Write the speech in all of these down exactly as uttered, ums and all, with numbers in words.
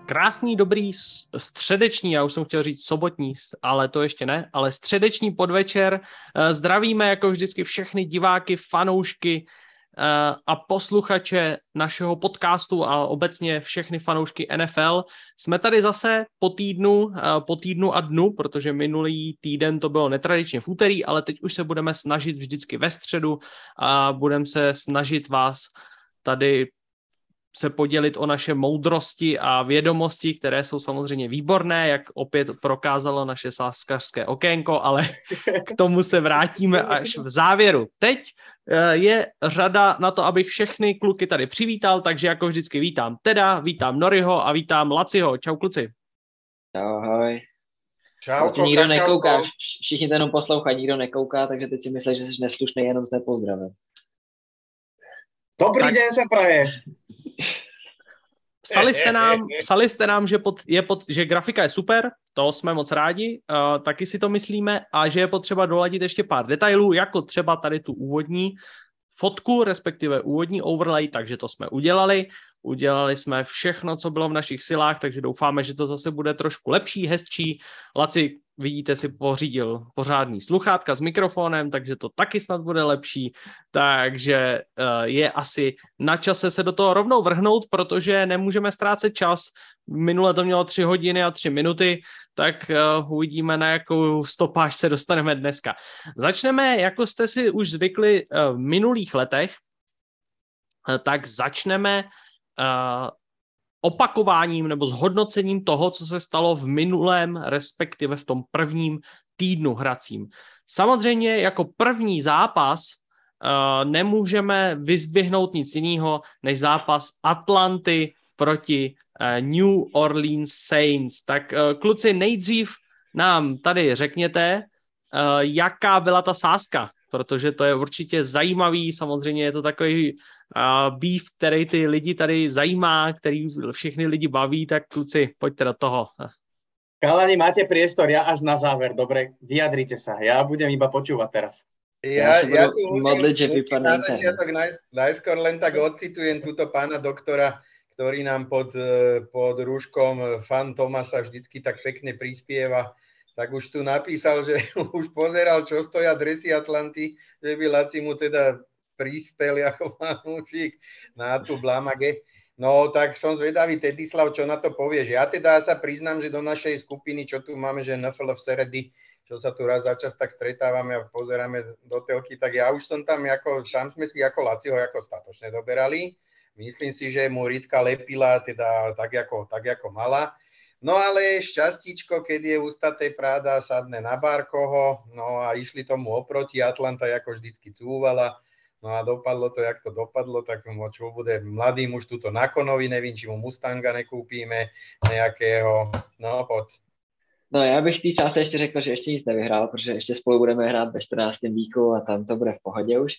Krásný, dobrý středeční, já už jsem chtěl říct sobotní, ale to ještě ne, ale středeční podvečer. Zdravíme jako vždycky všechny diváky, fanoušky a posluchače našeho podcastu a obecně všechny fanoušky N F L. Jsme tady zase po týdnu, po týdnu a dnu, protože minulý týden to bylo netradičně v úterý, ale teď už se budeme snažit vždycky ve středu a budeme se snažit vás tady se podělit o naše moudrosti a vědomosti, které jsou samozřejmě výborné, jak opět prokázalo naše sáskařské okénko, ale k tomu se vrátíme až v závěru. Teď je řada na to, abych všechny kluky tady přivítal, takže jako vždycky vítám Teda, vítám Noriho a vítám Laciho. Čau kluci. Ahoj. Čau, Teď nikdo nekouká, všichni to jenom poslouchají, nikdo nekouká, takže teď si myslíš, že jsi neslušný, jenom s nepozdravem. Dobrý tak... den se praje. Psali jste nám, psali jste nám že, pod, je pod, že grafika je super, to jsme moc rádi, uh, taky si to myslíme, a že je potřeba doladit ještě pár detailů, jako třeba tady tu úvodní fotku, respektive úvodní overlay, takže to jsme udělali. Udělali jsme všechno, co bylo v našich silách, takže doufáme, že to zase bude trošku lepší, hezčí. Laci, vidíte, si pořídil pořádný sluchátka s mikrofonem, takže to taky snad bude lepší. Takže uh, je asi na čase se do toho rovnou vrhnout, protože nemůžeme ztrácet čas. Minule to mělo tři hodiny a tři minuty, tak uh, uvidíme, na jakou stopáž se dostaneme dneska. Začneme, jako jste si už zvykli uh, v minulých letech, uh, tak začneme Uh, opakováním nebo zhodnocením toho, co se stalo v minulém, respektive v tom prvním týdnu hracím. Samozřejmě jako první zápas uh, nemůžeme vyzdvihnout nic jiného než zápas Atlanty proti uh, New Orleans Saints. Tak uh, kluci, nejdřív nám tady řekněte, uh, jaká byla ta sázka, protože to je určitě zajímavý, samozřejmě je to takový uh, beef, který ty lidi tady zajímá, který všechny lidi baví, tak kluci, pojďte do toho. Kalani, máte priestor, ja až na záver, dobre, vyjadrite sa, ja budem iba počúvať teraz. Ja, ja, ja tu musím, modliť, že musím na začiatok naj, najskôr len tak odcitujem túto pána doktora, ktorý nám pod, pod rúškom fan Tomasa vždycky tak pekne prispieva. Tak už tu napísal, že už pozeral, čo stoja dresy Atlanty, že by Laci mu teda prispel ako fanúšik na tú blamage. No tak som zvedavý, Tedislav, čo na to povieš. Ja teda sa priznám, že do našej skupiny, čo tu máme, že N F L v Seredy, čo sa tu raz za čas tak stretávame a pozeráme do telky, tak ja už som tam, ako, tam sme si ako Laciho ako statočne doberali. Myslím si, že mu Ritka lepila teda tak ako, tak ako mala. No ale šťastíčko, keď je ústaté práda, sadne na Barkoho, no a išli tomu oproti, Atlanta ako vždycky cúvala, no a dopadlo to, jak to dopadlo, tak čo bude mladý muž tuto na konovi, nevím, či mu Mustanga nekúpíme nejakého, no pod. No já bych tý čase ještě řekl, že ještě nic nevyhrál, protože ještě spolu budeme hrát ve čtrnáctém víku a tam to bude v pohodě už.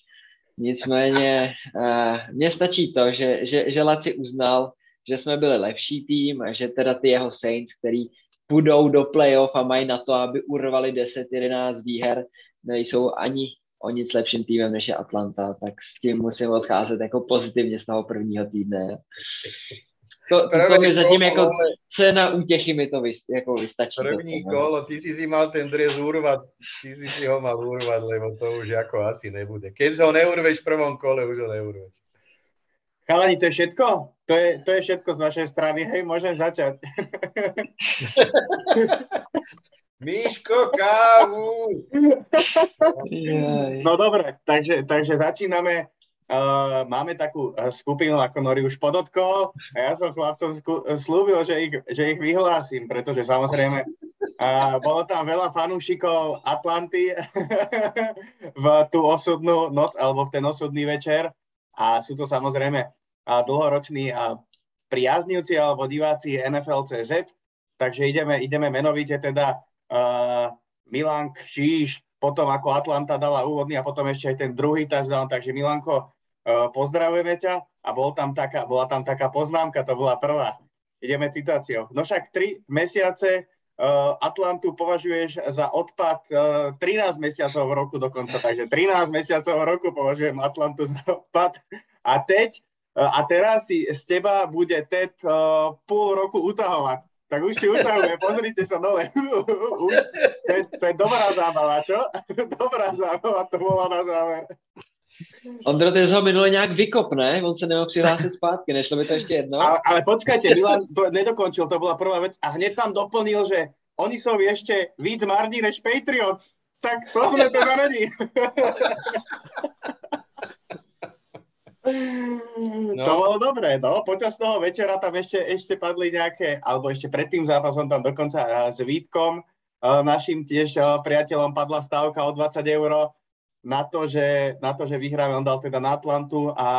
Nicméně uh, mně stačí to, že, že, že Laci uznal, že jsme byli lepší tým a že teda ty jeho Saints, který půjdou do playoff a mají na to, aby urvali deset jedenáct výher, nejsou ani o nic lepším týmem než je Atlanta, tak s tím musím odcházet jako pozitivně z toho prvního týdne. To, to, to mi zatím jako cena útěchy mi to vys, jako vystačí. První kolo, ty si si mal ten dres urvat, ty si si ho mal urvat, lebo to už jako asi nebude. Keď ho neurveš v prvom kole, už ho neurveš. Chalani, to je všetko? To je, to je všetko z našej strany, hej, môžem začať. Miško, kávu! No dobre, takže, takže začíname. Uh, máme takú skupinu, ako Nori už podotkol, a ja som chlapcom sku- slúbil, že ich, že ich vyhlásim, pretože samozrejme uh, bolo tam veľa fanúšikov Atlanty v tú osudnú noc, alebo v ten osudný večer. A sú to samozrejme a dlhoroční a priaznivci alebo diváci N F L bodka cé zet. Takže ideme, ideme menovite teda uh, Milan Kšíš, potom ako Atlanta dala úvodný a potom ešte aj ten druhý touchdown. Takže Milanko, uh, pozdravujeme ťa a bol tam taká, bola tam taká poznámka, to bola prvá. Ideme citáciou. No však tri mesiace uh, Atlantu považuješ za odpad uh, trinásť mesiacov v roku dokonca, takže trinásť mesiacov v roku považujem Atlantu za odpad. A teď a teraz si z teba bude Ted uh, pol roku utahovať. Tak už si utahuje, pozrite sa dole. Už, to, je, to je dobrá zábava, čo? Dobrá zábava to bola na záver. Ondro, ty jsi ho minule nějak vykop, ne? On se nemohl přihlásit zpátky, nešlo by to ještě jedno? Ale, ale počkajte, Milan to nedokončil, to bola prvá vec. A hneď tam doplnil, že oni sú ešte víc marní než Patriots. Tak to sme teda není. No. To bolo dobré, no. Počas toho večera tam ešte, ešte padli nejaké, alebo ešte pred tým zápasom tam dokonca s Vítkom, našim tiež priateľom, padla stávka o dvadsať eur na to, že, na to, že vyhráme. On dal teda na Atlantu a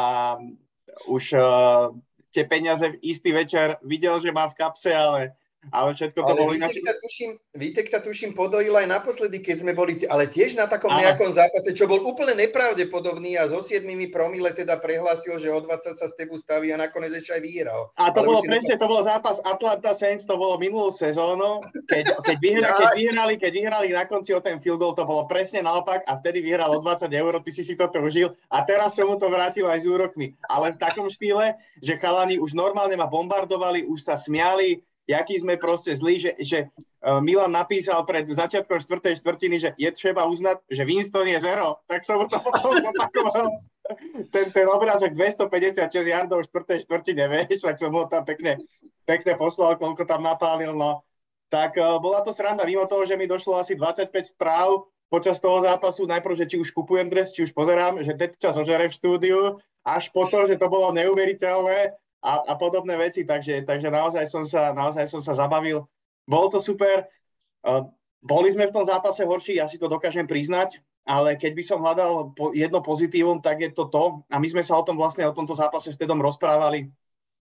už uh, tie peniaze v istý večer videl, že má v kapse, ale Ale všetko to ale bolo Vítek ináč. Ta tuším, Vítek ta tuším podojil aj naposledy, keď sme boli, ale tiež na takom Áno. nejakom zápase, čo bol úplne nepravdepodobný a so siedmimi promile teda prehlásil, že o dvadsať sa s tebu staví a nakoniec ešte aj vyhral. A to ale bolo presne, to bol zápas Atlanta Saints, to bolo minulú sezónu, keď, keď, vyhra, keď, vyhrali, keď vyhrali na konci o ten field goal, to bolo presne naopak a vtedy vyhral o dvadsať eur, ty si si toto užil a teraz som mu to vrátil aj s úrokmi. Ale v takom štýle, že chalani už normálne ma bombardovali, už sa smiali, jaký sme proste zlí, že, že Milan napísal pred začiatkom štvrtej štvrtiny, že je treba uznať, že Winston je zero, tak som mu to potom zopakoval. Ten, ten obrázok dvestopäťdesiatšesť yardov v štvrtej štvrtine, vieš, tak som ho tam pekne, pekne poslal, koľko tam napálil, no. Tak uh, bola to sranda, mimo toho, že mi došlo asi dvadsaťpäť správ počas toho zápasu, najprv, že či už kupujem dres, či už pozerám, že teď čas ožere v štúdiu, až po to, že to bolo neuveriteľné, A, a podobné veci, takže, takže naozaj, som sa, naozaj som sa zabavil. Bolo to super. Uh, boli sme v tom zápase horší, ja si to dokážem priznať, ale keď by som hľadal po, jedno pozitívum, tak je to to, a my sme sa o tom vlastne, o tomto zápase s Tedom rozprávali,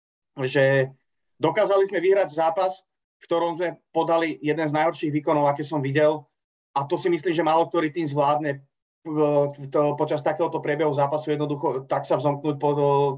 že dokázali sme vyhrať zápas, v ktorom sme podali jeden z najhorších výkonov, aké som videl, a to si myslím, že málo ktorý tým zvládne to, počas takéhoto priebehu zápasu jednoducho tak sa vzomknúť pod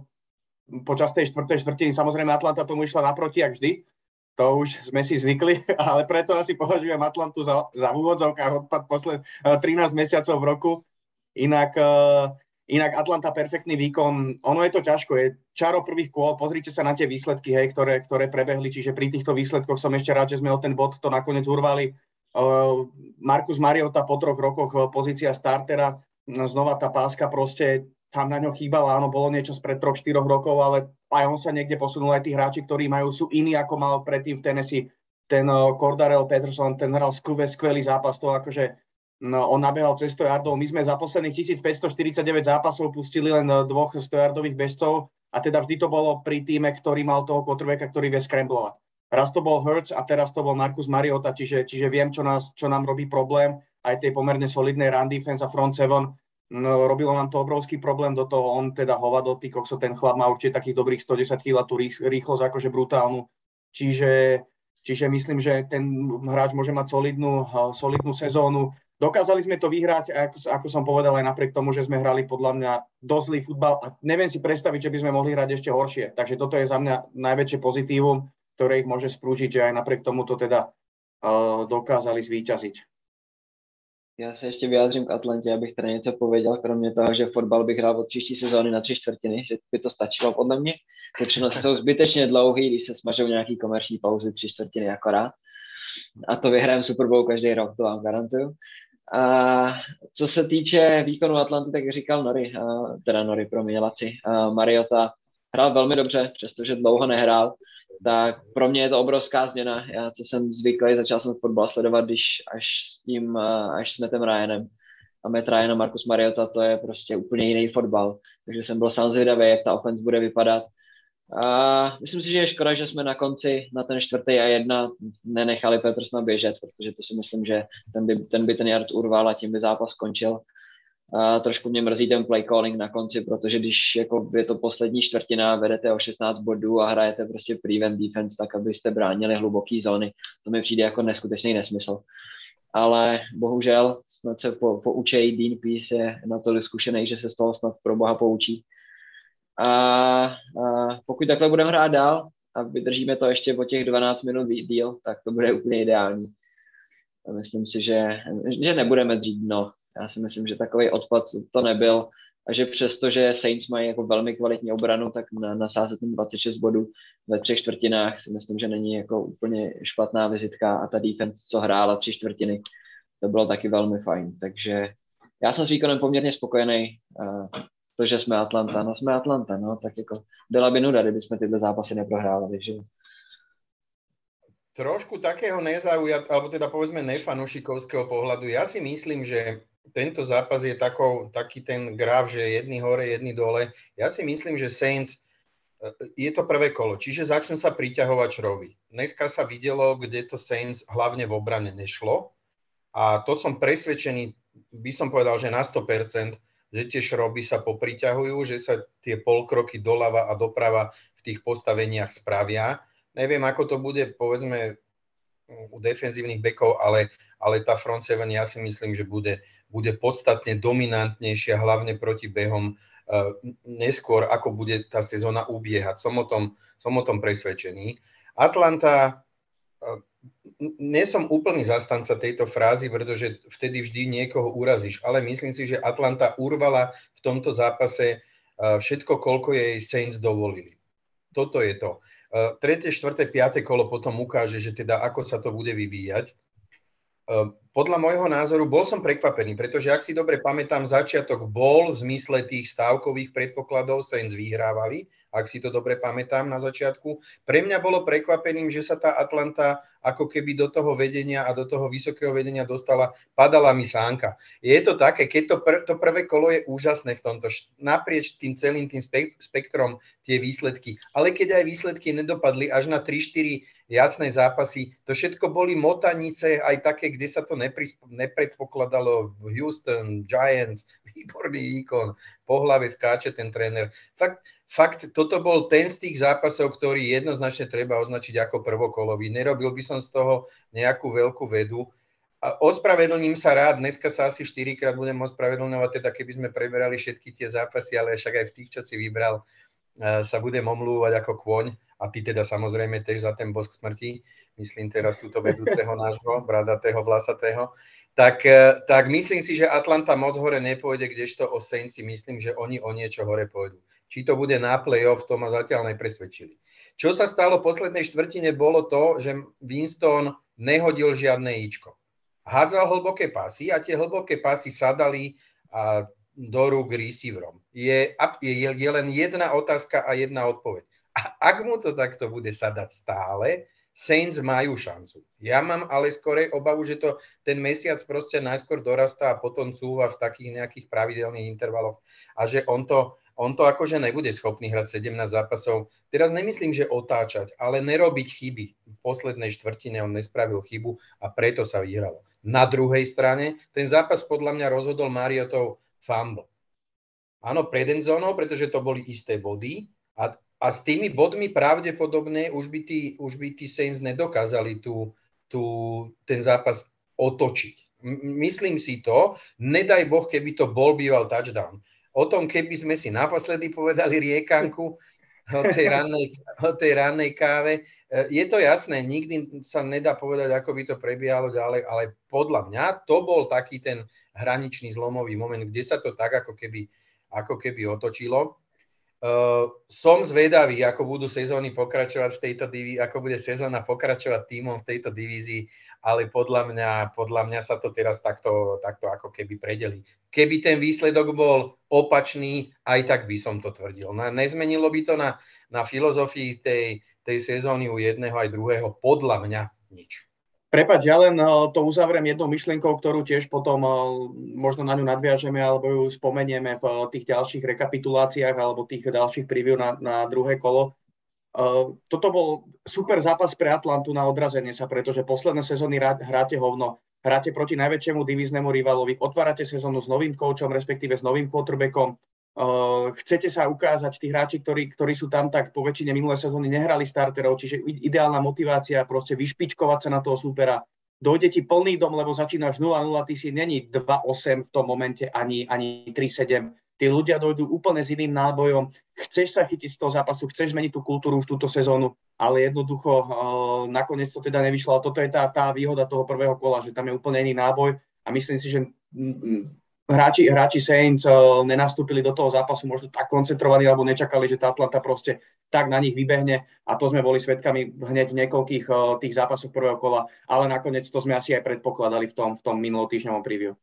počas tej štvrtej štvrtiny. Samozrejme Atlanta tomu išla naproti, jak vždy. To už sme si zvykli, ale preto asi považujem Atlantu za, za v úvodzovkách odpad posled trinásť mesiacov v roku. Inak, uh, inak Atlanta perfektný výkon. Ono je to ťažko, je čaro prvých kôl. Pozrite sa na tie výsledky, hej, ktoré, ktoré prebehli. Čiže pri týchto výsledkoch som ešte rád, že sme o ten bod to nakoniec urvali. Uh, Marcus Mariota po troch rokoch pozícia startera. Znova tá páska proste tam na ňo chýbala, áno, bolo niečo spred troch štyroch rokov, ale aj on sa niekde posunul, aj tí hráči, ktorí majú, sú iní, ako mal predtým v Tennessee. Ten uh, Cordarrelle Patterson, ten hral skvelý, skvelý zápas, to akože no, on nabehal cez sto yardov. My sme za posledných tisícpäťstoštyridsaťdeväť zápasov pustili len uh, dvoch sto yardových bežcov a teda vždy to bolo pri týme, ktorý mal toho quarterbacka, ktorý vie scramblovať. Raz to bol Hurts a teraz to bol Marcus Mariota, čiže, čiže viem, čo, nás, čo nám robí problém, aj tej pomerne solidnej run defense a front seven. No, robilo nám to obrovský problém, do toho on teda hovado, ty kokso, ten chlap má určite takých dobrých sto desať kíl a tú rýchlosť akože brutálnu. Čiže, čiže myslím, že ten hráč môže mať solidnú, solidnú sezónu. Dokázali sme to vyhrať, ako, ako som povedal, aj napriek tomu, že sme hrali podľa mňa dosť zlý futbal a neviem si predstaviť, že by sme mohli hrať ešte horšie. Takže toto je za mňa najväčšie pozitívum, ktoré ich môže sprúžiť, že aj napriek tomu to teda uh, dokázali zvíťaziť. Já se ještě vyjádřím k Atlantě, abych tady něco pověděl, kromě toho, že fotbal bych hrál od příští sezóny na tři čtvrtiny, že by to stačilo podle mě. Většinou jsou zbytečně dlouhý, když se smažou nějaký komerční pauzy, tři čtvrtiny akorát. A to vyhrajeme Super Bowl každý rok, to vám garantuju. A co se týče výkonu Atlanty, tak říkal Nori, teda Nori, promiň, Laci, Mariota hrál velmi dobře, přestože dlouho nehrál. Tak pro mě je to obrovská změna. Já, co jsem zvyklý, začal jsem fotbal sledovat, když až s tím, až s Mattem Ryanem. A Matt Ryan a Marcus Mariota, to je prostě úplně jiný fotbal. Takže jsem byl sám zvědavý, jak ta offense bude vypadat. A myslím si, že je škoda, že jsme na konci, na ten čtvrtý a jedna, nenechali Petersona běžet, protože to si myslím, že ten by ten, by ten yard urval a tím by zápas skončil. A trošku mě mrzí ten play calling na konci, protože když jako je to poslední čtvrtina, vedete o šestnáct bodů a hrajete prostě prevent defense, tak abyste bránili hluboký zóny. To mi přijde jako neskutečný nesmysl. Ale bohužel snad se po, poučej, Dean Pease je natolik zkušený, že se z toho snad pro boha poučí. A, a pokud takhle budeme hrát dál a vydržíme to ještě po těch dvanáct minut díl, tak to bude úplně ideální. A myslím si, že, že nebudeme dřít dno. Já si myslím, že takový odpad to nebyl. a že přesto, že Saints mají jako velmi kvalitní obranu, tak na, nasázet ten dvacet šest bodů ve třech čtvrtinách si myslím, že není jako úplně špatná vizitka a ta defense, co hrála tři čtvrtiny, to bylo taky velmi fajn. Takže já jsem s výkonem poměrně spokojený. To, že jsme Atlanta, no jsme Atlanta, no, tak jako byla by nuda, kdyby jsme tyhle zápasy neprohrávali, že? Trošku takého nezaujat, alebo teda povedzme nefanúšikovského pohľadu. Ja si myslím, že tento zápas je takou, taký ten graf, že jedni hore, jedni dole. Ja si myslím, že Saints, je to prvé kolo, čiže začnú sa priťahovať šroby. Dneska sa videlo, kde to Saints hlavne v obrane nešlo a to som presvedčený, by som povedal, že na sto percent, že tie šroby sa popriťahujú, že sa tie polkroky doľava a doprava v tých postaveniach spravia. Neviem, ako to bude, povedzme, u defenzívnych bekov, ale, ale tá front seven, ja si myslím, že bude, bude podstatne dominantnejšia, hlavne proti behom uh, neskôr, ako bude tá sezóna ubiehať. Som o tom, som o tom presvedčený. Atlanta, uh, nie som úplný zastanca tejto frázy, pretože vtedy vždy niekoho urazíš, ale myslím si, že Atlanta urvala v tomto zápase uh, všetko, koľko jej Saints dovolili. Toto je to. Uh, tretie, štvrté, piate kolo potom ukáže, že teda ako sa to bude vyvíjať. Uh, podľa môjho názoru bol som prekvapený, pretože ak si dobre pamätám, začiatok bol v zmysle tých stávkových predpokladov, Saints vyhrávali, ak si to dobre pamätám na začiatku. Pre mňa bolo prekvapením, že sa tá Atlanta ako keby do toho vedenia a do toho vysokého vedenia dostala, padala mi sánka. Je to také, keď to, pr- to prvé kolo je úžasné v tomto, naprieč tým celým tým spek- spektrom tie výsledky, ale keď aj výsledky nedopadli až na tri štyri jasné zápasy, to všetko boli motanice, aj také, kde sa to nepri- nepredpokladalo, Houston, Giants, výborný výkon, po hlave skáče ten tréner. Fakt, Fakt, toto bol ten z tých zápasov, ktorý jednoznačne treba označiť ako prvokolový. Nerobil by som z toho nejakú veľkú vedu. A ospravedlním sa rád, dneska sa asi štyrikrát budem ospravedlňovať, teda keby sme preberali všetky tie zápasy, ale však aj v tých, čo si vybral, sa budem omlúvať ako kôň. A ty teda samozrejme tiež za ten bosk smrti, myslím teraz túto vedúceho nášho, bradatého, vlasatého. Tak, tak myslím si, že Atlanta moc hore nepôjde, kdežto o Saints si myslím, že oni o niečo hore pôjdu. Či to bude na play-off, to ma zatiaľ nepresvedčili. Čo sa stalo v poslednej štvrtine, bolo to, že Winston nehodil žiadne íčko. Hádzal hlboké pasy a tie hlboké pasy sadali a do rúk receiverom. Je, je, je len jedna otázka a jedna odpoveď. A ak mu to takto bude sadať stále, Saints majú šancu. Ja mám ale skorej obavu, že to ten mesiac proste najskôr dorastá a potom cúva v takých nejakých pravidelných intervaloch a že on to On to akože nebude schopný hrať sedemnásť zápasov. Teraz nemyslím, že otáčať, ale nerobiť chyby. V poslednej štvrtine on nespravil chybu a preto sa vyhralo. Na druhej strane, ten zápas podľa mňa rozhodol Mariotov fumble. Áno, pred endzónou, pretože to boli isté body a, a s tými bodmi pravdepodobne už by tí, už by tí Saints nedokázali tú, tú, ten zápas otočiť. M- myslím si to, nedaj Boh, keby to bol býval touchdown. O tom, keby sme si naposledy povedali riekanku o tej rannej, o tej rannej káve. Je to jasné, nikdy sa nedá povedať, ako by to prebiehalo ďalej, ale podľa mňa to bol taký ten hraničný zlomový moment, kde sa to tak ako keby, ako keby otočilo. Uh, som zvedavý, ako budú sezóny pokračovať v tejto divízii, ako bude sezóna pokračovať tímom v tejto divízii, ale podľa mňa, podľa mňa sa to teraz takto, takto ako keby predelí. Keby ten výsledok bol opačný, aj tak by som to tvrdil. No, nezmenilo by to na, na filozofii tej, tej sezóny u jedného aj druhého, podľa mňa nič. Prepáč, ja len to uzavriem jednou myšlienkou, ktorú tiež potom možno na ňu nadviažeme alebo ju spomenieme v tých ďalších rekapituláciách alebo tých ďalších preview na, na druhé kolo. Uh, toto bol super zápas pre Atlantu na odrazenie sa, pretože posledné sezóny hráte hovno, hráte proti najväčšiemu divíznemu rivalovi, otvárate sezónu s novým koučom, respektíve s novým quarterbackom, uh, chcete sa ukázať, tí hráči, ktorí, ktorí sú tam, tak po väčšine minulé sezóny nehrali starterov, čiže ideálna motivácia, proste vyšpičkovať sa na toho supera, dojde ti plný dom, lebo začínaš nula nula, ty si není dva osem v tom momente, ani, ani tri sedem. Tí ľudia dojdú úplne s iným nábojom, chceš sa chytiť z toho zápasu, chceš zmeniť tú kultúru už túto sezónu, ale jednoducho uh, nakoniec to teda nevyšlo. Toto je tá, tá výhoda toho prvého kola, že tam je úplne iný náboj a myslím si, že m, hráči, hráči Saints uh, nenastúpili do toho zápasu možno tak koncentrovaní, alebo nečakali, že tá Atlanta proste tak na nich vybehne a to sme boli svedkami hneď v niekoľkých uh, tých zápasoch prvého kola, ale nakoniec to sme asi aj predpokladali v tom, v tom minulotýždňovom preview.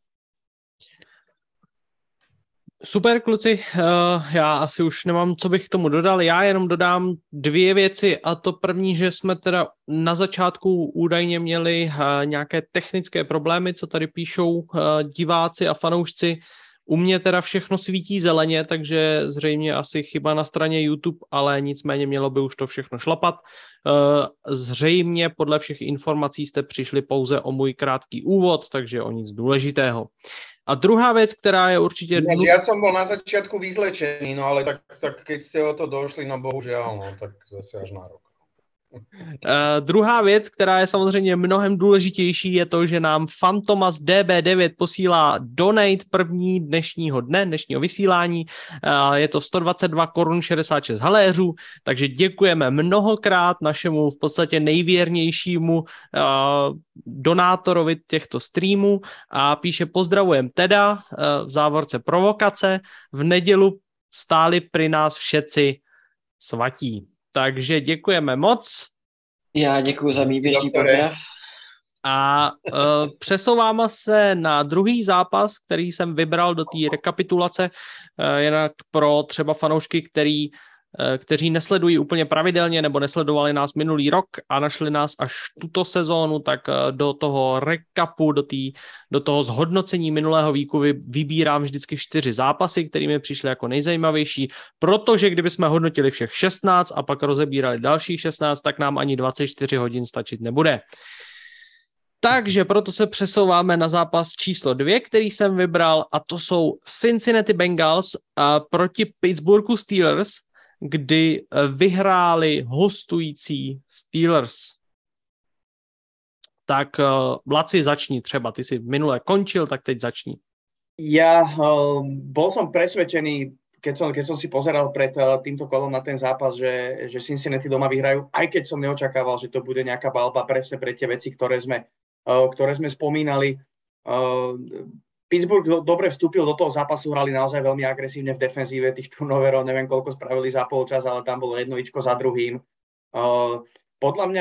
Super, kluci, já asi už nemám, co bych k tomu dodal, já jenom dodám dvě věci a to první, že jsme teda na začátku údajně měli nějaké technické problémy, co tady píšou diváci a fanoušci. U mě teda všechno svítí zeleně, takže zřejmě asi chyba na straně YouTube, ale nicméně mělo by už to všechno šlapat. Zřejmě podle všech informací jste přišli pouze o můj krátký úvod, takže o nic důležitého. A druhá vec, ktorá je určite... Ja, ja som bol na začiatku vyzlečený, no ale tak, tak keď ste o to došli, no bohužiaľ, no tak zase až na rok. Uh, druhá věc, která je samozřejmě mnohem důležitější, je to, že nám Fantomas D B devět posílá donate první dnešního dne, dnešního vysílání. Uh, je to sto dvacet dva korun šedesát šest haléřů, takže děkujeme mnohokrát našemu v podstatě nejvěrnějšímu uh, donátorovi těchto streamů a píše: pozdravujem teda, uh, v závorce provokace, v nedělu stáli pri nás všetci svatí. Takže děkujeme moc. Já děkuji za mý běžný pozdrav. A uh, přesouváme se na druhý zápas, který jsem vybral do té rekapitulace, uh, jinak pro třeba fanoušky, který, uh, kteří nesledují úplně pravidelně nebo nesledovali nás minulý rok a našli nás až tuto sezónu, tak uh, do toho recapu, do, tý, do toho zhodnocení minulého víku vy, vybírám vždycky čtyři zápasy, které mi přišly jako nejzajímavější, protože kdyby jsme hodnotili všech šestnáct a pak rozebírali dalších šestnáct, tak nám ani dvacet čtyři hodin stačit nebude. Takže proto se přesouváme na zápas číslo dvě, který jsem vybral, a to jsou Cincinnati Bengals a proti Pittsburghu Steelers, kdy vyhráli hostující Steelers. Tak Laci, začni třeba. Ty si minule končil, tak teď začni. Ja uh, bol som presvedčený, keď som, keď som si pozeral pred uh, týmto kolom na ten zápas, že, že Cincinnati doma vyhrajú, aj keď som neočakával, že to bude nejaká balba presne pre tie veci, ktoré sme, uh, ktoré sme spomínali. Uh, Pittsburgh do, dobre vstúpil do toho zápasu, hrali naozaj veľmi agresívne v defenzíve, tých turnoverov, neviem koľko spravili za polčas, ale tam bolo jedno ičko za druhým. Uh, podľa mňa,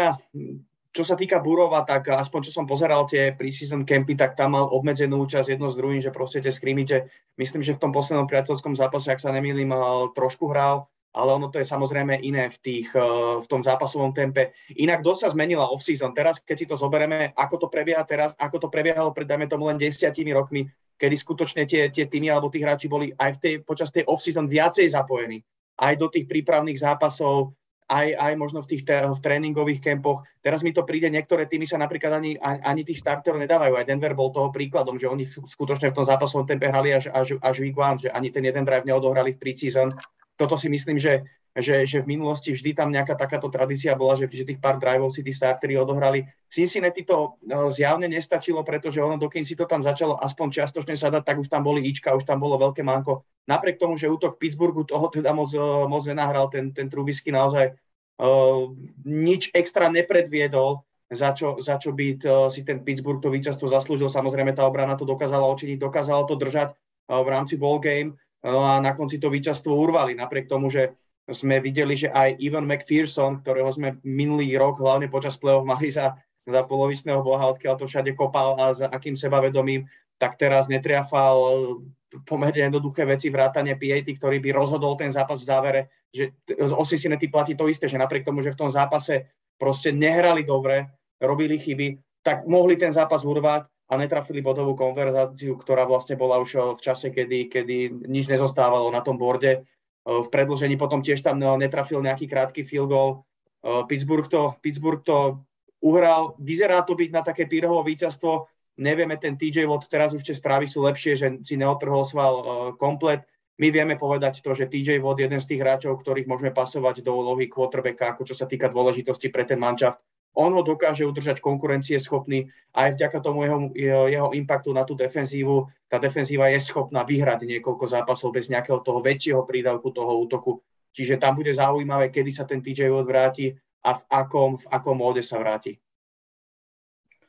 čo sa týka Burova, tak aspoň čo som pozeral tie preseason campy, tak tam mal obmedzenú účasť jedno s druhým, že proste tie scrimmage, myslím, že v tom poslednom priateľskom zápase, ak sa nemýlim, trošku hral, ale ono to je samozrejme iné v, tých, v tom zápasovom tempe. Inak dosť sa zmenila off-season. Teraz, keď si to zoberieme, ako to prebieha teraz, ako to prebiehalo pred, dajme tomu, len desiatimi rokmi, kedy skutočne tie, tie týmy alebo tí hráči boli aj v tej, počas tej off-season viacej zapojení. Aj do tých prípravných zápasov, Aj, aj možno v tých te, v tréningových kempoch. Teraz mi to príde, niektoré týmy sa napríklad ani, ani tých starterov nedávajú. Aj Denver bol toho príkladom, že oni skutočne v tom zápasovom tempe hrali až, až, až week one, že ani ten jeden drive neodohrali v preseason. Toto si myslím, že, že, že v minulosti vždy tam nejaká takáto tradícia bola, že, že tých pár driveov si tí starteri odohrali. Cincinnati to no, zjavne nestačilo, pretože ono, dokým si to tam začalo aspoň čiastočne sadať, tak už tam boli ička, už tam bolo veľké manko. Napriek tomu, že útok Pittsburghu toho teda moc, moc nenahral, ten, ten Trubisky naozaj uh, nič extra nepredviedol, za čo, za čo by to, si ten Pittsburgh to víťazstvo zaslúžil. Samozrejme tá obrana to dokázala očiniť, dokázala to držať uh, v rámci ball game, no a na konci to víťazstvo urvali, napriek tomu, že sme videli, že aj Evan McPherson, ktorého sme minulý rok hlavne počas play-off mali za, za polovičného boha, odkiaľ to všade kopal a za akým sebavedomím, tak teraz netriafal pomerne jednoduché veci, vrátane P A T, ktorý by rozhodol ten zápas v závere, že o Cincinnati platí to isté, že napriek tomu, že v tom zápase proste nehrali dobre, robili chyby, tak mohli ten zápas urvať a netrafili bodovú konverzáciu, ktorá vlastne bola už v čase, kedy, kedy nič nezostávalo na tom borde. V predĺžení potom tiež tam netrafil nejaký krátky field goal. Pittsburgh to, Pittsburgh to uhral. Vyzerá to byť na také Pírhovo víťazstvo. Nevieme, ten T J Watt, teraz už tie správy sú lepšie, že si neotrhol sval komplet. My vieme povedať to, že T J Watt je jeden z tých hráčov, ktorých môžeme pasovať do úlohy quarterbacka, ako čo sa týka dôležitosti pre ten manšaft. On ho dokáže udržať konkurencieschopný a aj vďaka tomu jeho, jeho impaktu na tú defenzívu, tá defenzíva je schopná vyhrať niekoľko zápasov bez nejakého toho väčšieho prídavku toho útoku. Čiže tam bude zaujímavé, kedy sa ten T J Watt vráti a v akom, v akom móde sa vráti.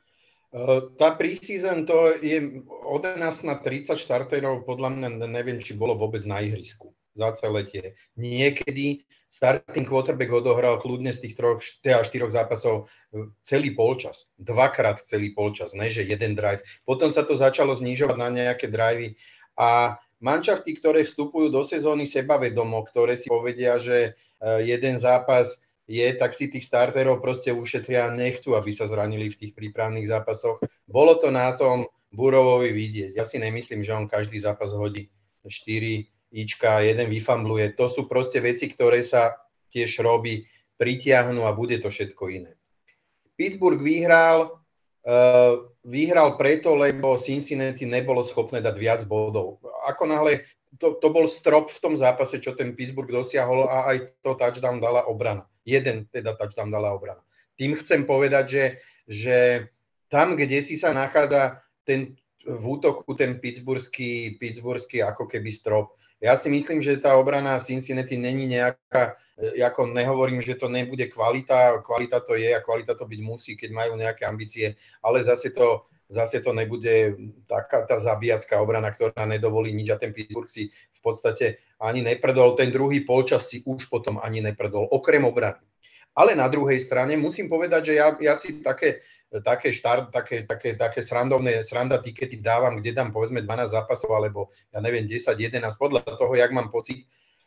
Tá pre-season to je od jedenásť na tridsať štarterov, podľa mňa neviem, či bolo vôbec na ihrisku za celé tie. Niekedy starting quarterback odohral kľudne z tých troch, teda štyroch zápasov celý polčas. Dvakrát celý polčas, ne že jeden drive. Potom sa to začalo znižovať na nejaké drivey a manšafty, ktoré vstupujú do sezóny sebavedomo, ktoré si povedia, že jeden zápas je, tak si tých starterov proste ušetria a nechcú, aby sa zranili v tých prípravných zápasoch. Bolo to na tom Burrowovi vidieť. Ja si nemyslím, že on každý zápas hodí štyri ička, jeden vyfambluje. To sú proste veci, ktoré sa tiež robí, pritiahnu a bude to všetko iné. Pittsburgh vyhral, uh, vyhral preto, lebo Cincinnati nebolo schopné dať viac bodov. Ako náhle, to, to bol strop v tom zápase, čo ten Pittsburgh dosiahol a aj to touchdown dala obrana. Jeden teda touchdown dala obrana. Tým chcem povedať, že, že tam, kde si sa nachádza ten, v útoku ten pittsburghský, pittsburghský ako keby strop. Ja si myslím, že tá obrana Cincinnati není nejaká, ako nehovorím, že to nebude kvalita, kvalita to je a kvalita to byť musí, keď majú nejaké ambície, ale zase to, zase to nebude taká tá zabíjacká obrana, ktorá nedovolí nič a ten Pittsburgh si v podstate ani nepredol, ten druhý polčas si už potom ani nepredol, okrem obrany. Ale na druhej strane musím povedať, že ja, ja si také, také, štart, také, také, také srandovné sranda tikety dávam, kde dám povedzme dvanásť zápasov, alebo ja neviem, desať, jedenásť, podľa toho, jak mám pocit.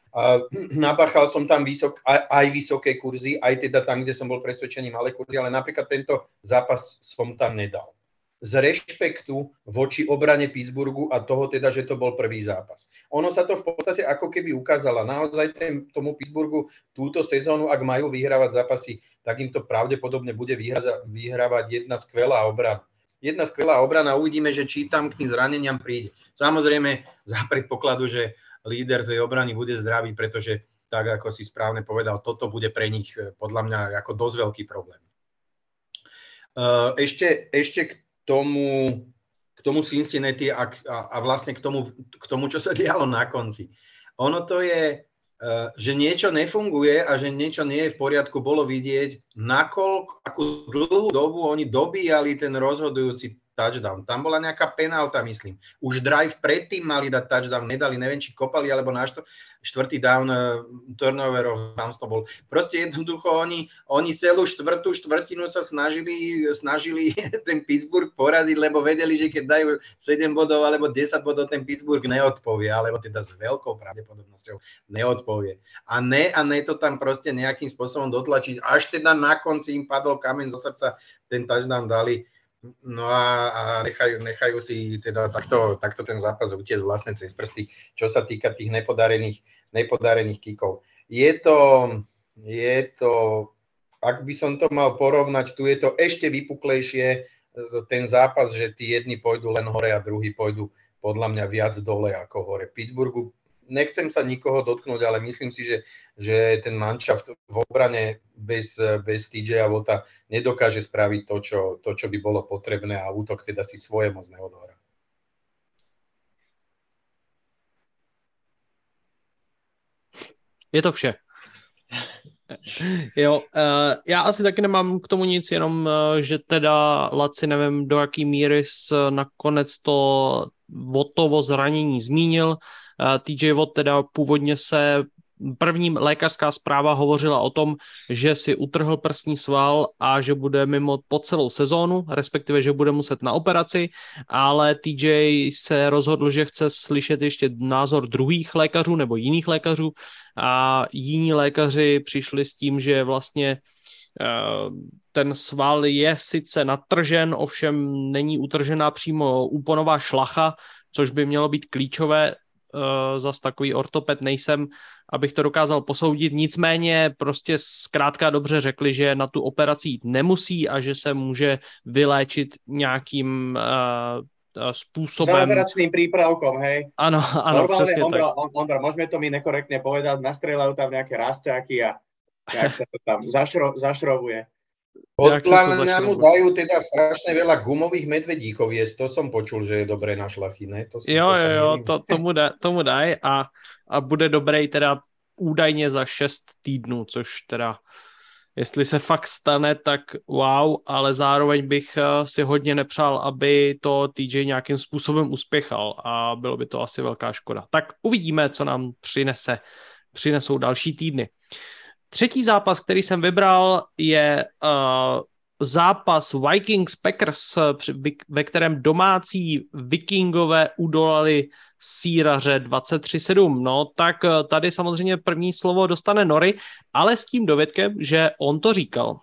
A nabachal som tam vysok, aj, aj vysoké kurzy, aj teda tam, kde som bol presvedčený malé kurzy, ale napríklad tento zápas som tam nedal. Z rešpektu voči obrane Pittsburghu a toho teda, že to bol prvý zápas. Ono sa to v podstate ako keby ukázalo. Naozaj ten, tomu Pittsburghu túto sezónu, ak majú vyhrávať zápasy, tak im to pravdepodobne bude vyhra- vyhrávať jedna skvelá obrana. Jedna skvelá obrana, uvidíme, že či tam k tým zraneniam príde. Samozrejme, za predpokladu, že líder tej obrany bude zdravý, pretože, tak ako si správne povedal, toto bude pre nich podľa mňa ako dosť veľký problém. Ešte, ešte k tomu, k tomu Cincinnati a, a, a vlastne k tomu, k tomu, čo sa dialo na konci. Ono to je, že niečo nefunguje a že niečo nie je v poriadku, bolo vidieť, nakoľko, akú dlhú dobu oni dobíjali ten rozhodujúci touchdown. Tam bola nejaká penálta, myslím. Už drive predtým mali dať touchdown, nedali, neviem, či kopali, alebo na što, štvrtý down uh, turnoverov, tam to bol. Proste jednoducho oni, oni celú štvrtú štvrtinu sa snažili, snažili ten Pittsburgh poraziť, lebo vedeli, že keď dajú sedem bodov alebo desať bodov, ten Pittsburgh neodpovie, alebo teda s veľkou pravdepodobnosťou neodpovie. A ne, a ne to tam proste nejakým spôsobom dotlačiť. Až teda na konci im padol kameň zo srdca, ten touchdown dali. No a, a nechajú, nechajú si teda takto, takto ten zápas utiecť vlastne cez prsty, čo sa týka tých nepodarených, nepodarených kikov. Je to, je to, ak by som to mal porovnať, tu je to ešte vypuklejšie, ten zápas, že tí jedni pôjdu len hore a druhí pôjdu podľa mňa viac dole ako hore. Pittsburghu, nechcem sa nikoho dotknúť, ale myslím si, že, že ten manšaft v obrane bez, bez té džeja Watta nedokáže spraviť to čo, to, čo by bolo potrebné a útok teda si svoje moc neodohrá. Je to vše. Jo, uh, já asi taky nemám k tomu nic, jenom, uh, že teda Laci nevím, do jaký míry nakonec to Wattovo zranění zmínil. Uh, té džej Watt teda původně se první lékařská zpráva hovořila o tom, že si utrhl prsní sval a že bude mimo po celou sezónu, respektive, že bude muset na operaci, ale té džej se rozhodl, že chce slyšet ještě názor druhých lékařů nebo jiných lékařů a jiní lékaři přišli s tím, že vlastně ten sval je sice natržen, ovšem není utržená přímo úponová šlacha, což by mělo být klíčové. Uh, zas takový ortoped nejsem, abych to dokázal posoudit. Nicméně prostě zkrátka dobře řekli, že na tu operaci jít nemusí a že se může vyléčit nějakým uh, spôsobom. Zázračným prípravkom, hej. Áno, áno, normálne, presne Ondra, tak. Ondra, môžeme to my nekorektne povedať, nastrelajú tam nejaké rasťáky a jak sa to tam zašro, zašrovuje. Podľa mňa mu dajú teda strašne veľa gumových medvedíkov jesť, to som počul, že je dobré na šlachy, ne? To si, jo, to jo, jo, to, tomu, da, tomu daj a, a bude dobrý teda údajně za šest týdnů, což teda Jestli se fakt stane, tak wow, ale zároveň bych si hodně nepřál, aby to T J nějakým způsobem uspěchal a bylo by to asi velká škoda. Tak uvidíme, co nám přinese, přinesou další týdny. Třetí zápas, který jsem vybral, je uh, zápas Vikings Packers, ve kterém domácí Vikingové udolali Síraře dvacet tři sedm. No tak tady samozřejmě první slovo dostane Nori, ale s tím dovědkem, že on to říkal.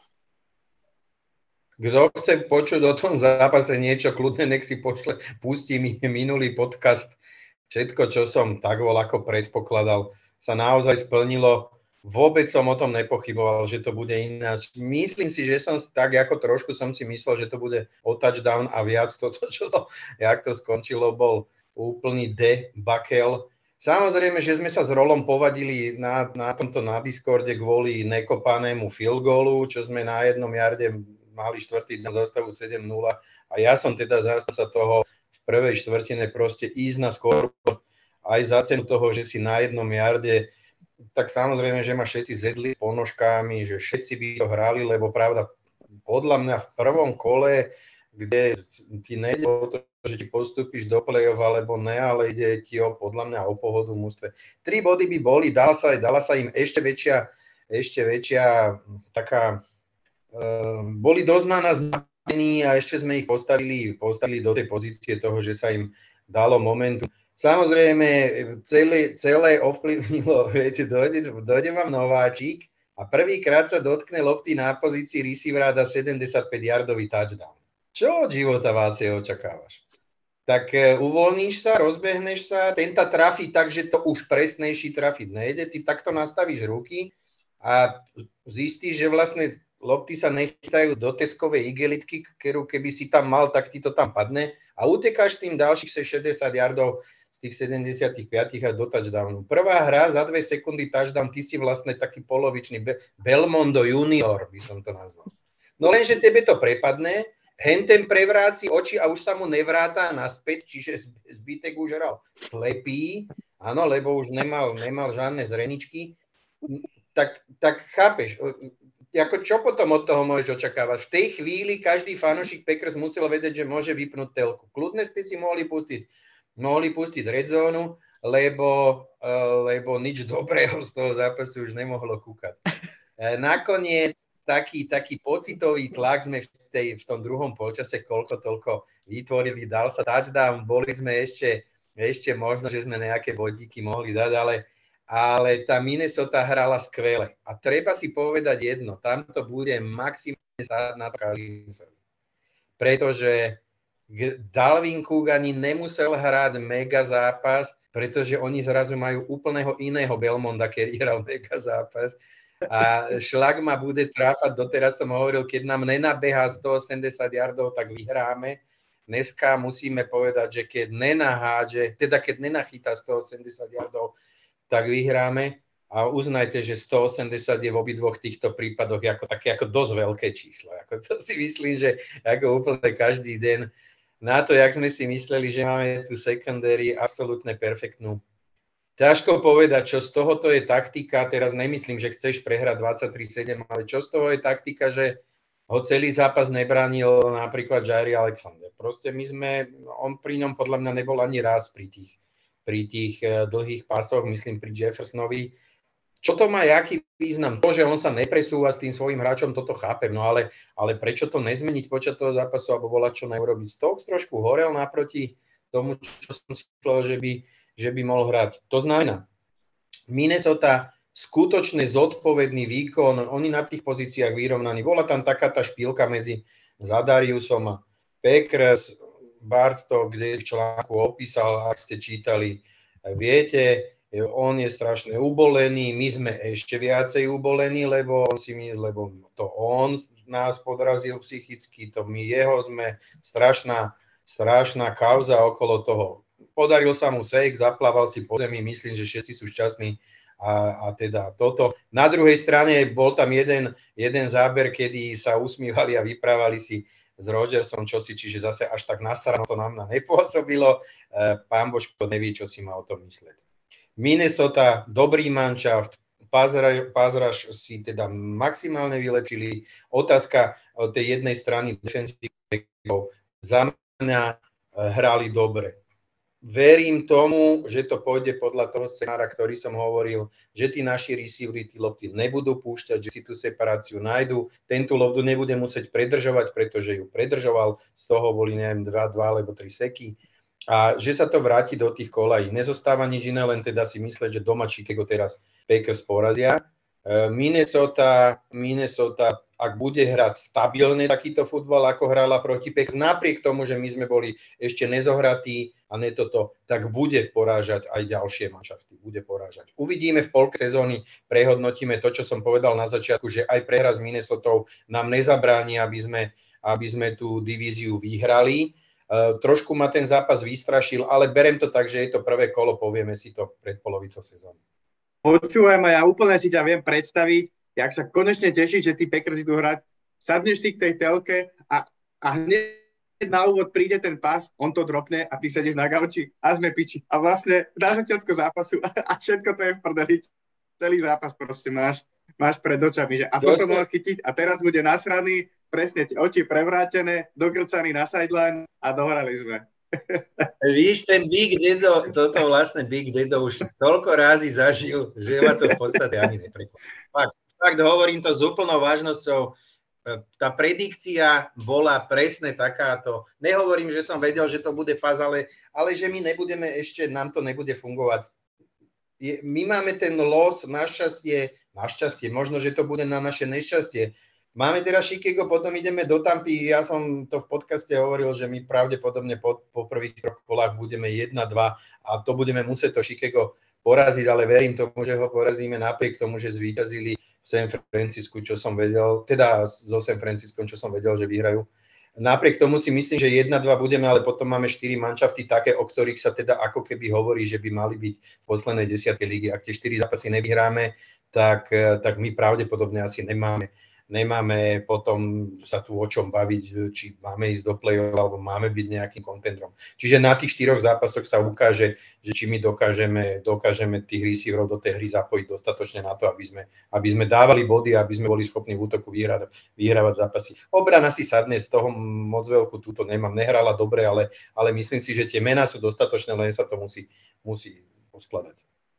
Kto chce počuť o tom zápase niečo, kľudne nech si pošle, pustí mi minulý podcast. Všetko, čo som tak vol ako predpokladal, sa naozaj splnilo. Vôbec som o tom nepochyboval, že to bude ináč. Myslím si, že som tak ako trošku som si myslel, že to bude o touchdown a viac. Toto, čo to, jak to skončilo, bol úplný debakel. Samozrejme, že sme sa s Rolom povadili na, na tomto na Discorde kvôli nekopanému field goalu, čo sme na jednom jarde mali štvrtý na zastavu sedem nula a ja som teda zástanca toho v prvej štvrtine proste ísť na skôr aj za cenu toho, že si na jednom jarde, tak samozrejme, že ma všetci zedli ponožkami, že všetci by to hrali, lebo pravda, podľa mňa v prvom kole, kde ti nejde o to, že ti postupíš do play-off alebo ne, ale ide ti o, podľa mňa o pohodu v mústve. Tri body by boli, dala sa, dala sa im ešte väčšia, ešte väčšia taká Uh, boli dosť na nás napení a ešte sme ich postavili, postavili do tej pozície toho, že sa im dalo momentu. Samozrejme, celé, celé ovplyvnilo, viete, dojde, dojde vám nováčik a prvýkrát sa dotkne lopty na pozícii receivera a dá sedemdesiatpäť yardový touchdown. Čo od života Vácie očakávaš? Tak uh, uvoľníš sa, rozbehneš sa, ten ta trafí tak, že to už presnejší trafiť nejde, ty takto nastavíš ruky a zistíš, že vlastne lopty sa nechytajú do teskovej igelitky, ktorú keby si tam mal, tak ti to tam padne a utekáš tým ďalších šesťdesiat yardov z tých sedemdesiatpäť a do touchdownu. Prvá hra za dve sekundy touchdown, ty si vlastne taký polovičný Be- Belmondo junior, by som to nazval. No lenže tebe to prepadne, henten prevráci oči a už sa mu nevráta naspäť, čiže zbytek už hral slepý, áno, lebo už nemal, nemal žiadne zreničky, tak, tak chápeš, ako čo potom od toho môžeš očakávať? V tej chvíli každý fanúšik Packers musel vedieť, že môže vypnúť telku. Kľudne ste si mohli pustiť, mohli pustiť red zónu, lebo, uh, lebo nič dobrého z toho zápasu už nemohlo kúkať. Uh, nakoniec taký, taký pocitový tlak sme v, tej, v tom druhom polčase koľko toľko vytvorili, dal sa touchdown, boli sme ešte, ešte možno, že sme nejaké bodíky mohli dať, ale ale tá Minnesota hrala skvele. A treba si povedať jedno, tam to bude maximálne sáť na to Kalisovi. Pretože Dalvin Cook ani nemusel hrať mega zápas, pretože oni zrazu majú úplného iného Belmonda, ktorý hral mega zápas. A šlak ma bude tráfať, doteraz som hovoril, keď nám nenabehá stoosemdesiat yardov, tak vyhráme. Dneska musíme povedať, že keď nenahádže, teda keď nenachytá stoosemdesiat yardov, tak vyhráme a uznajte, že stoosemdesiat je v obidvoch týchto prípadoch ako také ako dosť veľké číslo. Ako to si myslím, že ako úplne každý deň na to, jak sme si mysleli, že máme tú secondary absolútne perfektnú. Ťažko povedať, čo z tohoto je taktika, teraz nemyslím, že chceš prehrať dvadsaťtri sedem, ale čo z toho je taktika, že ho celý zápas nebránil napríklad Jaire Alexander. Proste my sme, on pri ňom podľa mňa nebol ani raz pri tých pri tých dlhých pásoch, myslím pri Jeffersonovi. Čo to má, jaký význam? To, že on sa nepresúva s tým svojím hráčom, toto chápem, no ale, ale prečo to nezmeniť počas toho zápasu, alebo volať čo neurobiť? Stokes trošku horel naproti tomu, čo som si myslel, že by, že by mohol hrať. To znamená, Minnesota skutočne zodpovedný výkon, oni na tých pozíciách vyrovnaní. Bola tam taká tá špílka medzi Zadariusom a Packers, Bart to kde v článku opísal, ak ste čítali, viete, on je strašne ubolený, my sme ešte viacej ubolení, lebo, on si my, lebo to on nás podrazil psychicky, to my jeho sme, strašná, strašná kauza okolo toho. Podaril sa mu sejk, zaplával si po zemi, myslím, že všetci sú šťastní a, a teda toto. Na druhej strane bol tam jeden, jeden záber, kedy sa usmívali a vyprávali si s Rodgersom, čo si, čiže zase až tak nasrano to nám nepôsobilo. Pán Božko nevie, čo si má o tom mysleť. Minnesota, dobrý manšaft, pázraž si teda maximálne vylepšili. Otázka od tej jednej strany defenzívnych za mňa hrali dobre. Verím tomu, že to pôjde podľa toho scenára, ktorý som hovoril, že tí naši receivery tí lopty nebudú púšťať, že si tú separáciu nájdu. Tento loptu nebude musieť predržovať, pretože ju predržoval, z toho boli neviem dva, dva alebo tri seky. A že sa to vráti do tých kolají. Nezostáva nič iné, len teda si mysleť, že doma Chicago teraz Packers porazia. Minnesota, Minnesota, ak bude hrať stabilne takýto futbal, ako hrala proti Packers, napriek tomu, že my sme boli ešte nezohratí a ne toto, tak bude porážať aj ďalšie manšafty. Bude porážať. Uvidíme v polke sezóny, prehodnotíme to, čo som povedal na začiatku, že aj prehra s Minnesotou nám nezabráni, aby sme, aby sme tú divíziu vyhrali. Uh, trošku ma ten zápas vystrašil, ale berem to tak, že je to prvé kolo, povieme si to pred polovicou sezóny. Počúvaj ma, ja úplne si ťa viem predstaviť, jak sa konečne tešíš, že tí Packers idú hrať. Sadneš si k tej telke a, a hneď na úvod príde ten pás, on to dropne a ty sedíš na gauči a sme piči. A vlastne na začiatku zápasu a všetko to je v prdeli. Celý zápas proste máš, máš pred očami. Že a toto mohol chytiť a teraz bude nasraný, presne oči prevrátené, dokrcaný na sideline a dohrali sme. Víš, ten Big Dedo, toto vlastne Big Dedo už toľko rázy zažil, že ma to v podstate ani neprekvapí. Fakt, fakt hovorím to s úplnou vážnosťou. Tá predikcia bola presne takáto. Nehovorím, že som vedel, že to bude faz, ale, ale že my nebudeme ešte, nám to nebude fungovať. Je, my máme ten los, našťastie, našťastie, možno, že to bude na naše nešťastie. Máme teraz Chicago, potom ideme do Tampy. Ja som to v podcaste hovoril, že my pravdepodobne po, po prvých troch kolách budeme jedna dva a to budeme musieť to Chicago poraziť, ale verím tomu, že ho porazíme napriek tomu, že zvíťazili v San Francisku, čo som vedel, teda so San Franciskom, čo som vedel, že vyhrajú. Napriek tomu si myslím, že jedna dva budeme, ale potom máme štyri manšafty také, o ktorých sa teda ako keby hovorí, že by mali byť v poslednej desiatej ligy. Ak tie štyri zápasy nevyhráme, tak, tak my pravdepodobne asi nemáme. Nemáme potom sa tu o čom baviť, či máme ísť do play-off, alebo máme byť nejakým kontendrom. Čiže na tých štyroch zápasoch sa ukáže, že či my dokážeme, dokážeme tých receiverov do tej hry zapojiť dostatočne na to, aby sme, aby sme dávali body, aby sme boli schopní v útoku vyhrávať, vyhrávať zápasy. Obrana si sadne, z toho moc veľkú túto nemám. Nehrala dobre, ale, ale myslím si, že tie mená sú dostatočné, len sa to musí, musí poskladať.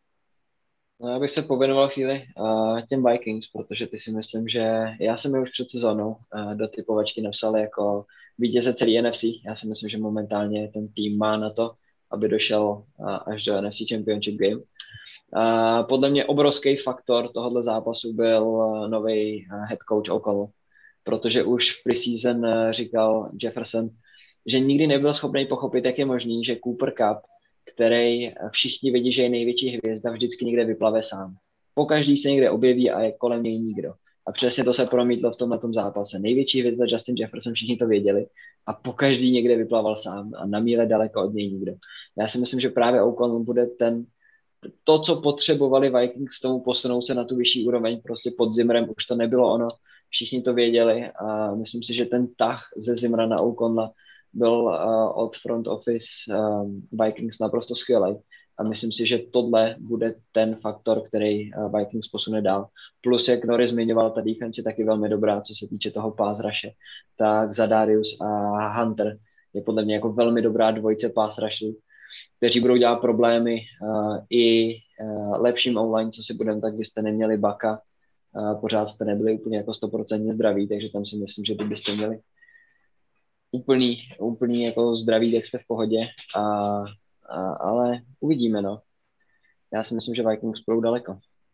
No, já bych se pověnoval chvíli uh, těm Vikings, protože ty si myslím, že já jsem je už před sezónou uh, do typovačky napsal jako vítěze celý N F C. Já si myslím, že momentálně ten tým má na to, aby došel uh, až do N F C Championship Game. Uh, podle mě obrovský faktor tohoto zápasu byl uh, nový uh, head coach O'Connell, protože už v preseason uh, říkal Jefferson, že nikdy nebyl schopný pochopit, jak je možný, že Cooper Kupp, který všichni vidí, že je největší hvězda, vždycky někde vyplave sám. Pokaždý se někde objeví a je kolem něj nikdo. A přesně to se promítlo v tomhletom zápase. Největší hvězda Justin Jefferson, všichni to věděli a pokaždý někde vyplaval sám a na míle daleko od něj nikdo. Já si myslím, že právě O'Connell bude ten, to, co potřebovali Vikings k tomu posunout se na tu vyšší úroveň, prostě pod Zimmerem už to nebylo ono, všichni to věděli a myslím si, že ten tah ze Zimmera na O'Connella byl uh, od front office um, Vikings naprosto skvělý a myslím si, že tohle bude ten faktor, který uh, Vikings posune dál. Plus, jak Norris zmiňoval, ta defense je taky velmi dobrá, co se týče toho pass rushe, tak Zadarius a Hunter je podle mě jako velmi dobrá dvojice pass rushu, kteří budou dělat problémy uh, i uh, lepším online, co si budeme, tak byste neměli Baka, uh, pořád jste nebyli úplně jako sto procent zdraví, takže tam si myslím, že byste měli úplný, úplný jako zdravý, jak jsme v pohodě, a, a, ale uvidíme, no. Já si myslím, že Vikings budou daleko.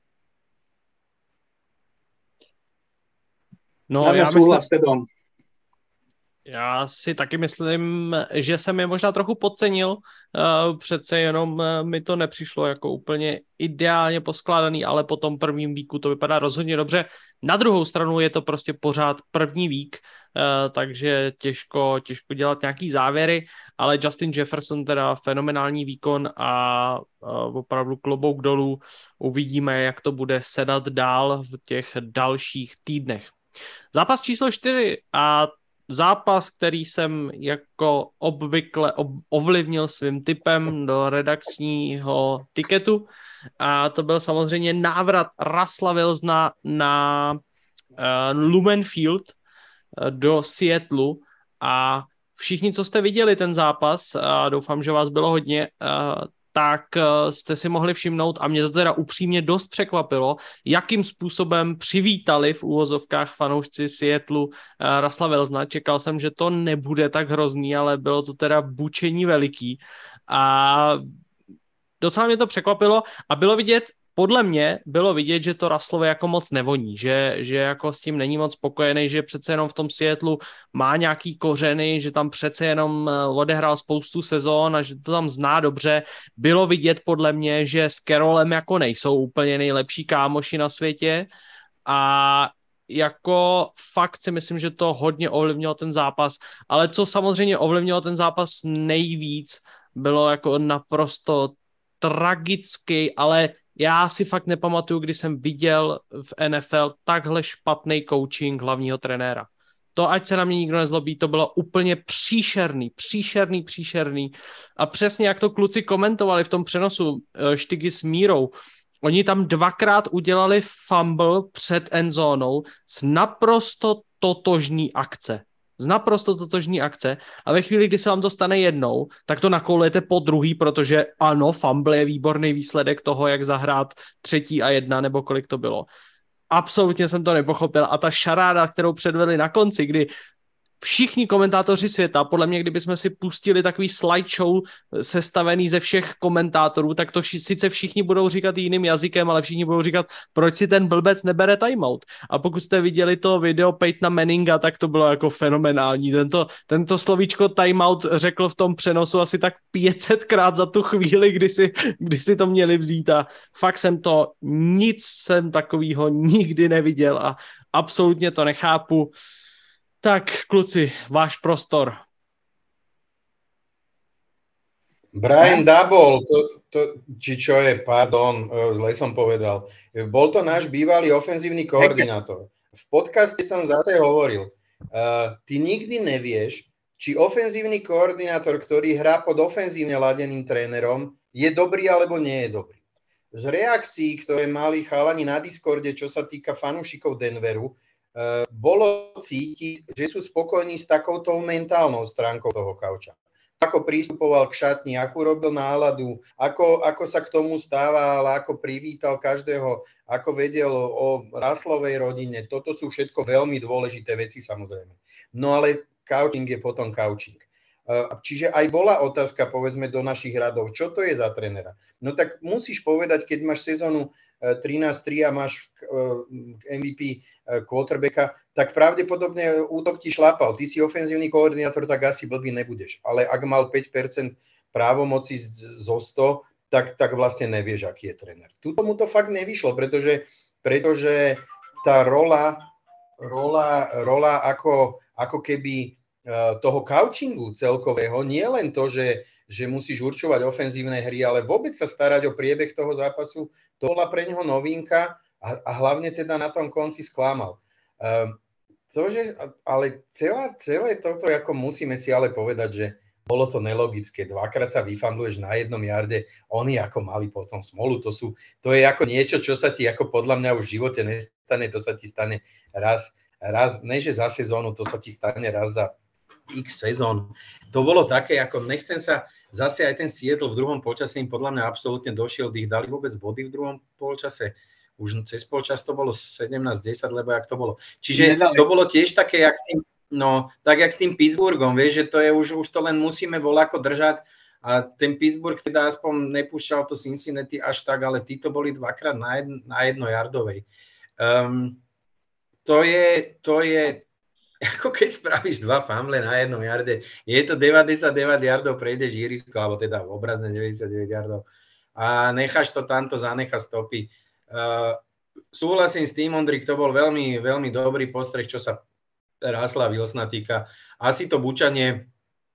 No, já myslím, já si taky myslím, že jsem je možná trochu podcenil, uh, přece jenom uh, mi to nepřišlo jako úplně ideálně poskládaný, ale po tom prvním víku to vypadá rozhodně dobře. Na druhou stranu je to prostě pořád první vík, uh, takže těžko, těžko dělat nějaký závěry, ale Justin Jefferson teda fenomenální výkon a uh, opravdu klobouk dolů. Uvidíme, jak to bude sedat dál v těch dalších týdnech. Zápas číslo čtyři a zápas, který jsem jako obvykle ovlivnil svým tipem do redakčního tiketu, a to byl samozřejmě návrat Russella Wilsona na uh, Lumen Field uh, do Seattlu, a všichni, co jste viděli ten zápas, a doufám, že vás bylo hodně, uh, tak uh, jste si mohli všimnout, a mě to teda upřímně dost překvapilo, jakým způsobem přivítali v úvozovkách fanoušci Seattlu uh, Russella Wilsona. Čekal jsem, že to nebude tak hrozný, ale bylo to teda bučení veliký. A docela mě to překvapilo a bylo vidět, podle mě bylo vidět, že to Russellovi jako moc nevoní, že, že jako s tím není moc spokojený, že přece jenom v tom Seattlu má nějaký kořeny, že tam přece jenom odehrál spoustu sezón a že to tam zná dobře. Bylo vidět podle mě, že s Carrollem jako nejsou úplně nejlepší kámoši na světě, a jako fakt si myslím, že to hodně ovlivnilo ten zápas, ale co samozřejmě ovlivnilo ten zápas nejvíc, bylo jako naprosto tragický, ale já si fakt nepamatuju, kdy jsem viděl v N F L takhle špatný coaching hlavního trenéra. To, ať se na mě nikdo nezlobí, to bylo úplně příšerný, příšerný, příšerný. A přesně jak to kluci komentovali v tom přenosu Štygy s Mírou, oni tam dvakrát udělali fumble před endzónou z naprosto totožní akce. Z naprosto totožní akce, a ve chvíli, kdy se vám to stane jednou, tak to nakoulujete po druhý, protože ano, fumble je výborný výsledek toho, jak zahrát třetí a jedna, nebo kolik to bylo. Absolutně jsem to nepochopil, a ta šaráda, kterou předvedli na konci, kdy všichni komentátoři světa, podle mě, kdybychom si pustili takový slideshow sestavený ze všech komentátorů, tak to ši- sice všichni budou říkat jiným jazykem, ale všichni budou říkat, proč si ten blbec nebere timeout. A pokud jste viděli to video Peytona Manninga, tak to bylo jako fenomenální. Tento, tento slovíčko timeout řekl v tom přenosu asi tak pět set krát za tu chvíli, kdy si, kdy si to měli vzít, a fakt jsem to, nic jsem takového nikdy neviděl a absolutně to nechápu. Tak, kluci, váš prostor. Brian Double, to, to, či čo je, pardon, zle som povedal. Bol to náš bývalý ofenzívny koordinátor. V podcaste som zase hovoril, uh, ty nikdy nevieš, či ofenzívny koordinátor, ktorý hrá pod ofenzívne ladeným trénerom, je dobrý alebo nie je dobrý. Z reakcií, ktoré mali chalani na Discorde, čo sa týka fanúšikov Denveru, Uh, bolo cítiť, že sú spokojní s takouto mentálnou stránkou toho kauča. Ako pristupoval k šatni, akú robil náladu, ako, ako sa k tomu stával, ako privítal každého, ako vedel o Russellovej rodine. Toto sú všetko veľmi dôležité veci, samozrejme. No ale coaching je potom coaching. Uh, čiže aj bola otázka, povedzme, do našich radov, čo to je za trénera. No tak musíš povedať, keď máš sezónu trinásť tri a máš M V P quarterbacka, tak pravdepodobne útok ti šlapal. Ty si ofenzívny koordinátor, tak asi blbý nebudeš. Ale ak mal päť percent právomoci zo sto, tak, tak vlastne nevieš, aký je tréner. Tuto mu to fakt nevyšlo, pretože, pretože tá rola, rola, rola ako, ako keby toho coachingu celkového, nie len to, že, že musíš určovať ofenzívne hry, ale vôbec sa starať o priebeh toho zápasu, to bola pre neho novinka a, a hlavne teda na tom konci sklamal. Um, to, že, ale celá, celé toto, ako musíme si ale povedať, že bolo to nelogické. Dvakrát sa vyfambluješ na jednom jarde, oni ako mali potom smolu. To, sú, to je ako niečo, čo sa ti ako podľa mňa už v živote nestane, to sa ti stane raz, raz, ne že za sezónu, to sa ti stane raz za x sezón. To bolo také, ako nechcem sa, zase aj ten Seattle v druhom polčase im podľa mňa absolútne došiel, ich dali vôbec body v druhom polčase. Už cez polčas to bolo sedemnásť desať, lebo jak to bolo. Čiže to bolo tiež také, jak s tým, no, tak jak s tým Pittsburghom, vieš, že to je už, už to len musíme voľako držať a ten Pittsburgh teda aspoň nepúšťal to Cincinnati až tak, ale títo boli dvakrát na, jedno, na jednojardovej. Um, to je, to je ako keď spravíš dva fumble na jednom jarde, je to deväťdesiatdeväť yardov, prejdeš ihrisko, alebo teda obrazne deväťdesiatdeväť yardov a necháš to tamto, zanechá stopy. Uh, súhlasím s tým, Ondrik, to bol veľmi, veľmi dobrý postreh, čo sa Russella Wilsona týka. Asi to bučanie,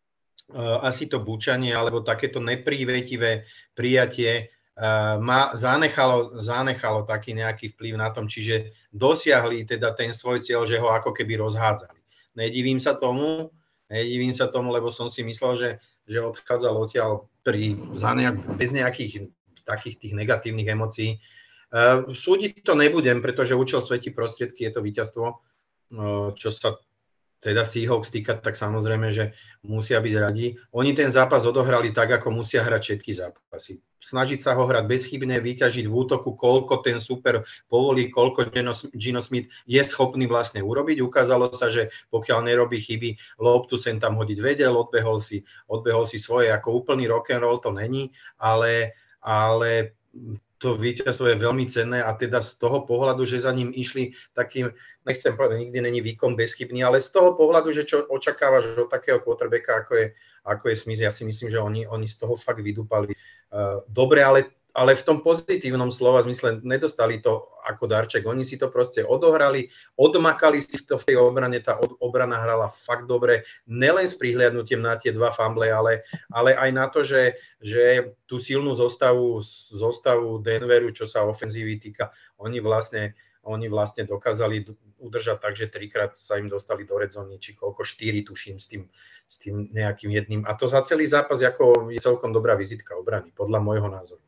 uh, asi to bučanie, alebo takéto neprívetivé prijatie Uh, ma zanechalo, zanechalo taký nejaký vplyv na tom, čiže dosiahli teda ten svoj cieľ, že ho ako keby rozhádzali. nedivím sa tomu, nedivím sa tomu, lebo som si myslel, že, že odchádzal odtiaľ pri, za nejak, bez nejakých takých tých negatívnych emócií. Uh, súdiť to nebudem, pretože účel svätí prostriedky, je to víťazstvo, uh, čo sa teda Seahawks týka, tak samozrejme, že musia byť radi. Oni ten zápas odohrali tak, ako musia hrať všetky zápasy. Snažiť sa ho hrať bezchybne, vyťažiť v útoku, koľko ten super povolí, koľko Geno Smith je schopný vlastne urobiť. Ukázalo sa, že pokiaľ nerobí chyby, loptu sem tam hodiť vedel, odbehol si, odbehol si svoje, ako úplný rock'n'roll to není, ale, ale to víťazstvo je veľmi cenné a teda z toho pohľadu, že za ním išli takým, nechcem povedať, nikdy není výkon bezchybný, ale z toho pohľadu, že čo očakávaš od takého quarterbacka, ako je, ako je Smith, ja si myslím, že oni, oni z toho fakt vydúpali uh, dobre, ale, ale v tom pozitívnom slova zmysle nedostali to ako darček. Oni si to proste odohrali, odmakali si to v tej obrane, tá od, obrana hrala fakt dobre, nelen s prihliadnutím na tie dva fumble, ale, ale aj na to, že, že tú silnú zostavu, zostavu Denveru, čo sa ofenzívy týka, oni vlastne, oni vlastne dokázali udržať tak, že trikrát sa im dostali do red zóny, či koľko, štyri tuším s tým, s tým nejakým jedným. A to za celý zápas ako je celkom dobrá vizitka obrany, podľa môjho názoru.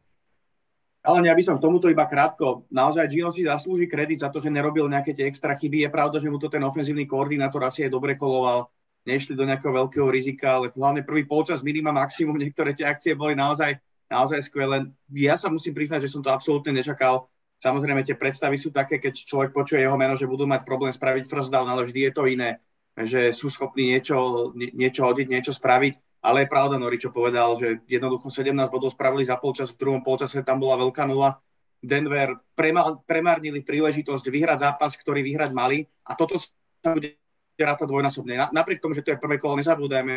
Ale ja by som k tomuto iba krátko. Naozaj Geno si zaslúži kredit za to, že nerobil nejaké tie extra chyby. Je pravda, že mu to ten ofenzívny koordinátor asi aj dobre koloval. Nešli do nejakého veľkého rizika, ale hlavne prvý polčas minima maximum. Niektoré tie akcie boli naozaj, naozaj skvelé. Ja sa musím priznať, že som to absolútne nečakal. Samozrejme, tie predstavy sú také, keď človek počuje jeho meno, že budú mať problém spraviť first down, ale vždy je to iné. Že sú schopní niečo, niečo hodiť, niečo spraviť. Ale je pravda, Nori, čo povedal, že jednoducho sedemnásť bodov spravili za polčas, v druhom polčase tam bola veľká nula. Denver premárnili príležitosť vyhrať zápas, ktorý vyhrať mali a toto sa bude rátať dvojnásobne. Napriek tomu, že to je prvé kolo, nezabúdajme,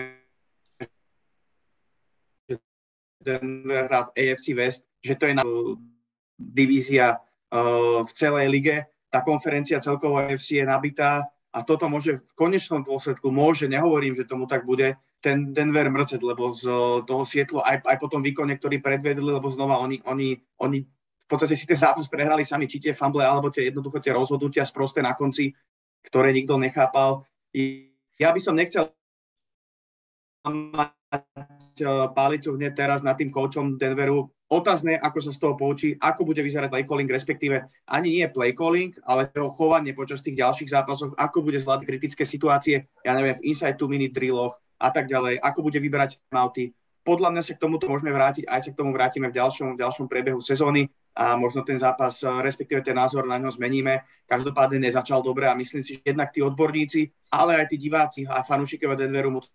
že Denver hrá v á ef cé West, že to je divízia uh, v celej lige. Tá konferencia celkovo á ef cé je nabitá a toto môže v konečnom dôsledku, môže, nehovorím, že tomu tak bude, ten Denver mrcet, lebo z toho Sietlu aj, aj po tom výkone, ktorý predvedli, lebo znova oni, oni, oni v podstate si ten zápas prehrali sami, či tie fumble, alebo tie jednoducho tie rozhodnutia sprosté na konci, ktoré nikto nechápal. Ja by som nechcel mať pálicu hneď teraz nad tým koučom Denveru. Otázne, ako sa z toho poučí, ako bude vyzerať play calling, respektíve ani nie play calling, ale jeho chovanie počas tých ďalších zápasov, ako bude zvládať kritické situácie, ja neviem, v inside two minute drilloch a tak ďalej, ako bude vyberať timeouty. Podľa mňa sa k tomuto môžeme vrátiť, aj sa k tomu vrátime v ďalšom, v ďalšom priebehu sezóny a možno ten zápas, respektíve ten názor na ňo zmeníme. Každopádne nezačal dobre a myslím si, že jednak tí odborníci, ale aj tí diváci a fanúšikovia Denveru mu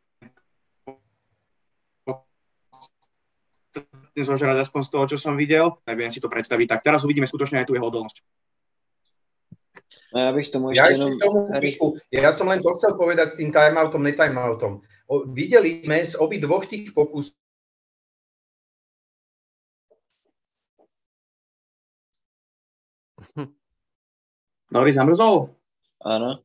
zožrať aspoň z toho, čo som videl. Neviem si to predstaviť. Tak teraz uvidíme skutočne aj tú jeho odolnosť. No ja bych tomu ja ešte jenom... Tomu, ja som len to chcel povedať s tým timeoutom, netimeoutom. O, videli sme z obi dvoch tých pokusov. Nori zamrzol? Áno.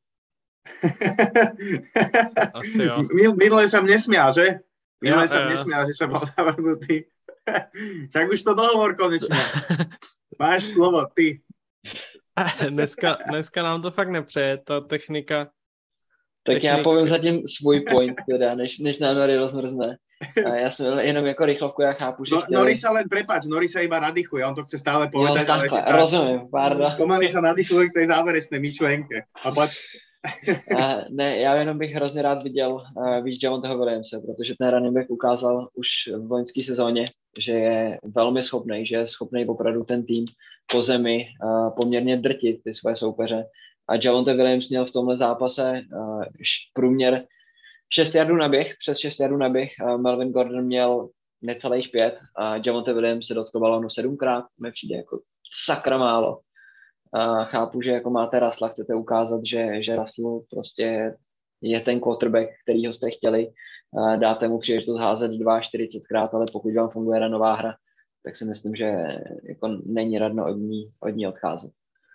Asi jo. Minule som nesmial, že? Minule ja, som ja. nesmial, že som bol zavrnutý. Však už to dohovor konečne. Máš slovo, ty. Dneska, dneska nám to fakt nepřeje, ta technika. Tak technika. já povím zatím svůj point, teda, než, než nám Nori rozmrzne. A já jsem jenom jako rychlovku, já chápu, že no, chtěli... Nori sa len, prepáč, Nori sa iba nadýchuje, on to chce stále povedať. Jo, takhle, ale rozumím, pardon. Pomaly sa nadýchuje k tej záverečnej myšlenke. A poď... Uh, ne, já jenom bych hrozně rád viděl uh, víc Javonteho Williamse, protože ten running back ukázal už v loňské sezóně, že je velmi schopný, že je schopný opravdu ten tým po zemi uh, poměrně drtit ty svoje soupeře. A Javonte Williams měl v tomhle zápase uh, průměr šest jardů na běh, přes šest jardů na běh. Uh, Melvin Gordon měl necelých pět a Javonte Williams se dotkl balónu sedmkrát, mi přijde jako sakra málo. A chápu, že jako máte Russella, chcete ukázat, že, že Russell prostě je ten quarterback, kterýho jste chtěli. Dáte mu příležitost házet čtyřicet dvě krát, ale pokud vám funguje ranová hra, tak si myslím, že jako není radno od ní, od ní odcházet.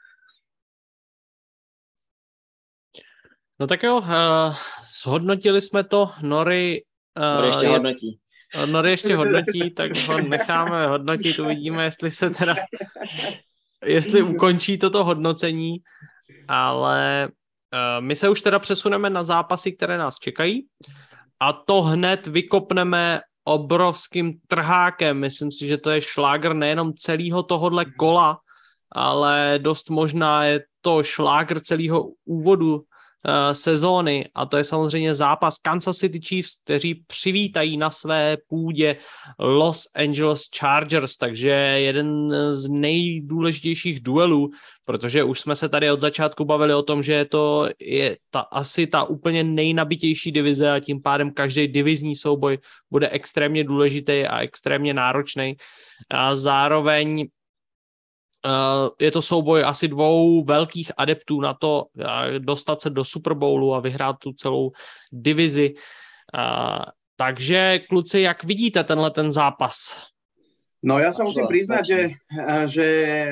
No tak jo, uh, zhodnotili jsme to, Nori... Uh, Nori ještě je... hodnotí. Nori ještě hodnotí, tak ho necháme hodnotit, uvidíme, jestli se teda... jestli ukončí toto hodnocení, ale my se už teda přesuneme na zápasy, které nás čekají a to hned vykopneme obrovským trhákem. Myslím si, že to je šlágr nejenom celého tohohle kola, ale dost možná je to šlágr celého úvodu uh, sezóny a to je samozřejmě zápas Kansas City Chiefs, kteří přivítají na své půdě Los Angeles Chargers, takže jeden z nejdůležitějších duelů, protože už jsme se tady od začátku bavili o tom, že to je ta, asi ta úplně nejnabitější divize a tím pádem každý divizní souboj bude extrémně důležitý a extrémně náročný. A zároveň Uh, je to souboj asi dvou velkých adeptů na to uh, dostat se do Super Bowlu a vyhrát tu celou divizi. Uh, takže kluci, jak vidíte tenhle ten zápas? No ja sa musím priznať, že, že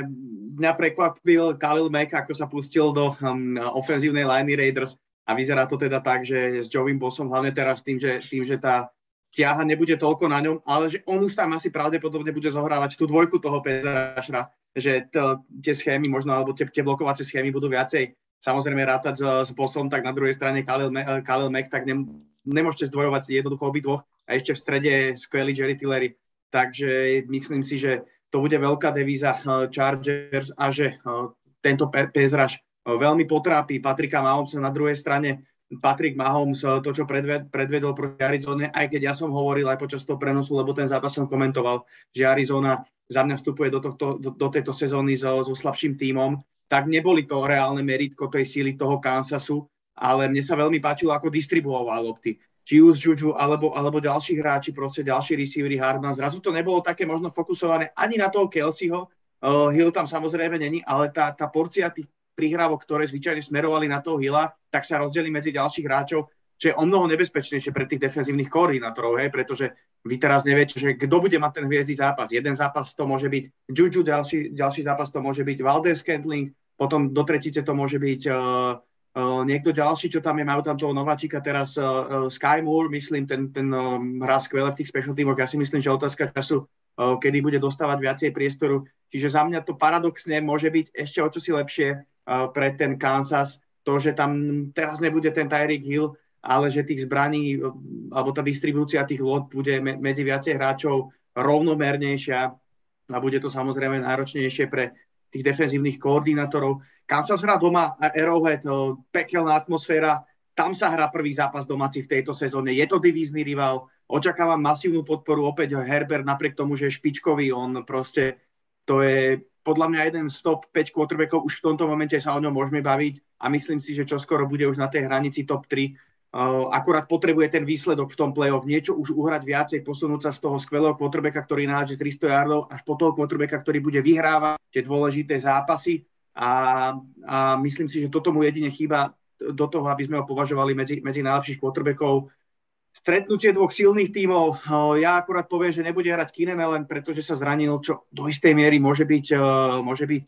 mňa prekvapil Khalil Mack, ako sa pustil do um, ofenzívnej liney Raiders a vyzerá to teda tak, že s Joeym Bossom hlavne teraz tým, že, tým, že tá ťaha nebude toľko na ňom, ale že on už tam asi pravdepodobne bude zohrávať tú dvojku toho Petrašra, že to, tie schémy možno, alebo tie, tie blokovacie schémy budú viacej samozrejme rátať s, s Bossom, tak na druhej strane Khalil, Khalil Mack, tak ne, nemôžete zdvojovať jednoducho obidvoch a ešte v strede skvelý Jerry Tillery. Takže myslím si, že to bude veľká devíza Chargers a že tento pass rush veľmi potrápi Patricka Mahomesa. Na druhej strane Patrick Mahomes, to, čo predvedol proti Arizone, aj keď ja som hovoril aj počas toho prenosu, lebo ten zápas som komentoval, že Arizona za mňa vstupuje do, tohto, do, do tejto sezóny so, so slabším tímom, tak neboli to reálne meritko tej síly toho Kansasu, ale mne sa veľmi páčilo, ako distribuoval lopty. Či už Juju, alebo, alebo ďalší hráči, proste ďalší receivery Hardman. Zrazu to nebolo také možno fokusované ani na toho Kelseyho. Uh, Hill tam samozrejme není, ale tá, tá porcia tých prihrávok, ktoré zvyčajne smerovali na toho Hilla, tak sa rozdelí medzi ďalších hráčov, čo je o mnoho nebezpečnejšie pre tých defenzívnych koordinátorov, hej, pretože vy teraz neviete, že kto bude mať ten hviezdny zápas. Jeden zápas to môže byť Juju, ďalší, ďalší zápas to môže byť Valdes-Scantling, potom do tretice to môže byť uh, Uh, niekto ďalší, čo tam je, majú tam toho nováčika teraz, uh, uh, Sky Moore, myslím, ten, ten um, hrá skvelé v tých special teamoch. Ja si myslím, že otázka času, uh, kedy bude dostávať viacej priestoru. Čiže za mňa to paradoxne môže byť ešte o čosi lepšie uh, pre ten Kansas. To, že tam teraz nebude ten Tyreek Hill, ale že tých zbraní, uh, alebo tá distribúcia tých lod bude me- medzi viacej hráčov rovnomernejšia a bude to samozrejme náročnejšie pre tých defenzívnych koordinátorov. Kansas hrá doma Arrowhead, pekelná atmosféra, tam sa hrá prvý zápas domáci v tejto sezóne, je to divízny rival, očakávam masívnu podporu, opäť Herbert napriek tomu, že je špičkový, on proste, to je podľa mňa jeden z top päť quarterbackov, už v tomto momente sa o ňom môžeme baviť a myslím si, že čoskoro bude už na tej hranici top tri. Uh, akurát potrebuje ten výsledok v tom play-off, niečo už uhrať viacej, posunúť sa z toho skvelého quarterbacka, ktorý nájde tristo yardov, až po toho quarterbacka, ktorý bude vyhrávať tie dôležité zápasy. A, a myslím si, že toto mu jedine chýba do toho, aby sme ho považovali medzi, medzi najlepších quarterbackov. Stretnutie dvoch silných tímov, ja akurát poviem, že nebude hrať Keenan Allen, pretože sa zranil, čo do istej miery môže byť, môže byť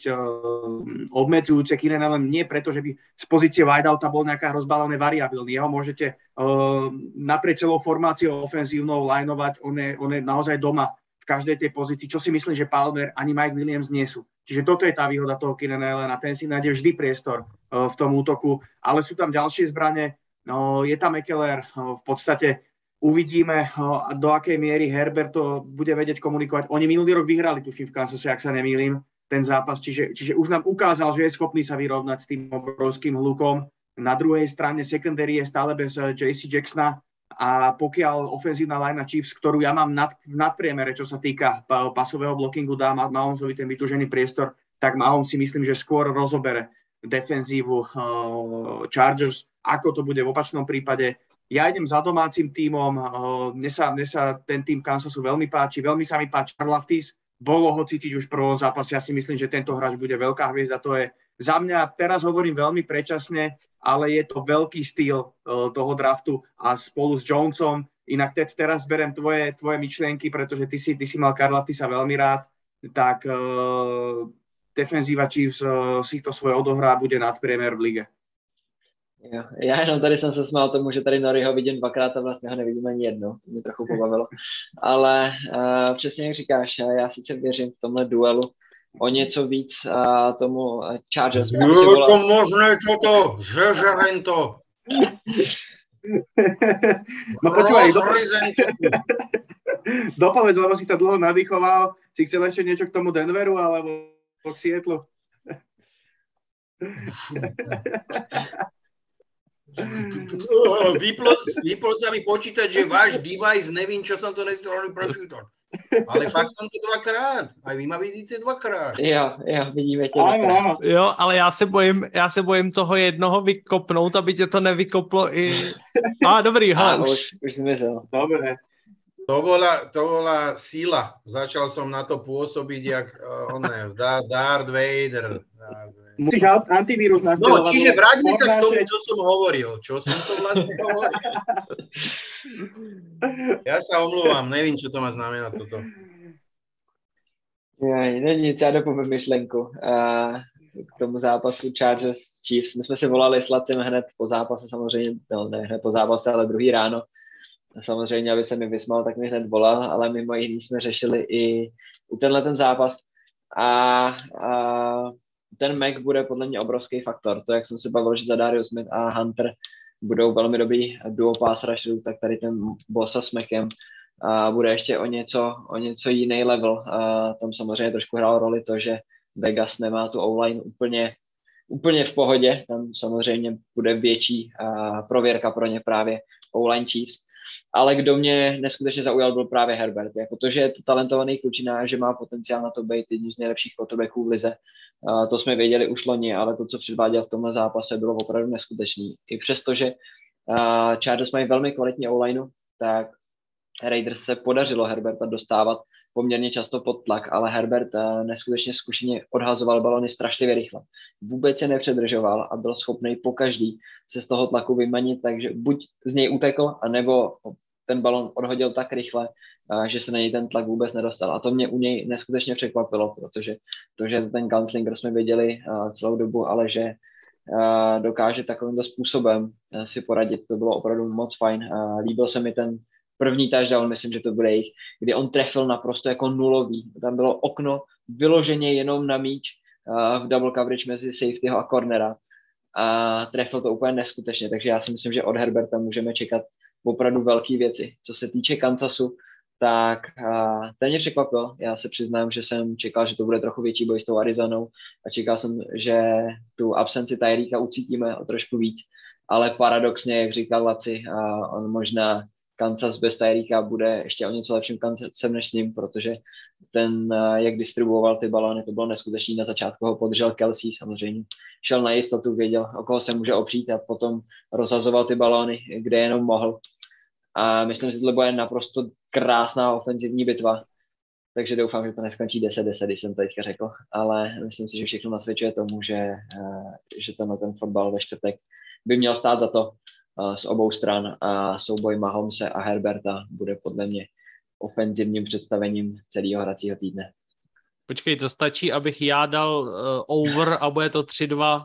obmedzujúce. Keenan Allen nie preto, že by z pozície wideouta bol nejaká hrozba, ale variabilný. Jeho môžete naprieč celou formáciou ofenzívnou lineovať, on je, on je naozaj doma v každej tej pozícii, čo si myslím, že Palmer ani Mike Williams nie sú. Čiže toto je tá výhoda toho Keenan Allena, ten si nájde vždy priestor uh, v tom útoku, ale sú tam ďalšie zbrane, uh, je tam Ekeler, uh, v podstate uvidíme, uh, do akej miery Herbert to bude vedieť komunikovať. Oni minulý rok vyhrali, tuším, v Kansase, ak sa nemýlim, ten zápas, čiže, čiže už nám ukázal, že je schopný sa vyrovnať s tým obrovským hlukom. Na druhej strane secondary je stále bez uh, J C Jacksona, a pokiaľ ofenzívna linea Chiefs, ktorú ja mám nad, v nadpriemere, čo sa týka pasového blockingu, dá Mahomesovi ten vytúžený priestor, tak Mahomes si myslím, že skôr rozobere defenzívu uh, Chargers, ako to bude v opačnom prípade. Ja idem za domácim tímom, uh, mne, sa, mne sa ten tým Kansasu veľmi páči, veľmi sa mi páči Karlaftis, bolo ho cítiť už v prvom zápase, ja si myslím, že tento hráč bude veľká hviezda, to je za mňa, teraz hovorím veľmi predčasne, ale je to veľký styl uh, toho draftu a spolu s Jonesom. Inak te, teraz berem tvoje, tvoje myšlienky, pretože ty si, ty si mal Karlaftisa veľmi rád, tak uh, defenzíva Chiefs uh, si to svoje odohrá a bude nadpriemer v lige. Jo, já jenom tady jsem se smál tomu, že tady Noriho vidím dvakrát a vlastně ho nevidím ani jednou. To mě trochu pobavilo. Ale uh, přesně jak říkáš, já sice věřím v tomhle duelu o něco víc uh, tomu Chargers. Je to možné toto, žežeren to. No počúvaj, dopovedz, lebo si to dlho nadýchoval. Si chcel ešte niečo k tomu Denveru, alebo k Seattlu? Vyplo, vyplo sa mi počítať, že váš device, nevím, čo som to nestihol prečítať. Ale fakt som to dvakrát. Aj vy ma vidíte dvakrát. Jo, jo, vidíme tě Áno, dvakrát. áno. Jo, ale já se bojím, já se bojím toho jednoho vykopnout, aby tě to nevykoplo i... A ah, dobrý, A hele, už. už, už zmizel. Dobre. To bola, to bola síla. Začal som na to pôsobiť, jak uh, oné, Darth Vader. Musíš antivírus No, nastavovať. čiže vráťme sa k tomu, Fornášek. čo som hovoril. Čo som to vlastne hovoril? Ja sa omluvám, nevím, čo to má znamená toto. Jej, není nic, já dopovím myšlenku. Uh, k tomu zápasu Chargers Chiefs. My jsme si volali s Lacem hned po zápase, samozřejmě, no ne hned po zápase, ale druhý ráno. Samozřejmě, aby se mi vysmal, tak mi hned volal, ale mimo jiný jsme řešili i u tenhle ten zápas. A, a ten Mac bude podle mě obrovský faktor. To, jak jsem se bavil, že Zadarius Smith a Hunter budou velmi dobrý duo pass rusherů, tak tady ten Bosa s Macem a bude ještě o něco, o něco jiný level. A tam samozřejmě trošku hrál roli to, že Vegas nemá tu O-line úplně, úplně v pohodě. Tam samozřejmě bude větší a prověrka pro ně právě O-line Chiefs. Ale kdo mě neskutečně zaujal, byl právě Herbert. Jako to, že je to talentovaný klučina, že má potenciál na to být jedním z nejlepších quarterbacků v lize. Uh, to jsme věděli už loni, ale to, co předváděl v tomhle zápase, bylo opravdu neskutečný. I přesto, že uh, Chargers mají velmi kvalitní O-lineu, tak Raiders se podařilo Herberta dostávat poměrně často pod tlak, ale Herbert uh, neskutečně zkušeně odhazoval balony strašlivě rychle. Vůbec se nepředržoval a byl schopný pokaždý se z toho tlaku vymanit, takže buď z něj utekl, anebo ten balon odhodil tak rychle, uh, že se na něj ten tlak vůbec nedostal. A to mě u něj neskutečně překvapilo, protože to, že ten gunslinger jsme věděli uh, celou dobu, ale že uh, dokáže takovýmto způsobem uh, si poradit, to bylo opravdu moc fajn. Uh, líbil se mi ten první touchdown, myslím, že to bude jich, kdy on trefil naprosto jako nulový. Tam bylo okno vyloženě jenom na míč uh, v double coverage mezi safetyho a cornera. A trefil to úplně neskutečně, takže já si myslím, že od Herberta můžeme čekat opravdu velké věci. Co se týče Kansasu, tak uh, ten mě překvapil. Já se přiznám, že jsem čekal, že to bude trochu větší boj s tou Arizonou a čekal jsem, že tu absenci Tyreeka ucítíme o trošku víc, ale paradoxně, jak říkal Laci, uh, on možná Kansas bez Tyreeka bude ještě o něco lepším Kansasem než s ním, protože ten, jak distribuoval ty balóny, to bylo neskutečný. Na začátku ho podržel Kelsey, samozřejmě šel na jistotu, věděl, o koho se může opřít a potom rozhazoval ty balóny, kde jenom mohl. A myslím, že tohle bude naprosto krásná ofenzivní bitva, takže doufám, že to neskončí deset deset, když jsem to teďka řekl, ale myslím si, že všechno nasvědčuje tomu, že, že tenhle ten fotbal ve čtvrtek by měl stát za to z obou stran a souboj Mahomese a Herberta bude podle mě ofenzivním představením celého hracího týdne. Počkej, to stačí, abych já dal uh, over a bude to tři dva.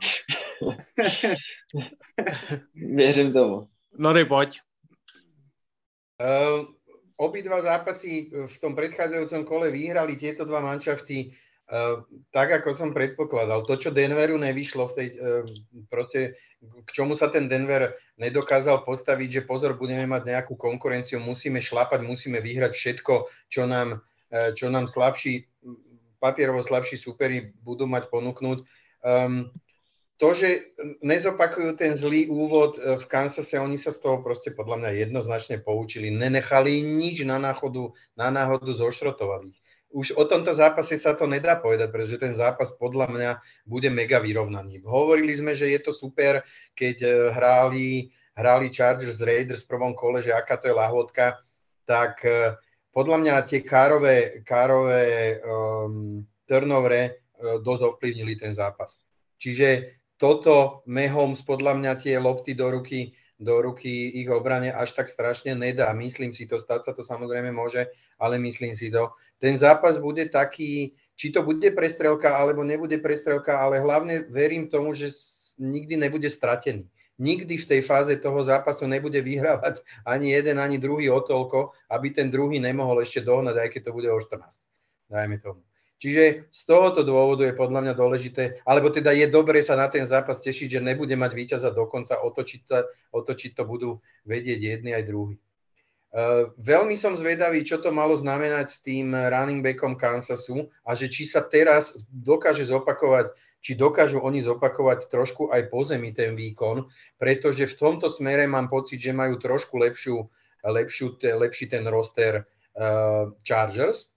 Věřím tomu. Nori, pojď. Uh, obidva zápasy v tom predchádzajúcom kole vyhrali tieto dva manšafty uh, tak, ako som predpokladal. To, čo Denveru nevyšlo v tej, uh, proste k čomu sa ten Denver nedokázal postaviť, že pozor, budeme mať nejakú konkurenciu, musíme šlapať, musíme vyhrať všetko, čo nám, uh, čo nám slabší, papierovo slabší superi budú mať ponúknuť. Um, To, že nezopakujú ten zlý úvod v Kansase, oni sa z toho proste podľa mňa jednoznačne poučili. Nenechali nič na náhodu, na náhodu zošrotovali. Už o tomto zápase sa to nedá povedať, pretože ten zápas podľa mňa bude mega vyrovnaný. Hovorili sme, že je to super, keď hráli, hráli Chargers Raiders v prvom kole, že aká to je lahôdka, tak podľa mňa tie kárové, kárové um, turnovere uh, dosť ovplyvnili ten zápas. Čiže toto Mahomes podľa mňa tie lopty do ruky, do ruky ich obrane až tak strašne nedá. Myslím si to, stať sa to samozrejme môže, ale myslím si to. Ten zápas bude taký, či to bude prestrelka, alebo nebude prestrelka, ale hlavne verím tomu, že nikdy nebude stratený. Nikdy v tej fáze toho zápasu nebude vyhrávať ani jeden, ani druhý o toľko, aby ten druhý nemohol ešte dohnať, aj keď to bude o štrnásť. Dajme tomu. Čiže z tohoto dôvodu je podľa mňa dôležité, alebo teda je dobre sa na ten zápas tešiť, že nebude mať víťaza dokonca, otočiť to, otočiť to budú vedieť jedni aj druhý. Uh, veľmi som zvedavý, čo to malo znamenať s tým running backom Kansasu a že či sa teraz dokáže zopakovať, či dokážu oni zopakovať trošku aj po zemi ten výkon, pretože v tomto smere mám pocit, že majú trošku lepšiu, lepšiu, lepší ten roster uh, Chargers,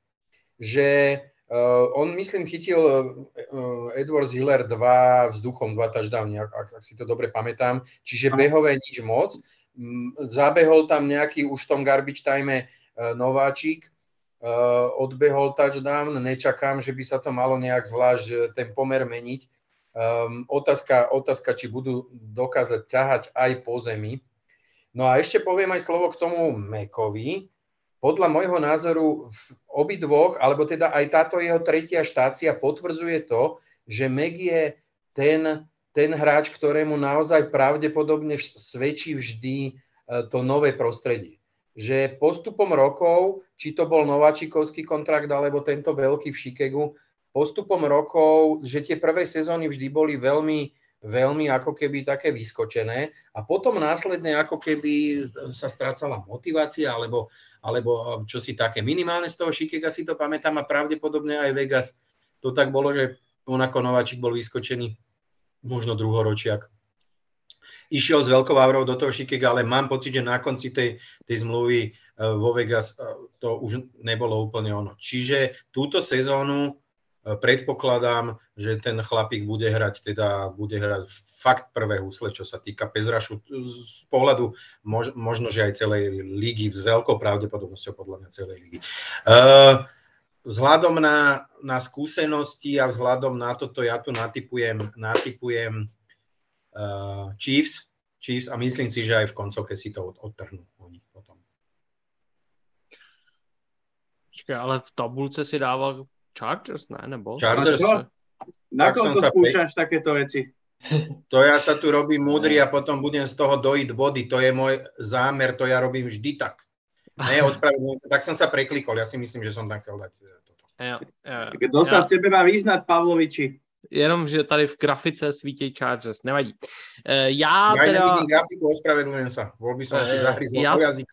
že Uh, on, myslím, chytil uh, Edwards Hiller dva vzduchom, dva touchdowny, ak, ak, ak si to dobre pamätám. Čiže behové nič moc. Um, zabehol tam nejaký už v tom garbage time uh, nováčik, uh, odbehol touchdown. Nečakám, že by sa to malo nejak zvlášť uh, ten pomer meniť. Um, otázka, otázka, či budú dokázať ťahať aj po zemi. No a ešte poviem aj slovo k tomu Mekovi. Podľa môjho názoru v obidvoch, alebo teda aj táto jeho tretia štácia potvrdzuje to, že Meg je ten, ten hráč, ktorému naozaj pravdepodobne svedčí vždy to nové prostredie. Že postupom rokov, či to bol nováčikovský kontrakt, alebo tento veľký v Chicagu, postupom rokov, že tie prvé sezóny vždy boli veľmi, veľmi ako keby také vyskočené a potom následne ako keby sa strácala motivácia, alebo alebo čo si také minimálne z toho Chicaga si to pamätám a pravdepodobne aj Vegas to tak bolo, že on ako nováčik bol vyskočený, možno druhoročiak. Išiel s veľkou aurou do toho Chicaga, ale mám pocit, že na konci tej, tej zmluvy vo Vegas to už nebolo úplne ono. Čiže túto sezónu predpokladám, že ten chlapík bude hrať, teda bude hrať fakt prvé husle, čo sa týka pezrašu z pohľadu mož, možno, že aj celej ligy, s veľkou pravdepodobnosťou podľa mňa celej ligy. Uh, vzhľadom na, na skúsenosti a vzhľadom na toto ja tu natypujem, natypujem uh, Chiefs, Chiefs a myslím si, že aj v koncovke si to od, odtrhnú oni potom. Počkej, ale v tabulce si dával Chargers, ne, nebo? Chargers. Na kom to skúšaš pe... takéto veci? To ja sa tu robím múdry a potom budem z toho dojiť body. To je môj zámer, to ja robím vždy tak. Ne, ospravedlňujem, tak som sa preklikol. Ja si myslím, že som tam chcel dať toto. Jo, jo, jo. Kto sa v tebe má vyznať, Pavloviči? Jenom, že tady v grafice svítí Chargers, nevadí. E, já ja teda... nevidím grafiku, ospravedlňujem sa. Bol by som e, si zahryzol ja... do jazyka.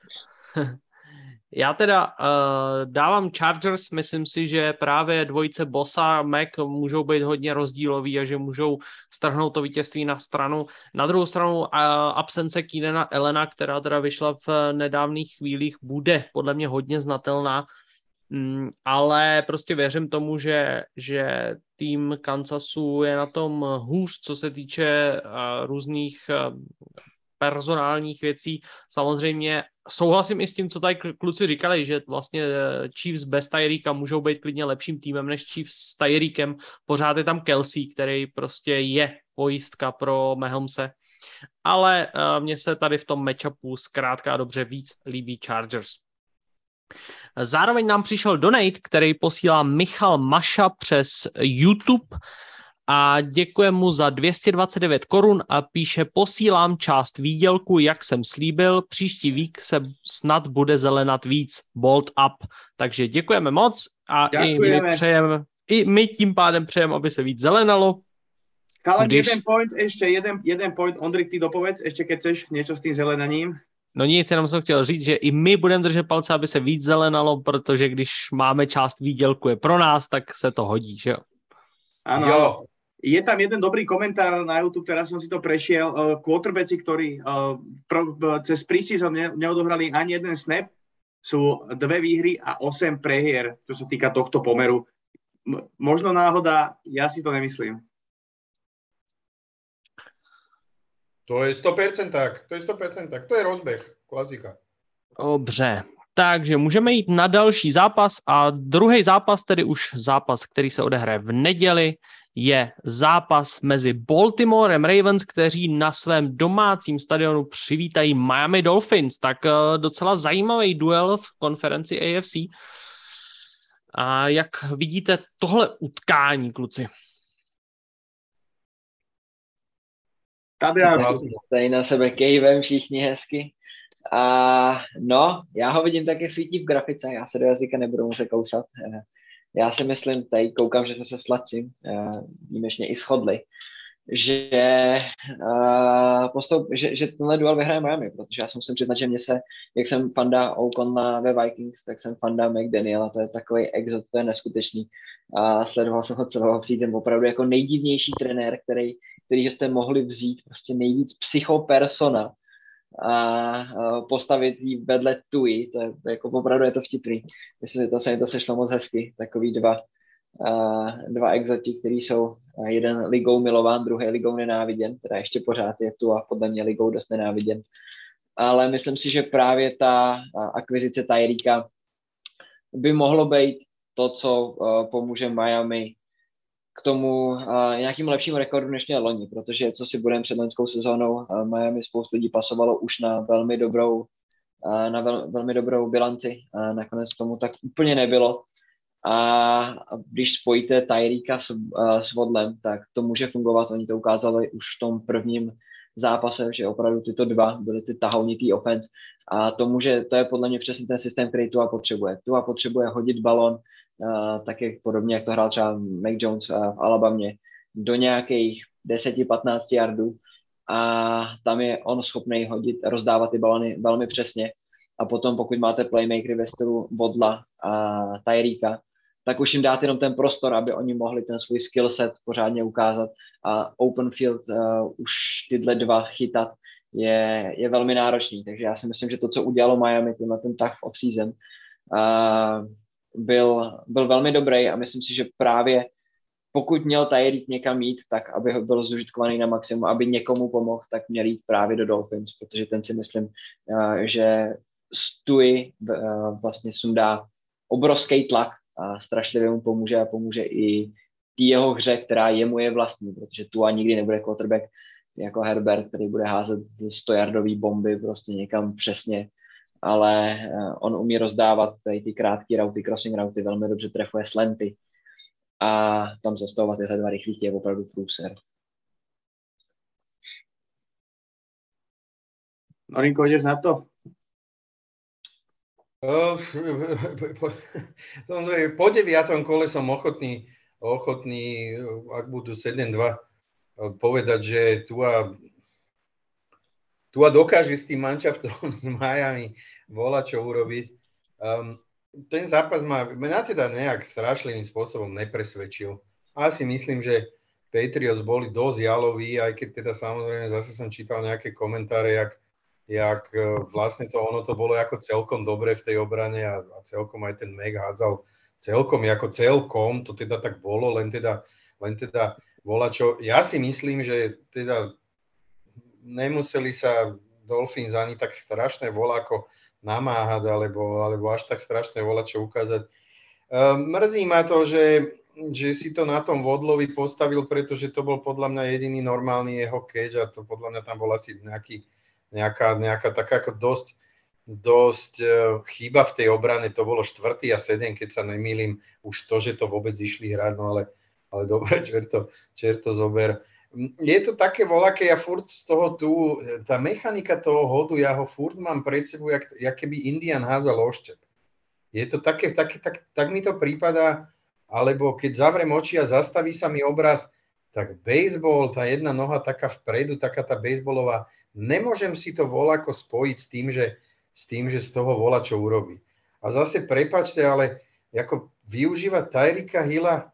Já teda uh, dávám Chargers, myslím si, že právě dvojice Bosa a Mac můžou být hodně rozdílový a že můžou strhnout to vítězství na stranu. Na druhou stranu uh, absence Keenana Allena, která teda vyšla v nedávných chvílích, bude podle mě hodně znatelná, mm, ale prostě věřím tomu, že, že tým Kansasu je na tom hůř, co se týče uh, různých uh, personálních věcí. Samozřejmě souhlasím i s tím, co tady kluci říkali, že vlastně Chiefs bez Tyreeka můžou být klidně lepším týmem než Chiefs s Tyreekem. Pořád je tam Kelsey, který prostě je pojistka pro Mahomese. Ale uh, mně se tady v tom matchupu zkrátka a dobře víc líbí Chargers. Zároveň nám přišel donate, který posílá Michal Maša přes YouTube a děkuji mu za dvě stě dvacet devět korun a píše: posílám část výdělku, jak jsem slíbil, příští vík se snad bude zelenat víc, bold up. Takže děkujeme moc a děkujeme. i my přejeme, i my tím pádem přejeme, aby se víc zelenalo. Kalen, když... jeden point, ještě jeden, jeden point, Ondrik, ty dopovedz, ještě keď chceš něco s tím zelenaním. No nic, jenom jsem chtěl říct, že i my budeme držet palce, aby se víc zelenalo, protože když máme část výdělku je pro nás, tak se to hodí, že jo? Áno. Jo. Je tam jeden dobrý komentár na YouTube, teraz som si to prešiel. Uh, quarterbacki, ktorí uh, pro, uh, cez preseason ne, neodohrali ani jeden snap, sú dve výhry a osem prehier, čo sa týka tohto pomeru. M- možno náhoda, ja si to nemyslím. To je sto percent tak, to je sto percent tak, to je rozbeh, klasika. Dobře, takže můžeme jít na další zápas a druhý zápas, tedy už zápas, který se odehraje v neděli, je zápas mezi Baltimorem Ravens, kteří na svém domácím stadionu přivítají Miami Dolphins. Tak docela zajímavý duel v konferenci A F C. A jak vidíte tohle utkání, kluci? Tady tady na sebe kejvem všichni hezky. A no, já ho vidím tak, jak svítí v grafice. Já se do jazyka nebudu muset kousat. já si myslím, tady koukám, že jsme se s Lacim výjimečně i shodli, že, uh, postup, že, že tenhle duel vyhraje Miami, protože já si musím přiznat, že mě se, jak jsem fanda O'Connella ve Vikings, tak jsem fanda McDaniela, to je takový exot, to je neskutečný. A sledoval jsem ho celého season, opravdu jako nejdivnější trenér, který, který jste mohli vzít, prostě nejvíc psychopersona a uh, postavit jí vedle Tui, to je jako opravdu je to vtipný. Myslím, že to se mi to sešlo moc hezky, takový dva Uh, dva exoti, který jsou uh, jeden ligou milován, druhý ligou nenáviděn, teda ještě pořád je tu a podle mě ligou dost nenáviděn. Ale myslím si, že právě ta uh, akvizice Tyreeka by mohlo být to, co uh, pomůže Miami k tomu uh, nějakým lepšímu rekordu než měl loni, protože co si budeme před loňskou sezónou, uh, Miami spoustu lidí pasovalo už na velmi dobrou, uh, na vel, velmi dobrou bilanci a nakonec tomu tak úplně nebylo. A když spojíte Tyreeka s, uh, s Vodlem, tak to může fungovat. Oni to ukázali už v tom prvním zápase, že opravdu tyto dva byly ty tahounitý offense. A to může, to je podle mě přesně ten systém, který Tua potřebuje. Tua potřebuje hodit balon, uh, tak jak podobně, jak to hrál třeba Mac Jones uh, v Alabamě, do nějakých deset až patnáct yardů. A tam je on schopný hodit, rozdávat ty balony velmi přesně. A potom, pokud máte playmakery ve stylu Vodla a Tyreeka, tak už jim dát jenom ten prostor, aby oni mohli ten svůj skill set pořádně ukázat. A open field uh, už tyhle dva chytat je, je velmi náročný. Takže já si myslím, že to, co udělalo Miami, tenhle ten tough off-season, uh, byl, byl velmi dobrý a myslím si, že právě pokud měl Tyreek někam jít, tak aby ho byl zužitkovaný na maximum, aby někomu pomohl, tak měl jít právě do Dolphins, protože ten si myslím, uh, že Tui uh, vlastně sundá obrovský tlak a strašlivě mu pomůže a pomůže i tý jeho hře, která jemu je vlastní, protože Tua nikdy nebude quarterback jako Herbert, který bude házet stojardový bomby prostě někam přesně, ale on umí rozdávat tady ty krátké rauty, crossing rauty, velmi dobře trefuje slanty a tam zastavovat tyhle dva rychlíky je opravdu průser. Norinko, ideš na to? Po deviatom kole som ochotný, ochotný, ak budú sedem dva, povedať, že Tua, Tua dokáže s tým manšaftom s Miami volať, čo urobiť. Um, ten zápas ma, mňa teda nejak strašlivým spôsobom nepresvedčil. Asi myslím, že Patriots boli dosť jaloví, aj keď teda samozrejme zase som čítal nejaké komentáre, jak jak vlastne to ono to bolo ako celkom dobre v tej obrane a, a celkom aj ten Mac hádzal celkom ako celkom, to teda tak bolo, len teda, len teda volačo. Ja si myslím, že teda nemuseli sa Dolphins ani tak strašné voláko namáhať, alebo, alebo až tak strašné volačo ukázať. Um, mrzí ma to, že, že si to na tom Vodlovi postavil, pretože to bol podľa mňa jediný normálny jeho catch a to podľa mňa tam bol asi nejaký Nejaká, nejaká taká ako dosť, dosť uh, chyba v tej obrane, to bolo štvrtý a sedem, keď sa nemýlim, už to, že to vôbec išli hrať, no ale, ale dobre, čerto, čerto zober. Je to také voľaké, ja furt z toho tu, tá mechanika toho hodu, ja ho furt mám pred sebou, jak, jak keby Indian házal oštep. Je to také, také tak, tak mi to prípada, alebo keď zavrem oči a zastaví sa mi obraz, tak baseball, tá jedna noha taká vpredu, taká tá baseballová, nemôžem si to voľako spojiť s tým, že, s tým, že z toho voľa čo urobí. A zase prepáčte, ale ako využívať Tyreeka Hilla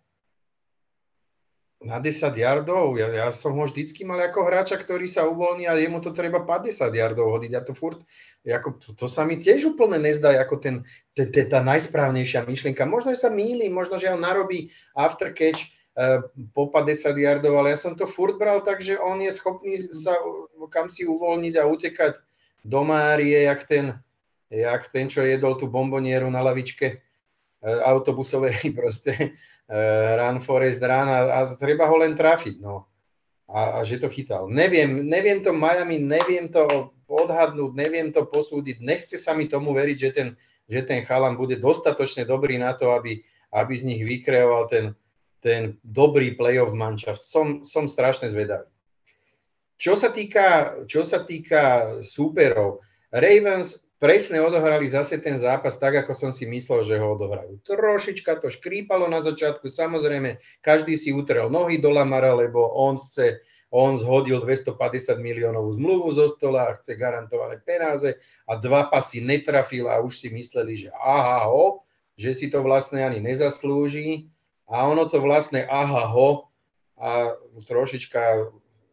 na desať yardov, ja, ja som ho vždycky mal ako hráča, ktorý sa uvoľní a jemu to treba päťdesiat yardov hodiť. A to furt, ako, to, to sa mi tiež úplne nezdá ako ten, te, te, tá najsprávnejšia myšlienka. Možno, že sa mýlim, možno, že on narobí after catch po päťdesiat yardov, ale ja som to furt bral tak, že on je schopný sa kam si uvoľniť a utekať do Márie, jak ten, jak ten, čo jedol tú bombonieru na lavičke autobusovej, proste run Forest run a, a treba ho len trafiť, no. A, a že to chytal. Neviem, neviem to Miami, neviem to odhadnúť, neviem to posúdiť, nechce sa mi tomu veriť, že ten, že ten chalan bude dostatočne dobrý na to, aby, aby z nich vykreoval ten ten dobrý playoff manšaft. Som, som strašne zvedavý. Čo sa týka, čo sa týka súperov, Ravens presne odohrali zase ten zápas tak, ako som si myslel, že ho odohrajú. Trošička to škrípalo na začiatku, samozrejme, každý si utrel nohy do Lamara, lebo on chce, on zhodil dvestopäťdesiat miliónovú zmluvu zo stola a chce garantované peniaze a dva pasy netrafil a už si mysleli, že aha ho, že si to vlastne ani nezaslúži a ono to vlastne aha ho a trošička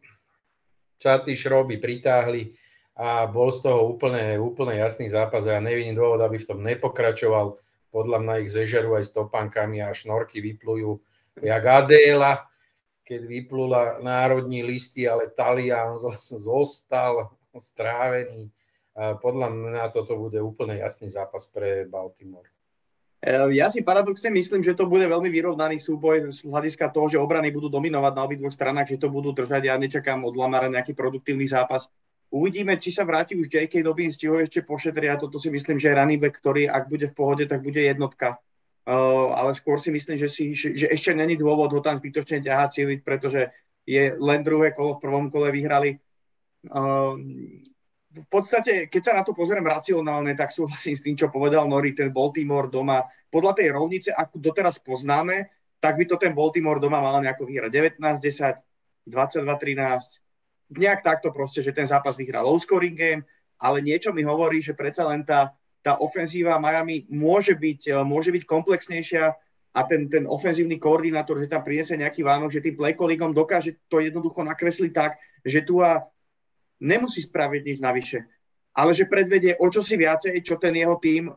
sa tí šroby pritáhli a bol z toho úplne, úplne jasný zápas a ja nevidím dôvod, aby v tom nepokračoval. Podľa mňa ich zežerú aj s topánkami a šnorky vyplujú jak Adéla, keď vyplula národní listy, ale Talian zostal strávený. A podľa mňa toto bude úplne jasný zápas pre Baltimore. Ja si paradoxne myslím, že to bude veľmi vyrovnaný súboj z hľadiska toho, že obrany budú dominovať na obidvoch stranách, že to budú držať. Ja nečakám od Lamara nejaký produktívny zápas. Uvidíme, či sa vráti už J K. Dobbins, či ho ešte pošetria. Toto si myslím, že je running back, ktorý ak bude v pohode, tak bude jednotka. Uh, ale skôr si myslím, že, si, že, že ešte není dôvod ho tam zbytočne ťahať, cíliť, pretože je len druhé kolo, v prvom kole vyhrali. Uh, v podstate, keď sa na to pozerám racionálne, tak súhlasím s tým, čo povedal Nori, ten Baltimore doma. Podľa tej rovnice, akú doteraz poznáme, tak by to ten Baltimore doma mal nejako vyhrať devätnásť desať, dvadsaťdva trinásť, nejak takto proste, že ten zápas vyhrá low scoring game, ale niečo mi hovorí, že predsa len tá, tá ofenzíva Miami môže byť, môže byť komplexnejšia a ten, ten ofenzívny koordinátor, že tam priniesie nejaký Vánok, že tým play callingom dokáže to jednoducho nakresliť tak, že tu a nemusí spraviť nič navyše, ale že predvedie o čosi viacej, čo ten jeho tím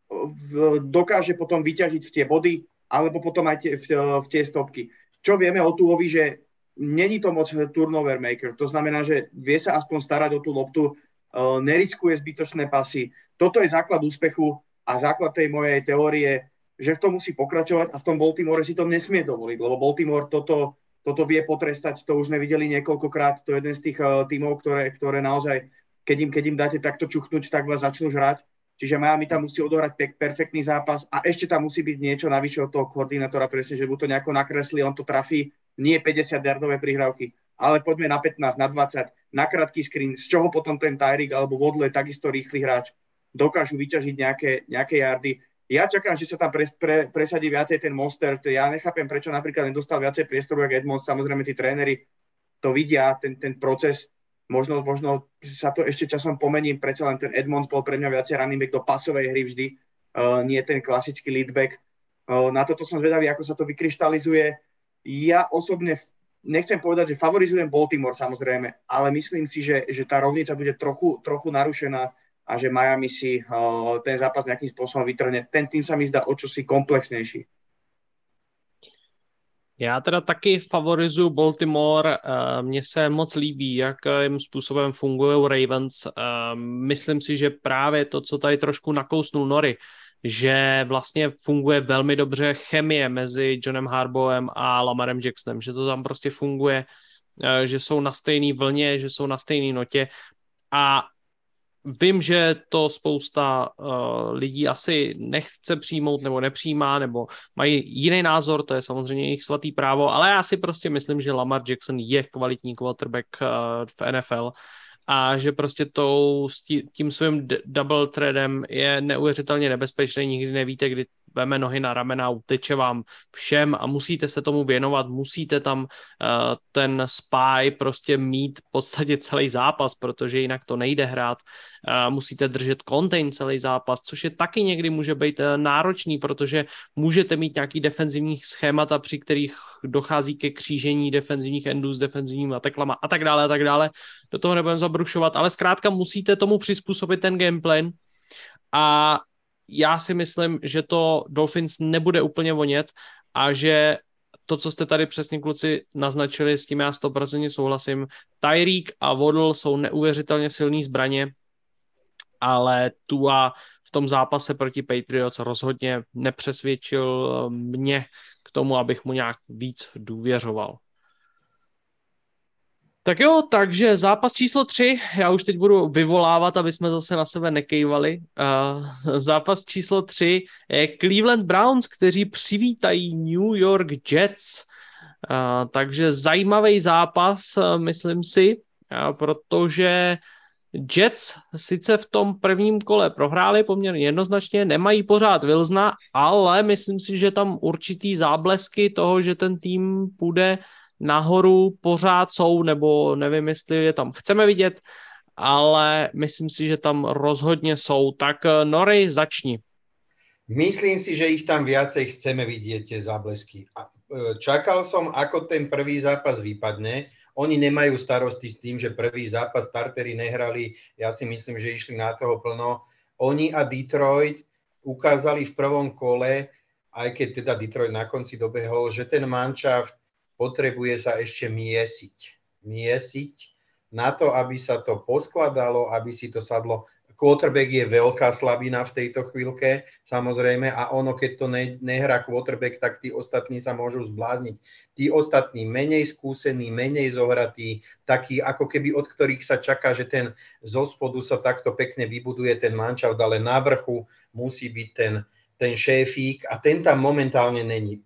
dokáže potom vyťažiť v tie body alebo potom aj tie, v, v tie stopky. Čo vieme o Tuovi, že není to moc turnover maker, to znamená, že vie sa aspoň starať o tú loptu, uh, neriskuje zbytočné pasy. Toto je základ úspechu a základ tej mojej teórie, že v tom musí pokračovať a v tom Baltimore si to nesmie dovoliť, lebo Baltimore toto, toto vie potrestať, to už sme videli niekoľkokrát, to je jeden z tých uh, tímov, ktoré, ktoré naozaj, keď im, keď im dáte takto čuchnúť, tak vás začnú žrať. Čiže Miami tam musí odohrať pe- perfektný zápas a ešte tam musí byť niečo navyše od toho koordinátora, presne, že mu to nejako nakreslí, on to trafí. Nie päťdesiat-yardové prihrávky, ale poďme na pätnásť, na dvadsať, na krátky screen, z čoho potom ten Tyreek alebo Waddle, takisto rýchly hráč, dokážu vyťažiť nejaké, nejaké yardy. Ja čakám, že sa tam pre, pre, presadí viacej ten Mostert. Ja nechápem, prečo napríklad nedostal viacej priestoru, ako Edmonds. Samozrejme, tí tréneri to vidia, ten, ten proces. Možno, možno sa to ešte časom pomení, predsa len ten Edmonds bol pre mňa viacej running back do pasovej hry vždy, uh, nie ten klasický lead back. Uh, na toto som zvedavý, ako sa to vykryštalizuje. Ja osobne nechcem povedať, že favorizujem Baltimore samozrejme, ale myslím si, že, že tá rovnica bude trochu, trochu narušená a že Miami si uh, ten zápas nejakým spôsobom vytrhne. Ten tým sa mi zdá o čosi komplexnejší. Já teda taky favorizuju Baltimore, mně se moc líbí, jakým způsobem fungují Ravens. Myslím si, že právě to, co tady trošku nakousnul Nori, že vlastně funguje velmi dobře chemie mezi Johnem Harbaughom a Lamarem Jacksonem, že to tam prostě funguje, že jsou na stejné vlně, že jsou na stejné notě a vím, že to spousta uh, lidí asi nechce přijmout nebo nepřijímá, nebo mají jiný názor, to je samozřejmě jejich svatý právo, ale já si prostě myslím, že Lamar Jackson je kvalitní quarterback uh, v N F L a že prostě tou, tím svým d- double threadem je neuvěřitelně nebezpečný, nikdy nevíte, kdy veme nohy na ramena, uteče vám všem a musíte se tomu věnovat, musíte tam uh, ten spy prostě mít v podstatě celý zápas, protože jinak to nejde hrát, uh, musíte držet contain celý zápas, což je taky někdy může být uh, náročný, protože můžete mít nějaký defenzivní schémata, při kterých dochází ke křížení defenzivních endů s defenzivníma teklama a tak dále a tak dále. Do toho nebudeme zabrušovat, ale zkrátka musíte tomu přizpůsobit ten gameplan a já si myslím, že to Dolphins nebude úplně vonět a že to, co jste tady přesně kluci naznačili, s tím já sto procent souhlasím. Tyreek a Waddle jsou neuvěřitelně silný zbraně, ale Tua v tom zápase proti Patriots rozhodně nepřesvědčil mě k tomu, abych mu nějak víc důvěřoval. Tak jo, takže zápas číslo tři, já už teď budu vyvolávat, aby jsme zase na sebe nekejvali. Uh, zápas číslo tři je Cleveland Browns, kteří přivítají New York Jets. Uh, takže zajímavý zápas, uh, myslím si, uh, protože Jets sice v tom prvním kole prohráli poměrně jednoznačně, nemají pořád Wilsona, ale myslím si, že tam určitý záblesky toho, že ten tým půjde nahoru, pořád jsou, nebo nevím, jestli je tam chceme vidět, ale myslím si, že tam rozhodně jsou. Tak Nori, začni. Myslím si, že ich tam viacej chceme vidieť, tie záblesky. Čakal som, ako ten prvý zápas vypadne. Oni nemajú starosti s tým, že prvý zápas starteri nehrali. Ja si myslím, že išli na toho plno. Oni a Detroit ukázali v prvom kole, aj keď teda Detroit na konci dobehol, že ten manšaft potrebuje sa ešte miesiť. Miesiť na to, aby sa to poskladalo, aby si to sadlo. Quarterback je veľká slabina v tejto chvíľke, samozrejme, a ono, keď to ne, nehrá quarterback, tak tí ostatní sa môžu zblázniť. Tí ostatní menej skúsení, menej zohratí, takí ako keby od ktorých sa čaká, že ten zo spodu sa takto pekne vybuduje ten manšaft, ale na vrchu musí byť ten, ten šéfík a ten tam momentálne není.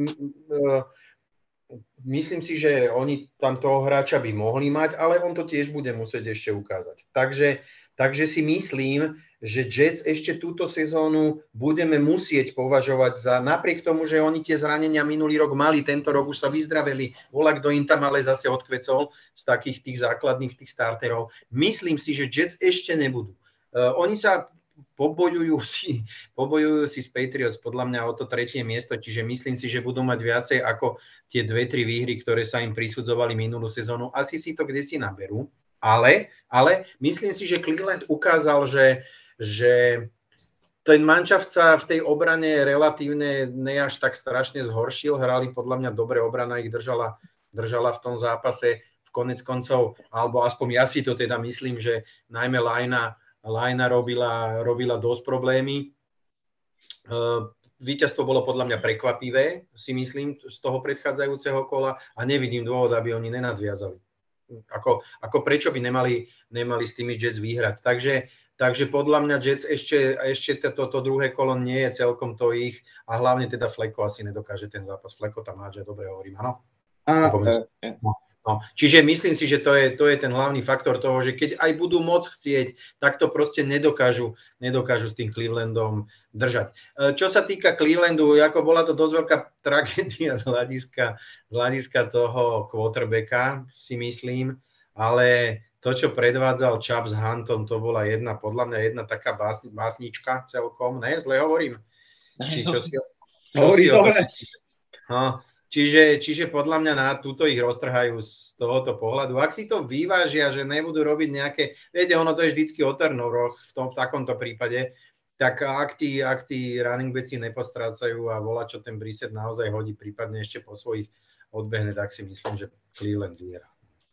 Myslím si, že oni tam toho hráča by mohli mať, ale on to tiež bude musieť ešte ukázať. Takže Takže si myslím, že Jets ešte túto sezónu budeme musieť považovať za, napriek tomu, že oni tie zranenia minulý rok mali, tento rok už sa vyzdraveli, volá, kto im tam ale zase odkvecol z takých tých základných tých starterov. Myslím si, že Jets ešte nebudú. Uh, oni sa pobojujú si, pobojujú si s Patriots podľa mňa o to tretie miesto, čiže myslím si, že budú mať viacej ako tie dve, tri výhry, ktoré sa im prisudzovali minulú sezónu. Asi si to kdesi naberú. Ale, ale myslím si, že Cleveland ukázal, že, že ten manšaft sa v tej obrane relatívne ne až tak strašne zhoršil. Hrali podľa mňa dobre, obrana ich držala, držala v tom zápase v konec koncov, alebo aspoň ja si to teda myslím, že najmä Lajna, Lajna robila, robila dosť problémy. Víťazstvo bolo podľa mňa prekvapivé, si myslím, z toho predchádzajúceho kola a nevidím dôvod, aby oni nenadviazali. Ako, ako prečo by nemali, nemali s tými Jets vyhrať. Takže, takže podľa mňa Jets ešte, ešte toto to druhé kolo nie je celkom to ich a hlavne teda Fleko asi nedokáže ten zápas. Fleko tam hádže, dobre hovorím, áno? A, no, no. Čiže myslím si, že to je, to je ten hlavný faktor toho, že keď aj budú môcť chcieť, tak to proste nedokážu, nedokážu s tým Clevelandom držať. Čo sa týka Clevelandu, ako bola to dosť veľká tragédia z hľadiska, z hľadiska toho quarterbacka, si myslím, ale to, čo predvádzal Chubb s Huntom, to bola jedna, podľa mňa jedna taká bás, básnička celkom, ne? Zle hovorím? Či čo si, čo si o to... No, čiže, čiže podľa mňa na túto ich roztrhajú z tohoto pohľadu. Ak si to vyvážia, že nebudú robiť nejaké, viete, ono to je vždycky o turnoveroch v, tom, v takomto prípade, tak ak tí, ak tí running backi nepostrácajú a volá, čo ten Brissett naozaj hodí, prípadne ešte po svojich odbehne, tak si myslím, že Cleveland vyhrá.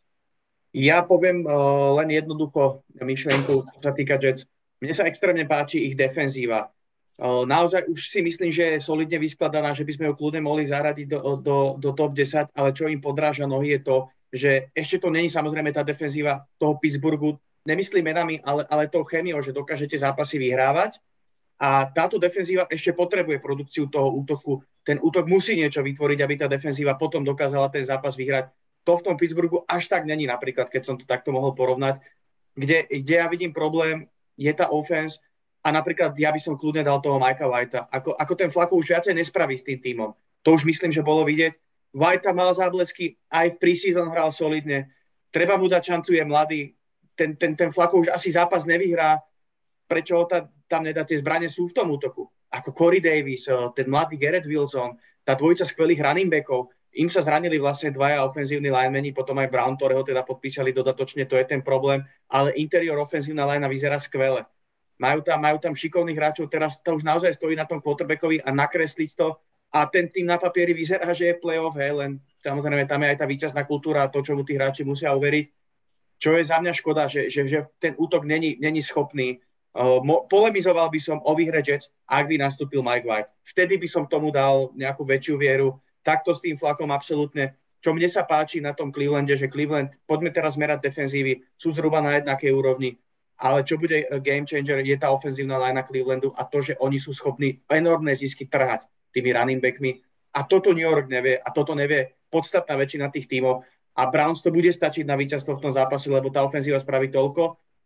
Ja poviem uh, len jednoducho myšlienku, čo sa týka Jets. Mne sa extrémne páči ich defenzíva. Uh, naozaj už si myslím, že je solidne vyskladaná, že by sme ju kľudne mohli zaradiť do, do, do top desať, ale čo im podráža nohy je to, že ešte to není samozrejme tá defenzíva toho Pittsburghu, nemyslím menami, ale, ale tou chémiou, že dokážete zápasy vyhrávať. A táto defenzíva ešte potrebuje produkciu toho útoku. Ten útok musí niečo vytvoriť, aby tá defenzíva potom dokázala ten zápas vyhrať. To v tom Pittsburghu až tak není, napríklad, keď som to takto mohol porovnať. Kde, kde ja vidím problém, je tá offense a napríklad ja by som kľudne dal toho Mikea Whitea. Ako, ako ten Flacco už viacej nespraví s tým tímom. To už myslím, že bolo vidieť. Whitea mal záblesky, aj v preseason hral solidne. Treba mu dať šancu, je mladý. Ten, ten, ten Flacco už asi zápas nevyhrá. Prečo ho ta, tam nedá, tie zbrane sú v tom útoku. Ako Corey Davis, ten mladý Garrett Wilson, tá dvojica skvelých running backov, im sa zranili vlastne dvaja ofenzívni linemeni, potom aj Brown, ktorého teda podpísali dodatočne, to je ten problém, ale interior ofenzívna linea vyzerá skvele. Majú tam, majú tam šikovných hráčov, teraz to už naozaj stojí na tom quarterbackovi a nakresliť to a ten tým na papieri vyzerá, že je playoff, hej, len samozrejme tam je aj tá víťazná kultúra a to, čo mu tí hráči musia uveriť, čo je za mňa škoda, že, že, že ten útok není, není schopný. Uh, mo- polemizoval by som o výhre Jets, ak by nastúpil Mike White. Vtedy by som tomu dal nejakú väčšiu vieru. Takto s tým Flackom absolútne. Čo mne sa páči na tom Clevelande, že Cleveland, poďme teraz merať defenzívy, sú zhruba na jednakej úrovni, ale čo bude game changer, je tá ofenzívna linea Clevelandu a to, že oni sú schopní enormné zisky trhať tými running backmi. A toto New York nevie, a toto nevie podstatná väčšina tých tímov. A Browns to bude stačiť na víťazstvo v tom zápase, lebo tá ofenzíva spraví toľko.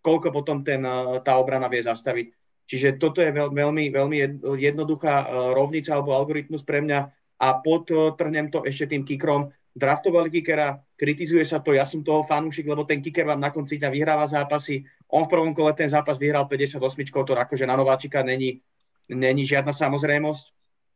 koľko potom ten, tá obrana vie zastaviť. Čiže toto je veľmi, veľmi jednoduchá rovnica alebo algoritmus pre mňa a podtrhnem to ešte tým kickerom. Draftovali kickera, kritizuje sa to, ja som toho fanúšik, lebo ten kicker vám na konci dňa vyhráva zápasy. On v prvom kole ten zápas vyhral päťdesiatosem, to akože na nováčika není, není žiadna samozrejmosť.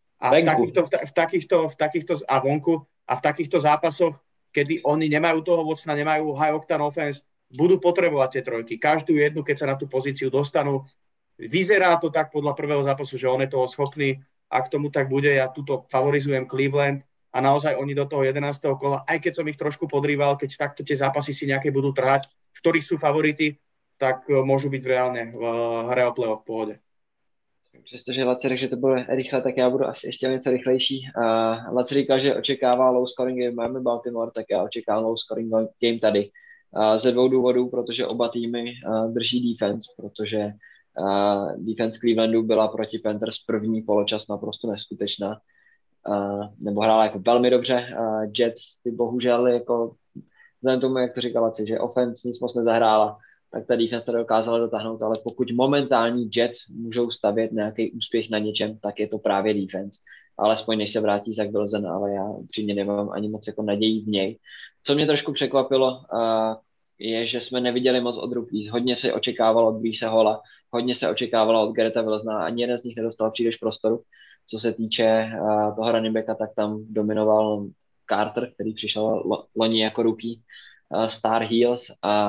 A v takýchto, v, takýchto, v takýchto, a vonku, a v takýchto zápasoch, kedy oni nemajú toho vocna, nemajú high octane offense, budú potrebovať tie trojky. Každú jednu, keď sa na tú pozíciu dostanú. Vyzerá to tak podľa prvého zápasu, že on je toho schopný. Ak tomu tak bude, ja tuto favorizujem Cleveland a naozaj oni do toho jedenásteho kola, aj keď som ich trošku podrýval, keď takto tie zápasy si nejaké budú trhať, v ktorých sú favority, tak môžu byť reálne v hre o playoff v pohode. Přestože Laci řekl, že to bude rychle, tak já budu asi ještě něco rychlejší. Uh, Laci říkal, že očekává low scoring game Miami Baltimore, tak já očekávám low scoring game tady. Uh, ze dvou důvodů, protože oba týmy uh, drží defense, protože Uh, defense Clevelandu byla proti Panthers první poločas naprosto neskutečná. Uh, nebo hrála jako velmi dobře. Uh, Jets ty bohužel jako vzhledem tomu, jak to říkala Laci, že offense nic moc nezahrála, tak ta defense to dokázala dotáhnout, ale pokud momentální Jets můžou stavět nějaký úspěch na něčem, tak je to právě defense. Alespoň než se vrátí Zach Wilson, ale já upřímně nemám ani moc jako nadějí v něj. Co mě trošku překvapilo, uh, je, že jsme neviděli moc od rookies. Hodně se očekávalo od Breece Halla, hodně se očekávalo od Garretta Wilsona, ani jeden z nich nedostal příliš prostoru. Co se týče uh, toho running backa, tak tam dominoval Carter, který přišel lo- loni jako rookie, uh, Star Heels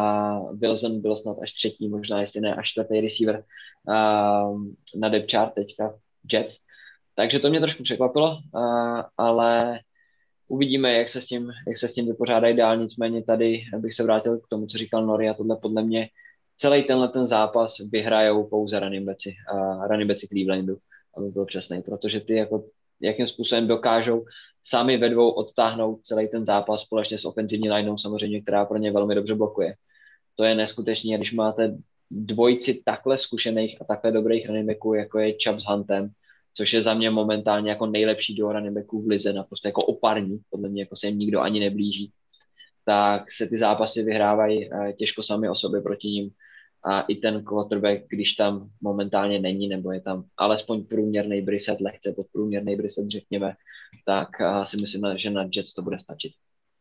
a Wilson byl snad až třetí, možná jestli ne až čtvrtý receiver uh, na depth chart teďka Jets. Takže to mě trošku překvapilo, uh, ale uvidíme, jak se s tím, jak se s tím vypořádají dál. Nicméně tady bych se vrátil k tomu, co říkal Nori, a tohle podle mě celý tenhle ten zápas vyhrajou pouze running backi, uh, running backi Clevelandu, aby byl přesnej, protože ty jako, jakým způsobem dokážou sami ve dvou odtáhnout celý ten zápas společně s ofenzivní lineou samozřejmě, která pro ně velmi dobře blokuje. To je neskutečné, když máte dvojici takhle zkušených a takhle dobrých running backů, jako je Chubb s Huntem, což je za mě momentálně jako nejlepší duo running backů v lize, naprosto jako oparní, podle mě jako se jim nikdo ani neblíží, tak se ty zápasy vyhrávají těžko sami o sobě proti ním. A i ten quarterback, když tam momentálně není, nebo je tam alespoň průměrný Brissett, lehce podprůměrný Brissett, řekněme, tak si myslím, že na Jets to bude stačit.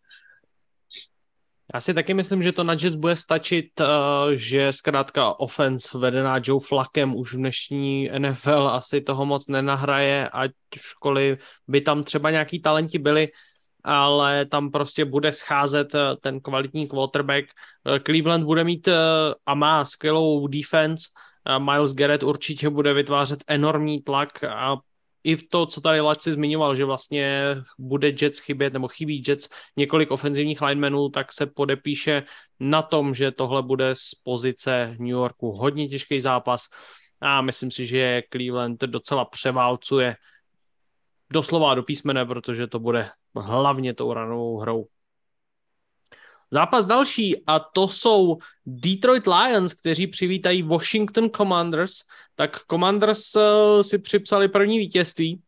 Já si taky myslím, že to na Jets bude stačit, že zkrátka offense vedená Joe Flackem už v dnešní N F L asi toho moc nenahraje, ať v školy by tam třeba nějaký talenti byli, ale tam prostě bude scházet ten kvalitní quarterback. Cleveland bude mít a má skvělou defense, Myles Garrett určitě bude vytvářet enormní tlak a i v to, co tady Laci zmiňoval, že vlastně bude Jets chybět, nebo chybí Jets několik ofenzivních linemenů, tak se podepíše na tom, že tohle bude z pozice New Yorku hodně těžký zápas a myslím si, že Cleveland docela převálcuje doslova do písmene, protože to bude hlavně tou ranovou hrou. Zápas další a to jsou Detroit Lions, kteří přivítají Washington Commanders. Tak Commanders si připsali první vítězství.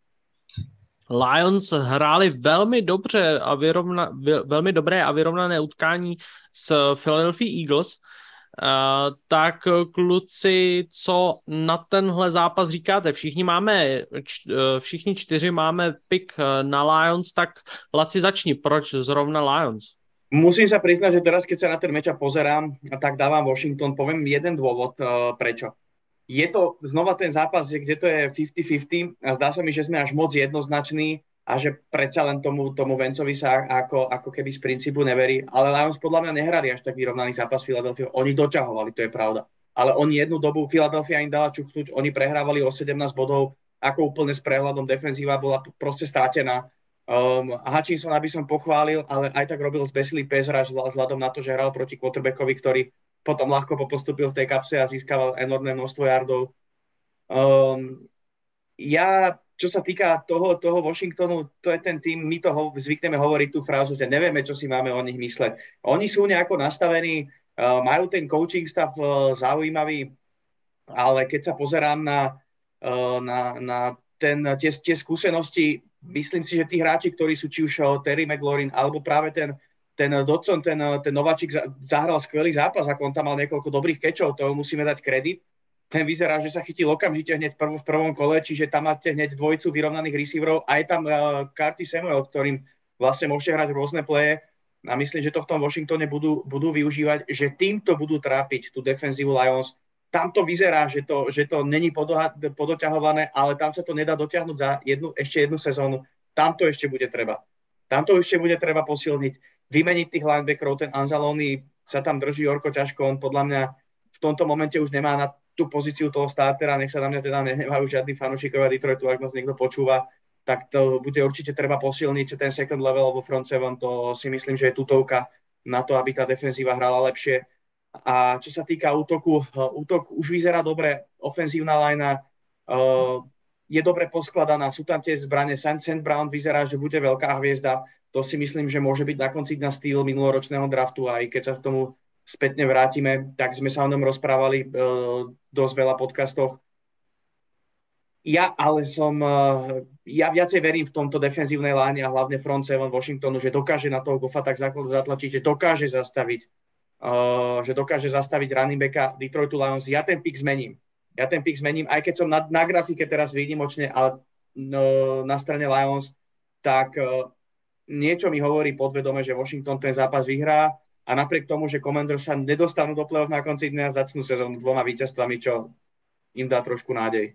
Lions hráli velmi dobře a vyrovna, velmi dobré a vyrovnané utkání s Philadelphia Eagles. Uh, tak kluci, co na tenhle zápas říkáte? Všichni máme, č, všichni čtyři máme pick na Lions, tak Laci začni, proč zrovna Lions? Musím sa priznať, že teraz, keď sa na ten matchup pozerám, tak dávam Washington. Poviem jeden dôvod, uh, prečo. Je to znova ten zápas, kde to je päťdesiat päťdesiat a zdá sa mi, že sme až moc jednoznační a že predsa len tomu, tomu Vencovi sa ako, ako keby z princípu neverí. Ale Lions podľa mňa nehrali až tak vyrovnaný zápas Philadelphia. Oni doťahovali, to je pravda. Ale oni jednu dobu, Philadelphia im dala čuchnúť, oni prehrávali o sedemnásť bodov, ako úplne s prehľadom, defenzíva bola proste stratená. Um, Hutchinsona by som pochválil, ale aj tak robil zbesilý pass rush vzhľadom na to, že hral proti quarterbackovi, ktorý potom ľahko popostupil v tej kapse a získaval enormné množstvo yardov. Um, ja, čo sa týka toho, toho Washingtonu, to je ten tým, my to ho, zvykneme hovoriť tú frázu, že nevieme, čo si máme o nich mysleť. Oni sú nejako nastavení, uh, majú ten coaching stav uh, zaujímavý, ale keď sa pozerám na, uh, na, na ten, tie, tie skúsenosti, myslím si, že tí hráči, ktorí sú či už Terry McLaurin, alebo práve ten, ten Dodson, ten, ten Nováčik zahral skvelý zápas, ako on tam mal niekoľko dobrých kečov, to musíme dať kredit. Ten vyzerá, že sa chytil okamžite hneď v, prv, v prvom kole, čiže tam máte hneď dvojicu vyrovnaných receiverov a je tam uh, Curtis Samuel, ktorým vlastne môžete hrať rôzne pleje a myslím, že to v tom Washingtone budú, budú využívať, že týmto budú trápiť tú defenzívu Lions. Tam to vyzerá, že to, že to není podoha, podoťahované, ale tam sa to nedá dotiahnuť za jednu, ešte jednu sezónu. Tam to ešte bude treba. Tam to ešte bude treba posilniť. Vymeniť tých linebackerov, ten Anzalone sa tam drží horko ťažko, on podľa mňa v tomto momente už nemá na tú pozíciu toho startera, nech sa na mňa teda nehnevajú žiadni fanúšikovia Detroitu, ak nás niekto počúva, tak to bude určite treba posilniť, ten second level alebo front seven, to si myslím, že je tutovka na to, aby tá defenzíva hrala lepšie. A čo sa týka útoku, útok už vyzerá dobre, ofenzívna linea uh, je dobre poskladaná, sú tam tie zbrane, Saint Brown vyzerá, že bude veľká hviezda. To si myslím, že môže byť na konci na štýl minuloročného draftu, aj keď sa k tomu spätne vrátime, tak sme sa o ňom rozprávali uh, dosť veľa podcastoch. Ja ale som, uh, ja viacej verím v tomto defenzívnej láne a hlavne front seven Washingtonu, že dokáže na toho Goffa tak zatlačiť, že dokáže zastaviť, uh, že dokáže zastaviť running backa Detroitu Lions. Ja ten pick zmením. Ja ten pick zmením, aj keď som na, na grafike teraz výnimočne, ale uh, na strane Lions, tak uh, niečo mi hovorí podvedome, že Washington ten zápas vyhrá a napriek tomu, že Commanders sa nedostanú do play-off na konci dňa, začnú sezónu dvoma víťazstvami, čo im dá trošku nádej.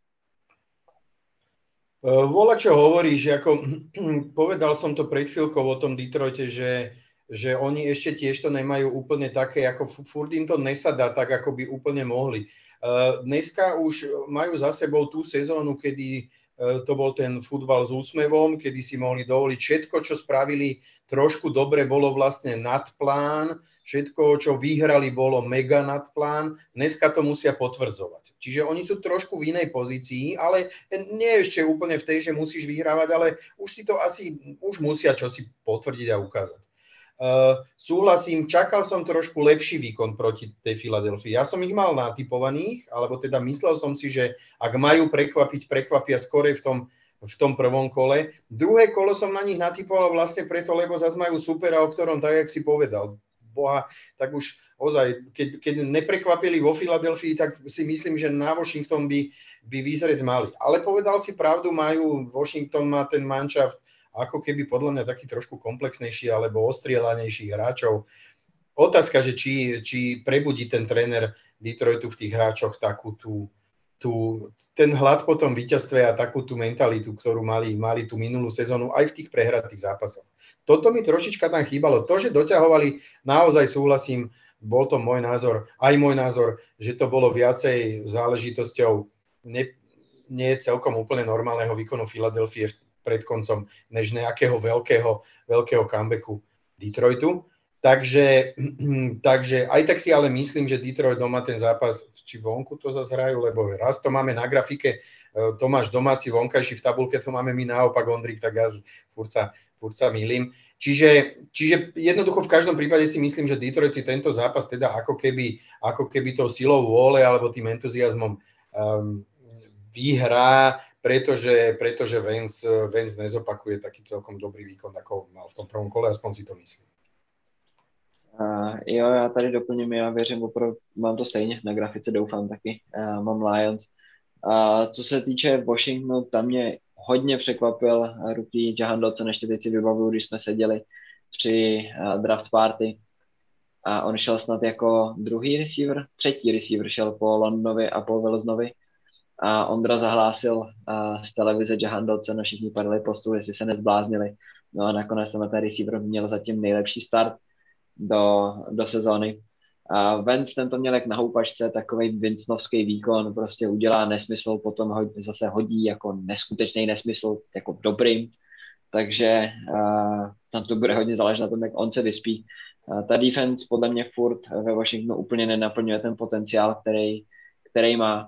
Voľa, čo hovoríš, ako povedal som to pred chvíľkou o tom Detroite, že, že oni ešte tiež to nemajú úplne také, ako furt im to nesadá tak, ako by úplne mohli. Dneska už majú za sebou tú sezónu, kedy to bol ten futbal s úsmevom, kedy si mohli dovoliť všetko, čo spravili trošku dobre, bolo vlastne nad plán, všetko, čo vyhrali, bolo mega nad plán, dneska to musia potvrdzovať. Čiže oni sú trošku v inej pozícii, ale nie ešte úplne v tej, že musíš vyhrávať, ale už si to asi, už musia čosi potvrdiť a ukázať. Uh, súhlasím, čakal som trošku lepší výkon proti tej Filadelfii. Ja som ich mal natypovaných, alebo teda myslel som si, že ak majú prekvapiť, prekvapia skorej v tom, v tom prvom kole. Druhé kolo som na nich natypoval vlastne preto, lebo zase majú supera, o ktorom tak, jak si povedal, boha, tak už ozaj, keď, keď neprekvapili vo Filadelfii, tak si myslím, že na Washington by, by vyzrieť mali. Ale povedal si pravdu, majú, Washington má ten manšaft ako keby podľa mňa taký trošku komplexnejší alebo ostrielanejších hráčov. Otázka, že či, či prebudí ten tréner Detroitu v tých hráčoch takú tú, tú, ten hlad po tom víťazstve a takú tú mentalitu, ktorú mali, mali tú minulú sezónu aj v tých prehratých zápasoch. Toto mi trošička tam chýbalo. To, že doťahovali, naozaj súhlasím, bol to môj názor, aj môj názor, že to bolo viacej záležitosťou ne, nie celkom úplne normálneho výkonu Filadelfie pred koncom, než nejakého veľkého, veľkého comebacku Detroitu. Takže, takže aj tak si ale myslím, že Detroit doma ten zápas, či vonku to zase hrajú, lebo raz to máme na grafike, Tomáš domáci, vonkajší v tabulke, to máme my naopak, Ondrik, tak ja furt sa, furt sa mýlim. Čiže, čiže jednoducho v každom prípade si myslím, že Detroit si tento zápas teda ako keby, ako keby tou silou vôle alebo tým entuziasmom um, vyhrá, pretože, pretože Vance, Vance nezopakuje taký celkom dobrý výkon, ako mal v tom prvom kole, aspoň si to myslím. Uh, jo, já tady doplním, já věřím, opravdu mám to stejně, na grafice doufám taky, uh, mám Lions. Uh, co se týče Washingtonu, tam mě hodně překvapil rookie Jahan Dotson, ještě teď si vybavuju, když jsme seděli při uh, draft party a on šel snad jako druhý receiver, třetí receiver šel po Londonovi a po Wilsonovi a Ondra zahlásil uh, z televize Jahan Dotson a všichni padali po stůl, jestli se nezbláznili. No a nakonec ten receiver měl zatím nejlepší start do, do sezóny. A Vance ten to měl jak na houpačce, takovej Vincenovský výkon, prostě udělá nesmysl, potom ho, zase hodí jako neskutečný nesmysl, jako dobrým. Takže uh, tam to bude hodně záležet na tom, jak on se vyspí. Uh, ta defense podle mě furt ve Washingtonu úplně nenaplňuje ten potenciál, který, který má.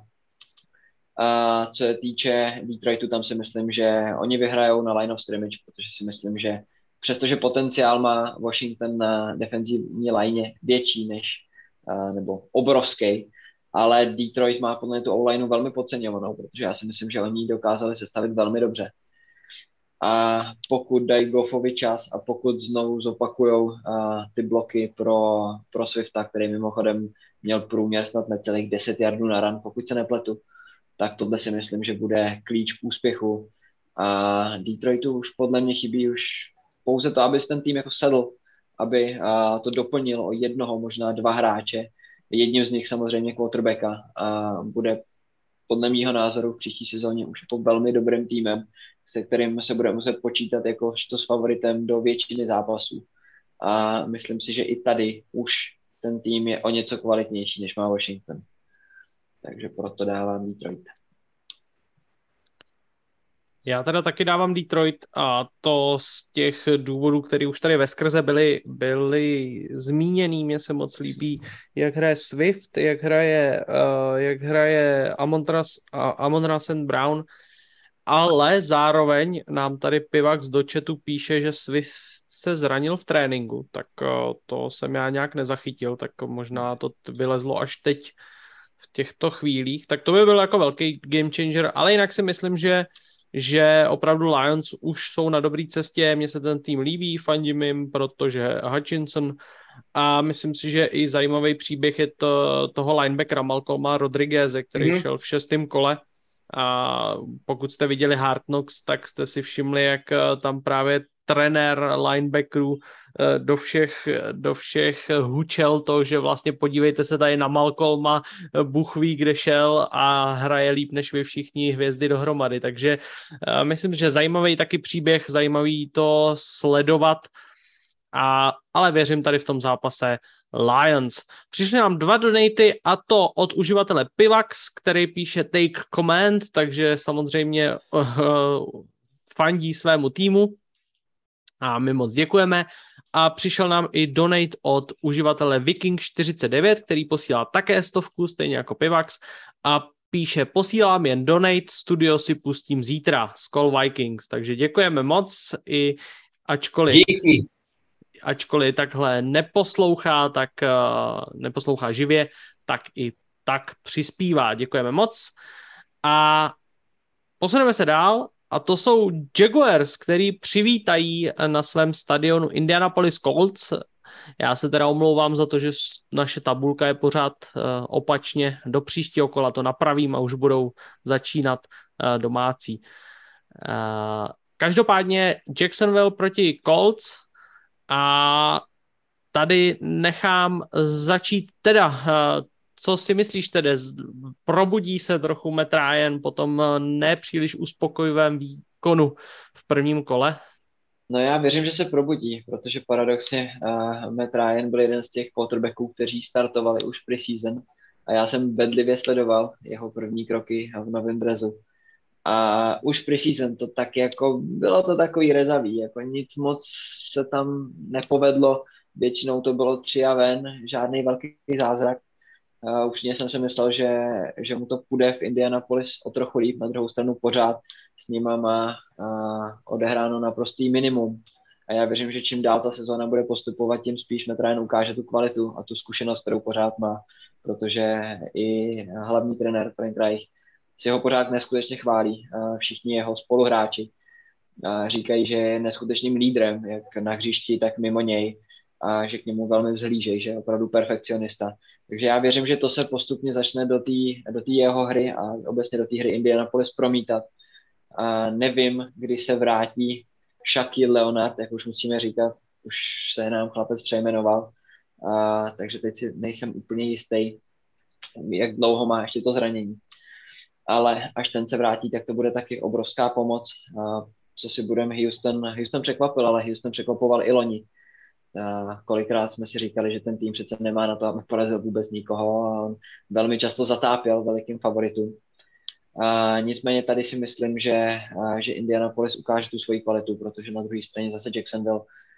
A co se týče Detroitu, tam si myslím, že oni vyhrajou na line of scrimmage, protože si myslím, že přestože potenciál má Washington na defenzivní line větší než, nebo obrovský, ale Detroit má podle mě tu O-lineu velmi podceňovanou, protože já si myslím, že oni ji dokázali sestavit velmi dobře. A pokud dají Goffovi čas a pokud znovu zopakujou uh, ty bloky pro, pro Swifta, který mimochodem měl průměr snad necelých deset yardů na run, pokud se nepletu, tak tohle si myslím, že bude klíč k úspěchu. A Detroitu už podle mě chybí už pouze to, aby ten tým jako sedl, aby uh, to doplnil o jednoho, možná dva hráče. Jedním z nich samozřejmě quarterbacka a bude podle mýho názoru v příští sezóně už jako velmi dobrým týmem, se kterým se bude muset počítat jako to s favoritem do většiny zápasů. A myslím si, že i tady už ten tým je o něco kvalitnější, než má Washington. Takže proto dávám Detroit. Já teda taky dávám Detroit a to z těch důvodů, které už tady veskrze byly, byly zmíněný. Mně se moc líbí, jak hraje Swift, jak hraje, uh, jak hraje Amon-Ra, Amon-Ra Saint Brown, ale zároveň nám tady Pivax do chatu píše, že Swift se zranil v tréninku, tak uh, to jsem já nějak nezachytil, tak možná to vylezlo až teď v těchto chvílích, tak to by byl jako velký game changer, ale jinak si myslím, že že opravdu Lions už jsou na dobré cestě, mně se ten tým líbí, fandím jim, protože Hutchinson a myslím si, že i zajímavý příběh je to, toho linebackera Malcolma Rodrigueze, který mm-hmm. šel v šestém kole a pokud jste viděli Hard Knocks, tak jste si všimli, jak tam právě trenér linebackerů do všech, do všech hučel to, že vlastně podívejte se tady na Malcolma, Bůh ví, kde šel a hraje líp než vy všichni hvězdy dohromady, takže uh, myslím, že zajímavý taky příběh, zajímavý to sledovat, a, ale věřím tady v tom zápase Lions. Přišly nám dva donaty a to od uživatele Pivax, který píše Take Command, takže samozřejmě uh, fandí svému týmu. A my moc děkujeme. A přišel nám i donate od uživatele Viking čtyřicet devět, který posílá také stovku, stejně jako Pivax. A píše, posílám jen donate, studio si pustím zítra, Skol Vikings. Takže děkujeme moc, i ačkoliv, Díky. ačkoliv takhle neposlouchá, tak uh, neposlouchá živě, tak i tak přispívá. Děkujeme moc. A posuneme se dál. A to jsou Jaguars, který přivítají na svém stadionu Indianapolis Colts. Já se teda omlouvám za to, že naše tabulka je pořád uh, opačně. Do příštího kola to napravím a už budou začínat uh, domácí. Uh, každopádně Jacksonville proti Colts a tady nechám začít teda... Uh, Co si myslíš tedy? Probudí se trochu Matt Ryan po tom nepříliš uspokojivém výkonu v prvním kole? No já věřím, že se probudí, protože paradoxně uh, Matt Ryan byl jeden z těch quarterbacků, kteří startovali už pre-season a já jsem bedlivě sledoval jeho první kroky v novém dresu. A už pre-season to tak jako, bylo to takový rezavý, jako nic moc se tam nepovedlo, většinou to bylo tři a ven, žádný velký zázrak. Uh, už jsem si myslel, že, že mu to půjde v Indianapolis o trochu líp, na druhou stranu pořád s nima má uh, odehráno naprostý minimum. A já věřím, že čím dál ta sezóna bude postupovat, tím spíš Matt Ryan ukáže tu kvalitu a tu zkušenost, kterou pořád má, protože i hlavní trenér Frank Reich si ho pořád neskutečně chválí. Uh, všichni jeho spoluhráči uh, říkají, že je neskutečným lídrem, jak na hřišti, tak mimo něj, a že k němu velmi vzhlížejí, že je opravdu perfekcionista. Takže já věřím, že to se postupně začne do té do té jeho hry a obecně do té hry Indianapolis promítat. A nevím, kdy se vrátí Shaquille Leonard, jak už musíme říkat, už se nám chlapec přejmenoval, a, takže teď si nejsem úplně jistý, jak dlouho má ještě to zranění. Ale až ten se vrátí, tak to bude taky obrovská pomoc. A, co si budeme, Houston, Houston překvapil, ale Houston překvapoval i loni. A kolikrát jsme si říkali, že ten tým přece nemá na to, aby porazil vůbec nikoho a on velmi často zatápěl velikým favoritům. A nicméně tady si myslím, že, a, že Indianapolis ukáže tu svoji kvalitu, protože na druhé straně zase Jacksonville,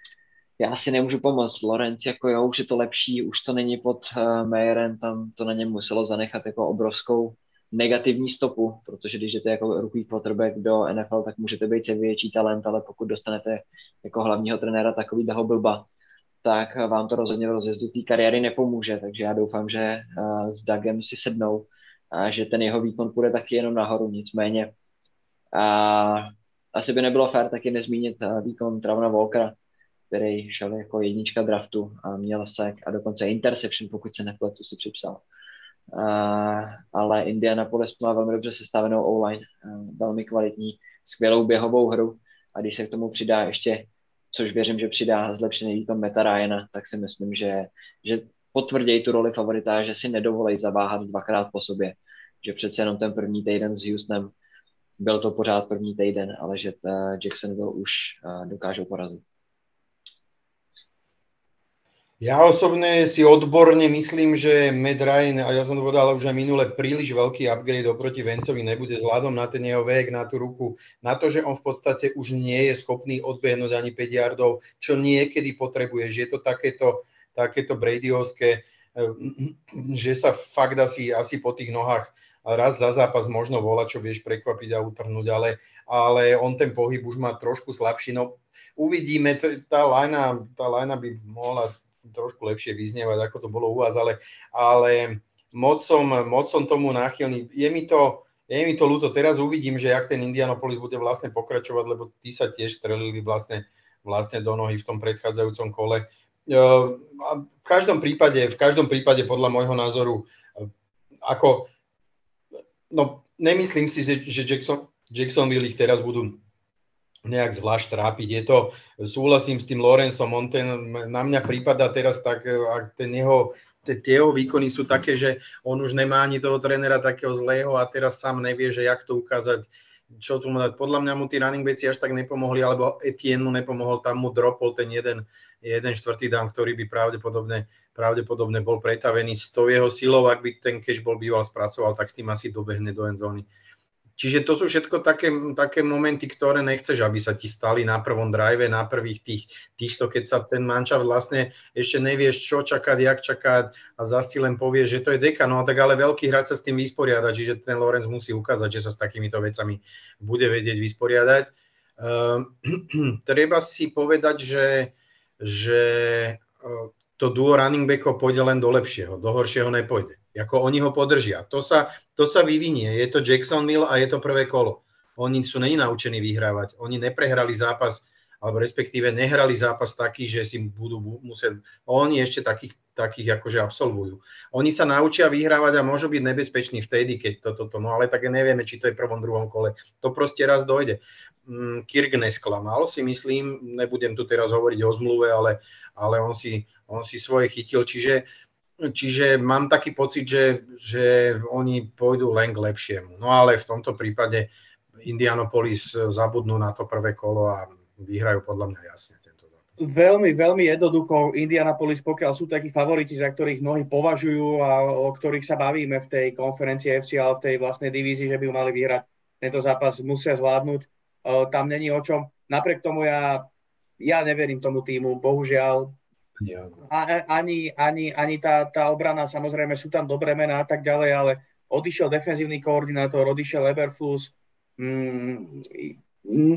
já si nemůžu pomoct. Lawrence, jako jo, už je to lepší, už to není pod uh, Mayerem, tam to na něm muselo zanechat jako obrovskou negativní stopu, protože když jdete jako rookie quarterback do N F L, tak můžete být větší talent, ale pokud dostanete jako hlavního trenéra takovýho blba, tak vám to rozhodně v rozjezdu té kariéry nepomůže, takže já doufám, že uh, s Dougem si sednou a že ten jeho výkon půjde taky jenom nahoru, nicméně uh, asi by nebylo fér taky nezmínit výkon Travona Walkera, který šel jako jednička draftu a měl sack a dokonce interception, pokud se nepletu, si připsal. Uh, ale Indianapolis má velmi dobře sestavenou O-line, uh, velmi kvalitní, skvělou běhovou hru a když se k tomu přidá ještě, což věřím, že přidá zlepšený výkon Meta Ryana, tak si myslím, že, že potvrdějí tu roli favorita, že si nedovolej zaváhat dvakrát po sobě, že přece jenom ten první týden s Houstonem byl to pořád první týden, ale že uh, Jacksonville už uh, dokážou porazit. Ja osobne si odborne myslím, že Matt Ryan, a ja som to povedal už aj minule, príliš veľký upgrade oproti Vanceovi nebude vzhľadom na ten jeho vek, na tú ruku, na to, že on v podstate už nie je schopný odbehnúť ani päť yardov, čo niekedy potrebuješ. Je to takéto, takéto Bradyovské, že sa fakt asi, asi po tých nohách raz za zápas možno volá, čo vieš prekvapiť a utrhnúť, ale, ale on ten pohyb už má trošku slabší. No uvidíme, tá linea, tá linea by mohla trošku lepšie vyznievať, ako to bolo u vás, ale, ale moc, som, moc som tomu náchylný. Je mi to, je mi to ľúto. Teraz uvidím, že jak ten Indianapolis bude vlastne pokračovať, lebo tí sa tiež strelili vlastne, vlastne do nohy v tom predchádzajúcom kole. A v každom prípade, v každom prípade podľa môjho názoru, ako, no nemyslím si, že, že Jackson, Jacksonville ich teraz budú nejak zvlášť trápiť. Je to, súhlasím s tým Lorenzom, on ten, na mňa prípada teraz tak, ak ten jeho, tie jeho výkony sú také, že on už nemá ani toho trénera takého zlého a teraz sám nevie, že jak to ukázať, čo tu mu dať. Podľa mňa mu tí running backi až tak nepomohli, alebo Etienne mu nepomohol, tam mu dropol ten jeden, jeden štvrtý down, ktorý by pravdepodobne, pravdepodobne bol pretavený s tou jeho silou, ak by ten catch bol býval spracoval, tak s tým asi dobehne do endzóny. Čiže to sú všetko také, také momenty, ktoré nechceš, aby sa ti stali na prvom drive, na prvých tých, týchto, keď sa ten manšaft vlastne ešte nevieš, čo čakať, jak čakať a zase len povieš, že to je deka, no tak ale veľký hráč sa s tým vysporiada, čiže ten Lorenz musí ukázať, že sa s takýmito vecami bude vedieť vysporiadať. Uh, treba si povedať, že, že uh, to duo running backov pôjde len do lepšieho, do horšieho nepôjde. Ako oni ho podržia. To sa, to sa vyvinie. Je to Jacksonville a je to prvé kolo. Oni sú není naučení vyhrávať. Oni neprehrali zápas, alebo respektíve nehrali zápas taký, že si budú musieť... Oni ešte takých, takých akože absolvujú. Oni sa naučia vyhrávať a môžu byť nebezpeční vtedy, keď toto... To, to, no ale tak nevieme, či to je v prvom, druhom kole. To proste raz dojde. Kirk nesklamal, si myslím. Nebudem tu teraz hovoriť o zmluve, ale, ale on, si, on si svoje chytil. Čiže Čiže mám taký pocit, že, že oni pôjdu len k lepšiemu. No ale v tomto prípade Indianapolis zabudnú na to prvé kolo a vyhrajú podľa mňa jasne tento zápas. Veľmi, veľmi jednoducho Indianapolis, pokiaľ sú takí favoriti, za ktorých mnohí považujú a o ktorých sa bavíme v tej konferencii ef cé, ale v tej vlastnej divízii, že by mali vyhrať tento zápas, musia zvládnuť. Tam není o čom. Napriek tomu ja, ja neverím tomu týmu, bohužiaľ. Ja. A, ani, ani, ani tá, tá obrana, samozrejme sú tam dobré mená a tak ďalej, ale odišiel defenzívny koordinátor, odišiel Eberflus. Mm, mm,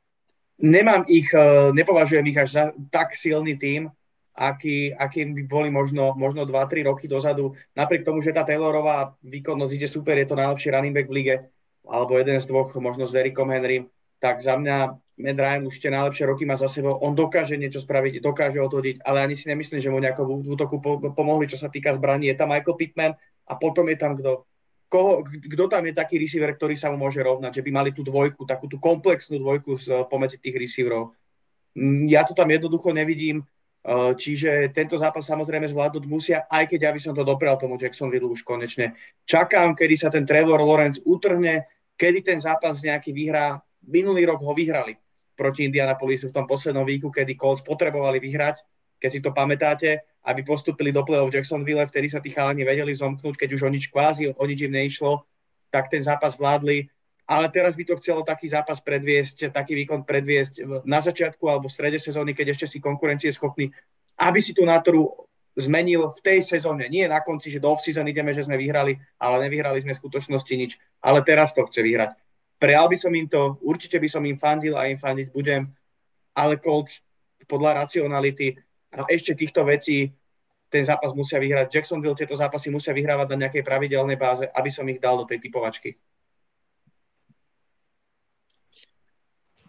nemám ich, nepovažujem ich až za tak silný tím, aký, akým by boli možno, možno dva tri roky dozadu. Napriek tomu, že tá Taylorová výkonnosť ide super, je to najlepší running back v lige, alebo jeden z dvoch, možno s Derrickom Henrym, tak za mňa Matt Ryan už tie najlepšie roky má za sebou, on dokáže niečo spraviť, dokáže otočiť, ale ani si nemyslím, že mu nejako v útoku pomohli, čo sa týka zbraní. Je tam Michael Pittman a potom je tam kto. Koho, kto tam je taký receiver, ktorý sa mu môže rovnať, že by mali tú dvojku, takú tú komplexnú dvojku pomedzi tých receiverov. Ja to tam jednoducho nevidím, čiže tento zápas samozrejme zvládnuť musia, aj keď ja by som to doprial tomu Jacksonville už konečne. Čakám, kedy sa ten Trevor Lawrence utrhne, kedy ten zápas nejaký vyhrá. Minulý rok ho vyhrali proti Indianapolisu v tom poslednom víku, kedy Colts potrebovali vyhrať, keď si to pamätáte, aby postúpili do play-off Jacksonville, vtedy sa tí chalani vedeli zomknúť, keď už o nič kvázi, o nič im neišlo, tak ten zápas vládli. Ale teraz by to chcelo taký zápas predviesť, taký výkon predviesť na začiatku alebo v strede sezóny, keď ešte si konkurencie schopní, aby si tú nátoru zmenil v tej sezóne. Nie na konci, že do off-season ideme, že sme vyhrali, ale nevyhrali sme v skutočnosti nič. Ale teraz to chce vyhrať. Prijal by som im to, určite by som im fandil a im fandiť budem, ale Colts podľa racionality a ešte týchto vecí ten zápas musia vyhrať. Jacksonville tieto zápasy musia vyhrávať na nejakej pravidelnej báze, aby som ich dal do tej typovačky.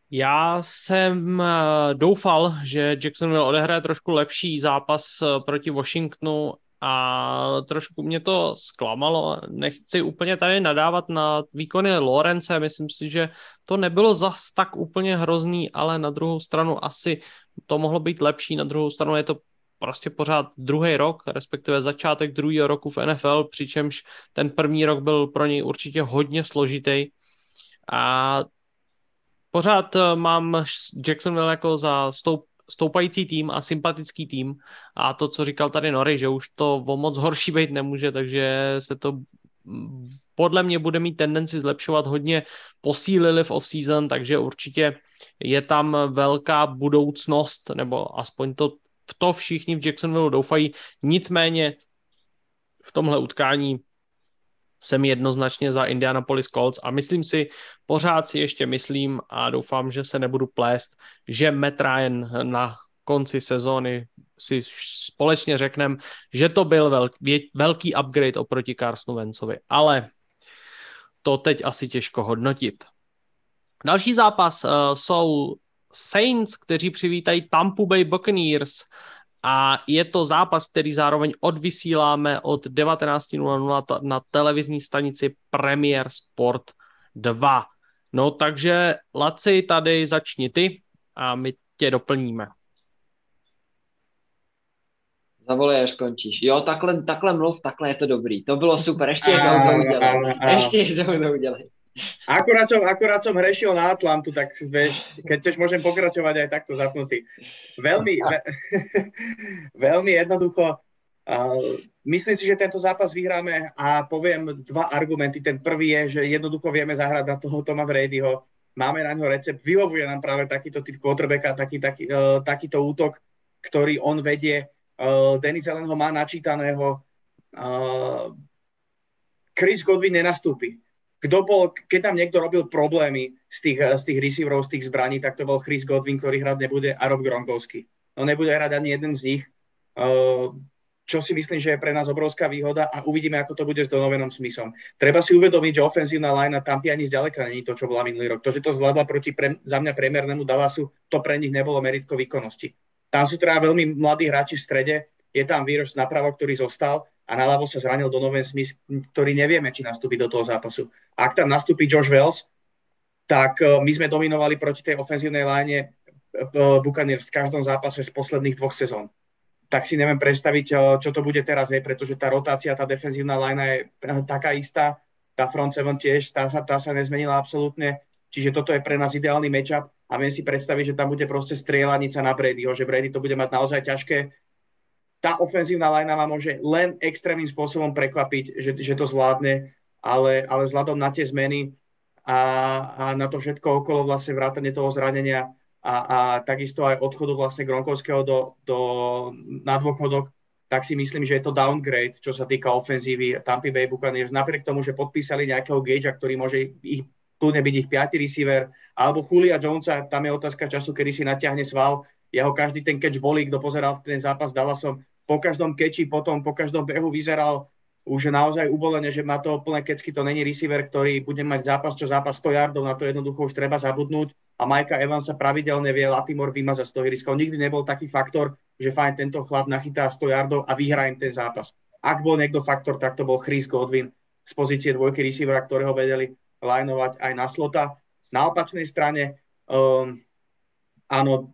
Já jsem doufal, že Jacksonville odehraje trošku lepší zápas proti Washingtonu a trošku mě to zklamalo. Nechci úplně tady nadávat na výkony Lorence, myslím si, že to nebylo zas tak úplně hrozný, ale na druhou stranu asi to mohlo být lepší, na druhou stranu je to prostě pořád druhý rok, respektive začátek druhého roku v N F L, přičemž ten první rok byl pro něj určitě hodně složitý a pořád mám Jacksonville jako za stoup, stoupající tým a sympatický tým a to, co říkal tady Nori, že už to o moc horší být nemůže, takže se to podle mě bude mít tendenci zlepšovat, hodně posílili v off-season, takže určitě je tam velká budoucnost, nebo aspoň to v to všichni v Jacksonville doufají, nicméně v tomhle utkání jsem jednoznačně za Indianapolis Colts a myslím si, pořád si ještě myslím a doufám, že se nebudu plést, že Matt Ryan na konci sezóny si společně řekneme, že to byl velký, velký upgrade oproti Carsonu Wentzovi, ale to teď asi těžko hodnotit. Další zápas uh, jsou Saints, kteří přivítají Tampa Bay Buccaneers a je to zápas, který zároveň odvysíláme od devatenáct nula nula na televizní stanici Premier Sport dva. No takže Laci, tady začni ty a my tě doplníme. Zavolej, až skončíš. Jo, takhle, takhle mluv, takhle je to dobrý. To bylo super, ještě jednou to udělej. Ještě jednou to udělej. Akurát som, akurát som hrešil na Atlantu, tak vieš, keď chceš, môžem pokračovať aj takto zapnutý. Veľmi, ve, veľmi jednoducho. Uh, myslím si, že tento zápas vyhráme a poviem dva argumenty. Ten prvý je, že jednoducho vieme zahrať na toho Toma Bradyho. Máme na ňo recept. Vyhovuje nám práve takýto typ quarterbacka, taký, taký, uh, takýto útok, ktorý on vedie. Uh, Dennis Allen ho má načítaného. Uh, Chris Godwin nenastúpi. Kto bol, keď tam niekto robil problémy z tých, z tých receiverov, z tých zbraní, tak to bol Chris Godwin, ktorý hrať nebude, a Rob Gronkowski. No nebude hrať ani jeden z nich, čo si myslím, že je pre nás obrovská výhoda a uvidíme, ako to bude s Donovanom Smithom. Treba si uvedomiť, že ofenzívna line Tampy ani zďaleka není to, čo bola minulý rok. To, že to zvládla proti pre, za mňa priemernému Dallasu, to pre nich nebolo meritko výkonnosti. Tam sú teda veľmi mladí hráči v strede, je tam Wirfs napravo, ktorý zostal, a naľavo sa zranil Donovan Smith, ktorý nevieme, či nastúpi do toho zápasu. Ak tam nastúpi Josh Wells, tak my sme dominovali proti tej ofenzívnej line Buccaneers v každom zápase z posledných dvoch sezón. Tak si neviem predstaviť, čo to bude teraz, hej, pretože tá rotácia, tá defenzívna line je taká istá, tá front seven tiež, tá sa, tá sa nezmenila absolútne, čiže toto je pre nás ideálny matchup a viem si predstaviť, že tam bude proste strieľanica na Bradyho, že Brady to bude mať naozaj ťažké. Tá ofenzívna line ma môže len extrémnym spôsobom prekvapiť, že, že to zvládne, ale, ale vzhľadom na tie zmeny a, a na to všetko okolo vlastne vrátane toho zranenia a, a takisto aj odchodu vlastne Gronkowského do, do, na dôchodok, tak si myslím, že je to downgrade, čo sa týka ofenzívy Tampa Bay Buccaneers. Napriek tomu, že podpísali nejakého Gagea, ktorý môže ich kľudne byť ich piaty receiver, alebo Julia Jonesa, tam je otázka času, kedy si natiahne sval. Jeho každý ten catch bolí, kto pozeral ten zápas s Dallasom, po každom catchi, potom po každom behu vyzeral už naozaj ubolene, že má to plné kecky, to není receiver, ktorý bude mať zápas čo zápas sto yardov, na to jednoducho už treba zabudnúť a Mikea Evansa pravidelne vie Latimore vymazať z toho ihriska. On nikdy nebol taký faktor, že fajn, tento chlap nachytá sto yardov a vyhrá im ten zápas. Ak bol niekto faktor, tak to bol Chris Godwin z pozície dvojky receivera, ktorého vedeli linovať aj na slota. Na opačnej strane, um, áno,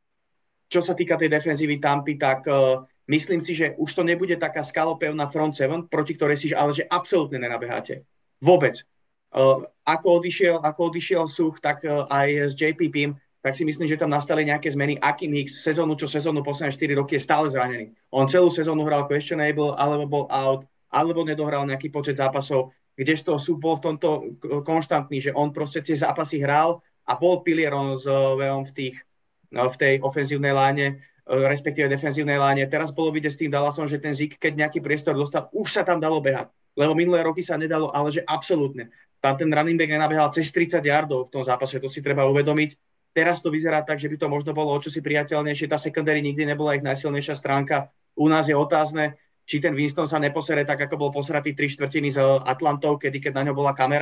čo sa týka tej defenzívy Tampy, tak uh, myslím si, že už to nebude taká skalopevná front seven, proti ktorej si ale že absolútne nenabeháte. Vôbec. Uh, ako, odišiel, ako odišiel Such, tak uh, aj s J P P, tak si myslím, že tam nastali nejaké zmeny. Akim Hicks sezónu čo sezónu posledné štyri roky je stále zranený. On celú sezónu hral questionable, alebo bol out, alebo nedohral nejaký počet zápasov, kdežto Such bol v tomto konštantný, že on proste tie zápasy hral a bol pilierom s Veom v tých v tej ofenzívnej láne, respektíve defenzívnej láne. Teraz bolo vidieť s tým Dallasom, že ten Zeke, keď nejaký priestor dostal, už sa tam dalo behať. Lebo minulé roky sa nedalo, ale že absolútne. Tam ten running back nenabehal cez tridsať yardov v tom zápase, to si treba uvedomiť. Teraz to vyzerá tak, že by to možno bolo o čosi priateľnejšie. Tá secondary nikdy nebola ich najsilnejšia stránka. U nás je otázne, či ten Winston sa neposere tak, ako bol posratý tri štvrtiny z Atlantou, kedy keď na ňo bola kamera.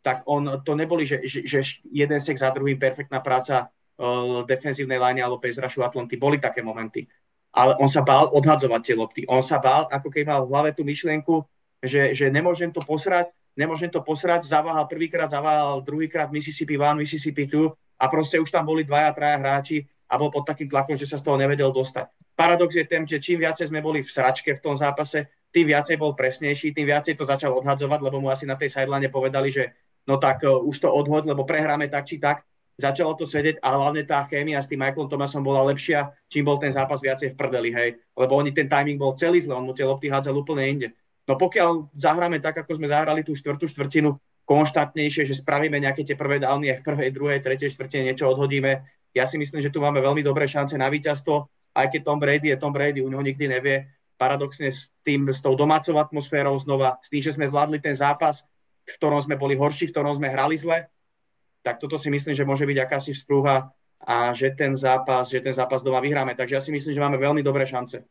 tak on, to neboli, že, že, že jeden sek za druhým, perfektná práca uh, defenzívnej line alebo pass rushu Atlanty. Boli také momenty. Ale on sa bál odhadzovať tie lopty. On sa bál, ako keď mal v hlave tú myšlienku, že, že nemôžem to posrať, nemôžem to posrať, zaváhal prvýkrát, zaváhal druhýkrát Mississippi one, Mississippi two a proste už tam boli dvaja, traja hráči a bol pod takým tlakom, že sa z toho nevedel dostať. Paradox je ten, že čím viacej sme boli v sračke v tom zápase, tým viacej bol presnejší, tým viacej to začal odhadzovať, lebo mu asi na tej sideline povedali, že no tak uh, už to odhoď, lebo prehráme tak či tak. Začalo to sedieť a hlavne tá chémia s tým Michaelom Thomasom bola lepšia, čím bol ten zápas viacej v prdeli, hej. Lebo oni, ten timing bol celý zle, on mu tie lopty hádzal úplne inde. No pokiaľ zahráme tak, ako sme zahrali tú štvrtú štvrtinu, konštantnejšie, že spravíme nejaké tie prvé downy aj v prvej, druhej, tretej štvrtine, niečo odhodíme, ja si myslím, že tu máme veľmi dobré šance na víťazstvo, aj keď Tom Brady je Tom Brady, u neho nikdy nevie. Paradoxne s tým, s tou domácou atmosférou znova, s tým, že sme zvládli ten zápas, v ktorom sme boli horší, v ktorom sme hrali zle, tak toto si myslím, že môže byť akási vzprúha a že ten zápas, že ten zápas doma vyhráme. Takže ja si myslím, že máme veľmi dobré šance.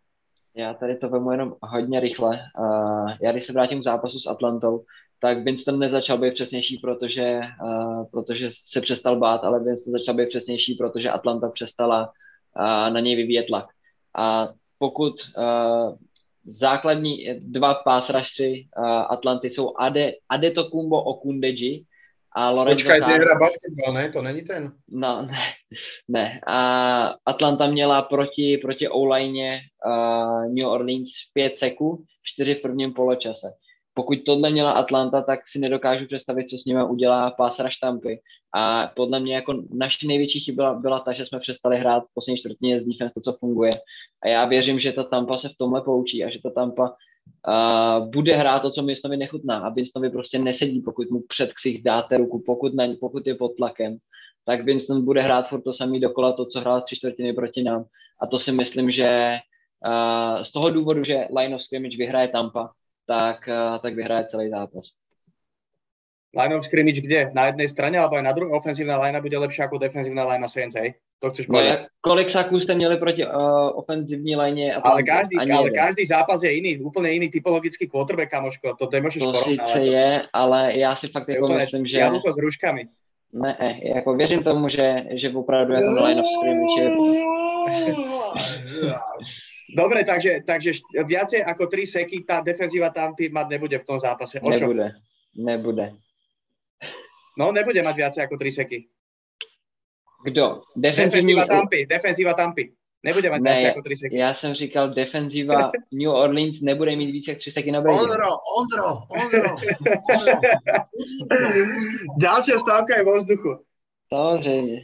Já tady to vemu jenom hodně rychle. Uh, já když se vrátím k zápasu s Atlantou, tak Winston nezačal být přesnější, protože, uh, protože se přestal bát, ale Winston začal být přesnější, protože Atlanta přestala uh, na něj vyvíjet tlak. A pokud uh, základní dva pass rushři uh, Atlanty jsou Ade, Adetokumbo Okundeji a Lorenzo Počkaj, Carr. ty hra basketbal, ne? To není ten? No, ne, ne. A Atlanta měla proti, proti O-line uh, New Orleans pět seků, čtyři v prvním poločase. Pokud tohle měla Atlanta, tak si nedokážu představit, co s nimi udělá pass rush Tampy. A podle mě jako naší největší chyba byla ta, že jsme přestali hrát v poslední čtvrtině z defense to, co funguje. A já věřím, že ta Tampa se v tomhle poučí a že ta Tampa Uh, bude hrát to, co Winstonovi nechutná a Winstonovi prostě nesedí, pokud mu před ksich dáte ruku, pokud, na, pokud je pod tlakem, tak Winston bude hrát furt to samý dokola, to, co hrál tři čtvrtiny proti nám. A to si myslím, že uh, z toho důvodu, že line of scrimmage vyhraje Tampa, tak, uh, tak vyhraje celý zápas. Line of scrimmage kde? Na jednej strane, alebo aj na druhej? Ofenzívna line bude lepšia ako defenzívna line Saints, hej? To chceš povedať? No, kolik saků jste měli proti uh, ofenzívní line? A ale každý, ale každý zápas je iný, úplne iný typologický quarterback, kamoško. To nemôžeš porovnať. To porovnávať. síce je, ale já si fakt jako myslím, že... Jablko s hruškami. Ne, jako věřím tomu, že, že opravdu jako na line of scrimmage je... Dobre, takže, takže viacej ako tri seky tá defenzíva Tampy mať nebude v tom zápase. O čo? Nebude, nebude. No, nebude mať viacej ako tri seky. Kdo? Defenzivní... Defenzíva Tampy, defenzíva Tampy. Nebude mať ne, viacej ako tri seky. Já jsem říkal, defenzíva New Orleans nebude mít více jak tři seky na Brady. Ondro, Ondro, Ondro. Ďalšia stávka je vo vzduchu. Samozřejmě.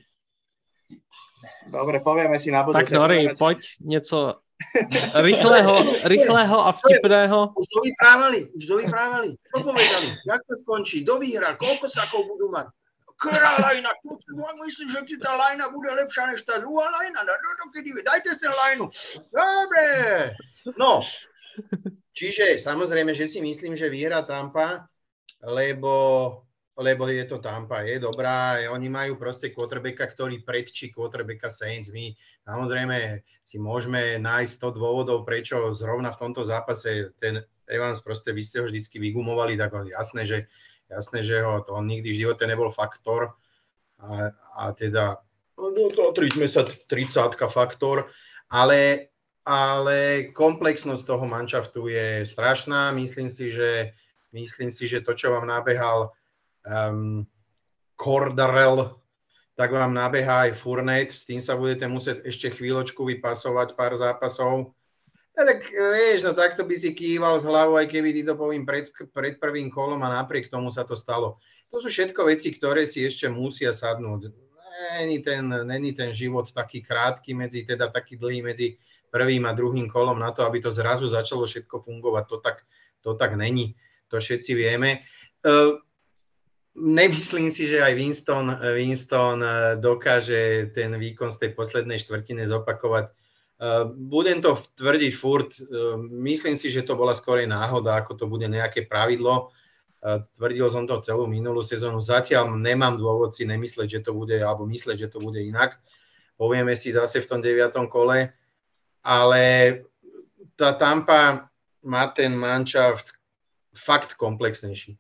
Dobre, povieme si na budúce. Tak Nori, poď něco rychlého, rychlého a vtipného. Už to vyprávali, už to vyprávali. Čo povedali? Jak to skončí? Kto vyhrá? Koľko sakov budú mať? Ktorá lajna? Myslím, že ti tá lajna bude lepšia než tá druhá lajna. Dajte si lajnu. Dobre. No, čiže samozrejme, že si myslím, že vyhrá Tampa, lebo, lebo je to Tampa, je dobrá. Oni majú proste quarterbacka, ktorý predčí quarterbacka Saints. My samozrejme si môžeme nájsť sto dôvodov, prečo zrovna v tomto zápase ten Evans proste, vy ste ho vždycky vygumovali, tak jasné, že Jasné, že ho to on nikdy v živote nebol faktor a, a teda no to triďme sa tridsátka faktor, ale, ale komplexnosť toho manšaftu je strašná. Myslím si, že, myslím si, že to, čo vám nabehal um, Cordarel, tak vám nabehá aj Fournette, s tým sa budete musieť ešte chvíľočku vypasovať pár zápasov. Ja, tak vieš, no takto by si kýval z hlavou, aj keby ty to poviem pred, pred prvým kolom a napriek tomu sa to stalo. To sú všetko veci, ktoré si ešte musia sadnúť. Není ten, není ten život taký krátky, medzi, teda taký dlhý medzi prvým a druhým kolom na to, aby to zrazu začalo všetko fungovať. To tak, to tak není. To všetci vieme. Uh, nemyslím si, že aj Winston, Winston dokáže ten výkon z tej poslednej štvrtiny zopakovať. Uh, budem to tvrdiť furt, uh, myslím si, že to bola skorej náhoda, ako to bude nejaké pravidlo. Uh, tvrdil som to celú minulú sezónu. Zatiaľ nemám dôvod si nemysleť, že to bude, alebo mysleť, že to bude inak. Povieme si zase v tom deviatom kole. Ale tá Tampa má ten manšaft fakt komplexnejší.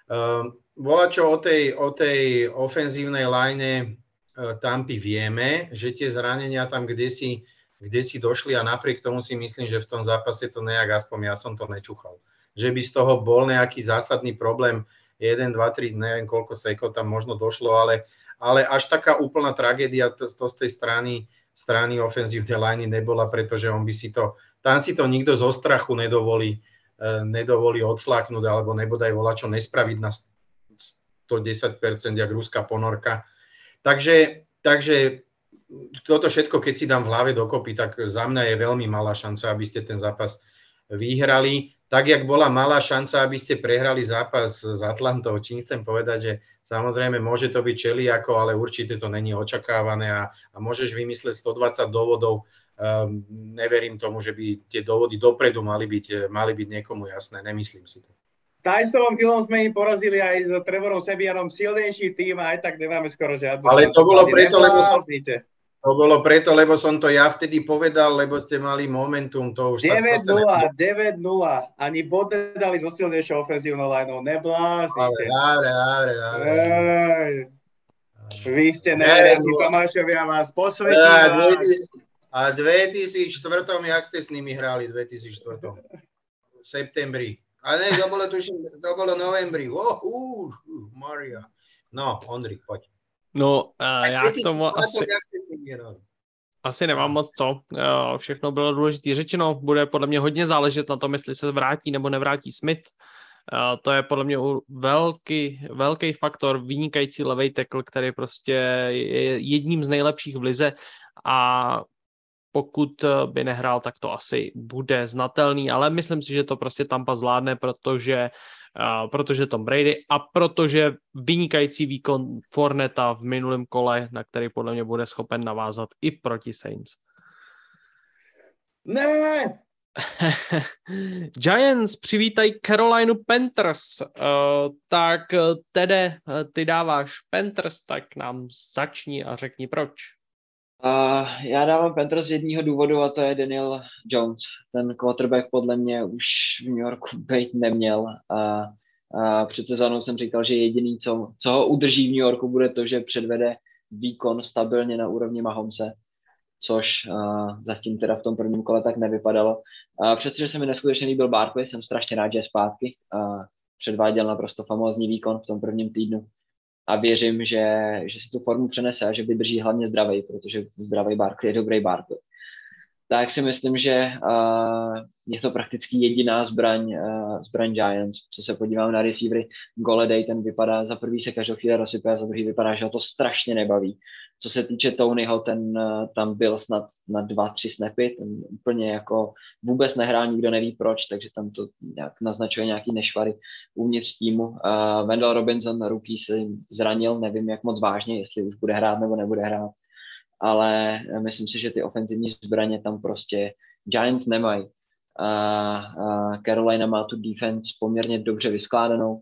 Um, bola čo o tej, o tej ofenzívnej line uh, Tampy vieme, že tie zranenia tam kdesi, kdesi došli a napriek tomu si myslím, že v tom zápase to nejak, aspoň ja som to nečuchal. Že by z toho bol nejaký zásadný problém, jeden, dva, tri, neviem koľko sekov tam možno došlo, ale, ale až taká úplná tragédia to, to z tej strany, strany ofenzívnej line nebola, pretože on by si to, tam si to nikto zo strachu nedovolí, nedovolí odfláknuť alebo nebodaj volačo nespraviť na sto desať percent jak ruská ponorka. Takže, takže toto všetko, keď si dám v hlave dokopy, tak za mňa je veľmi malá šanca, aby ste ten zápas vyhrali. Tak, jak bola malá šanca, aby ste prehrali zápas s Atlantou. Čím chcem povedať, že samozrejme môže to byť čeliako, ale určite to není očakávané a, a môžeš vymysleť stodvadsať dôvodov. Um, neverím tomu, že by tie dôvody dopredu mali byť, mali byť niekomu jasné. Nemyslím si to. S Tysonom Hillom sme im porazili aj s Trevorom Sebianom silnejší tým a aj tak nemáme skoro žiadnu. Ale to bolo preto, lebo som, to bolo preto, lebo som to ja vtedy povedal, lebo ste mali momentum. To už deväť nula, deväť nula. Ani bod nedali so silnejšou ofenzívnou lineou. Nebláznite. Dobre, dobre, dobre. Vy ste neveriaci Tomášovia, vás posvetím. A v dvetisícštyri, jak ste s nimi hrali v dvetisícštyri? V septembri. A ne, to bolo, tuším, to bolo novembri. Oh, uh, Maria. No, Ondřej, poď. No, uh, já k tomu asi, asi nemám moc co. Uh, všechno bylo důležité řečeno. Bude podle mě hodně záležet na tom, jestli se vrátí nebo nevrátí Smith. Uh, to je podle mě velký, velký faktor, vynikající levej tackle, který prostě je jedním z nejlepších v lize a pokud by nehrál, tak to asi bude znatelný, ale myslím si, že to prostě Tampa zvládne, protože, uh, protože Tom Brady a protože vynikající výkon Fourneta v minulém kole, na který podle mě bude schopen navázat i proti Saints. Ne! Giants přivítají Carolina Panthers, uh, tak Tede, ty dáváš Panthers, tak nám začni a řekni proč. Uh, já dávám Panthers z jedného důvodu a to je Daniel Jones. Ten quarterback podle mě už v New Yorku být neměl a, a před sezónou jsem říkal, že jediný, co, co ho udrží v New Yorku, bude to, že předvede výkon stabilně na úrovni Mahomese, což uh, zatím teda v tom prvním kole tak nevypadalo. Uh, přestože se mi neskutečně líbil Barkley, jsem strašně rád, že je zpátky. Uh, předváděl naprosto famózní výkon v tom prvním týdnu. A věřím, že, že si tu formu přenese a že vydrží hlavně zdravej, protože zdravej Barkley je dobrý Barkley. Tak si myslím, že uh, je to prakticky jediná zbraň, uh, zbraň Giants. Co se podívám na receivery, Golladay, ten vypadá, za prvý se každou chvíli rozsype a za druhý vypadá, že ho to strašně nebaví. Co se týče Tonyho, ten uh, tam byl snad na dva, tři snapy, ten úplně jako vůbec nehrál, nikdo neví proč, takže tam to nějak naznačuje nějaký nešvary uvnitř týmu. Uh, Wendell Robinson, rookie, se zranil, nevím jak moc vážně, jestli už bude hrát nebo nebude hrát. Ale myslím si, že ty ofenzivní zbraně tam prostě Giants nemají. Uh, uh, Carolina má tu defense poměrně dobře vyskládanou.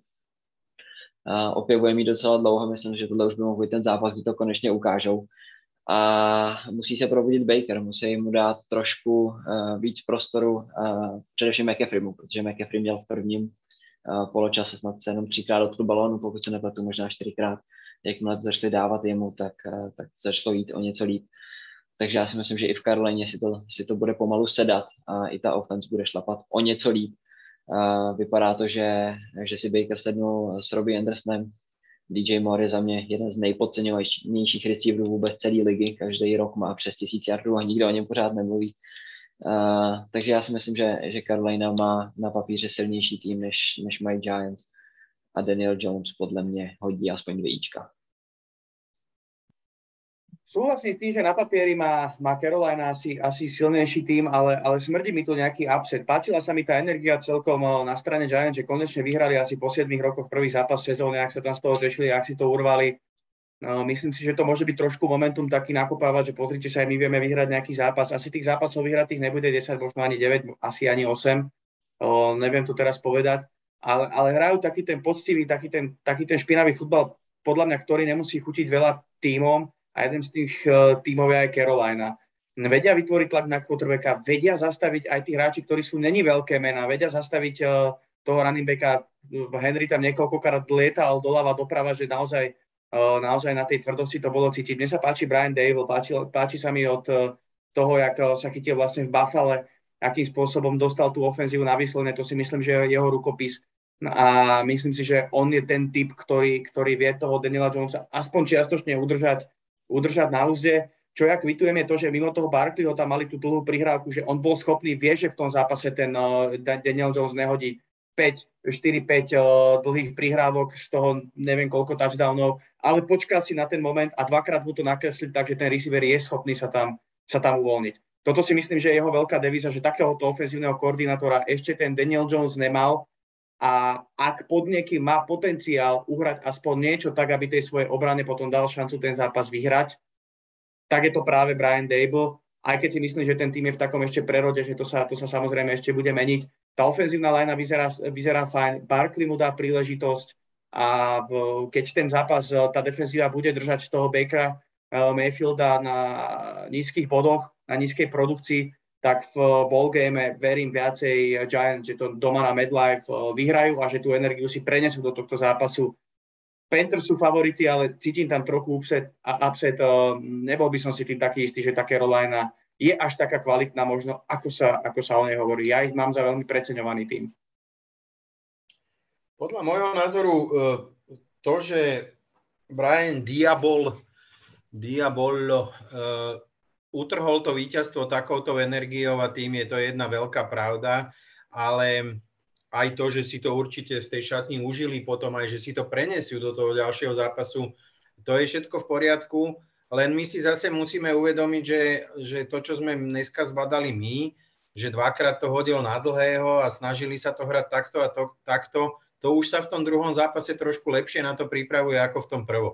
Uh, opěvuje mi docela dlouho, myslím, že tohle už by mohl být ten zápas, kdy to konečně ukážou. A musí se probudit Baker, musí mu dát trošku uh, víc prostoru, uh, především McCaffreymu, protože McCaffrey měl v prvním uh, poločase snad se jenom třikrát dotkl balónu, pokud se nepletu, možná čtyřikrát. Jakmile to začali dávat jemu, tak, tak začalo jít o něco líp. Takže já si myslím, že i v Carolině si to, si to bude pomalu sedat a i ta offense bude šlapat o něco líp. Uh, vypadá to, že, že si Baker sednul s Robbie Andersonem. D J Moore je za mě jeden z nejpodceňovanějších receiverů vůbec celé ligy. Každý rok má přes tisíc yardů a nikdo o něm pořád nemluví. Uh, takže já si myslím, že, že Carolina má na papíře silnější tým, než, než mají Giants. A Daniel Jones podle mě hodí aspoň dvějíčka. Súhlasím s tým, že na papieri má, má Carolina asi, asi silnejší tým, ale, ale smrdí mi tu nejaký upset. Páčila sa mi tá energia celkom na strane Giants, že konečne vyhrali asi po siedmich rokoch prvý zápas sezóny, ak sa tam z toho tešili, ak si to urvali. No, myslím si, že to môže byť trošku momentum taký nakopávať, že pozrite sa, aj my vieme vyhrať nejaký zápas. Asi tých zápasov vyhratých nebude desať, možno ani deväť, asi ani osem. O, neviem to teraz povedať. Ale, ale hrajú taký ten poctivý, taký ten, taký ten špinavý futbal, podľa mňa, ktorý nemusí chutiť veľa tímom a jeden z tých uh, tímov je aj Carolina. Vedia vytvoriť tlak na quarterbacka, vedia zastaviť aj tí hráči, ktorí sú není veľké mená, vedia zastaviť uh, toho running backa. Henry tam niekoľkokrát lietal doľava doprava, že naozaj, naozaj na tej tvrdosti to bolo cítiť. Mne sa páči Brian Dable, páči, páči sa mi od toho, jak sa chytil vlastne v Buffale, akým spôsobom dostal tú ofenzívu na výsledne, to si myslím, že je jeho rukopis. A myslím si, že on je ten typ, ktorý, ktorý vie toho Daniela Jonesa aspoň čiastočne udržať, udržať na úzde. Čo ja kvitujem je to, že mimo toho Barkleyho tam mali tú dlhú prihrávku, že on bol schopný, vie, že v tom zápase ten uh, Daniel Jones nehodí päť, štyri päť uh, dlhých prihrávok, z toho neviem koľko touchdownov, ale počkal si na ten moment a dvakrát mu to nakresliť, takže ten receiver je schopný sa tam, sa tam uvoľniť. Toto si myslím, že je jeho veľká devíza, že takéhoto ofenzívneho koordinátora ešte ten Daniel Jones nemal a ak pod niekým má potenciál uhrať aspoň niečo tak, aby tej svojej obrane potom dal šancu ten zápas vyhrať, tak je to práve Brian Dable, aj keď si myslím, že ten tým je v takom ešte prerode, že to sa, to sa samozrejme ešte bude meniť. Tá ofenzívna linea vyzerá, vyzerá fajn, Barkley mu dá príležitosť a v, keď ten zápas, tá defenzíva bude držať toho Bakera uh, Mayfielda na nízkych bodoch, na nízkej produkcii, tak v ballgame verím viacej Giants, že to doma na MetLife uh, vyhrajú a že tú energiu si prenesú do tohto zápasu. Panthers sú favority, ale cítim tam trochu upset a upset. Nebol by som si tým taký istý, že tá Carolina je až taká kvalitná možno, ako sa, ako sa o nej hovorí. Ja ich mám za veľmi preceňovaný tým. Podľa môjho názoru to, že Brian Diabol, Diabol uh, utrhol to víťazstvo takouto energiou a tým je to jedna veľká pravda, ale aj to, že si to určite z tej šatni užili potom, aj že si to prenesú do toho ďalšieho zápasu, to je všetko v poriadku, len my si zase musíme uvedomiť, že, že to, čo sme dneska zbadali my, že dvakrát to hodil na dlhého a snažili sa to hrať takto a to, takto, to už sa v tom druhom zápase trošku lepšie na to pripravuje ako v tom prvom.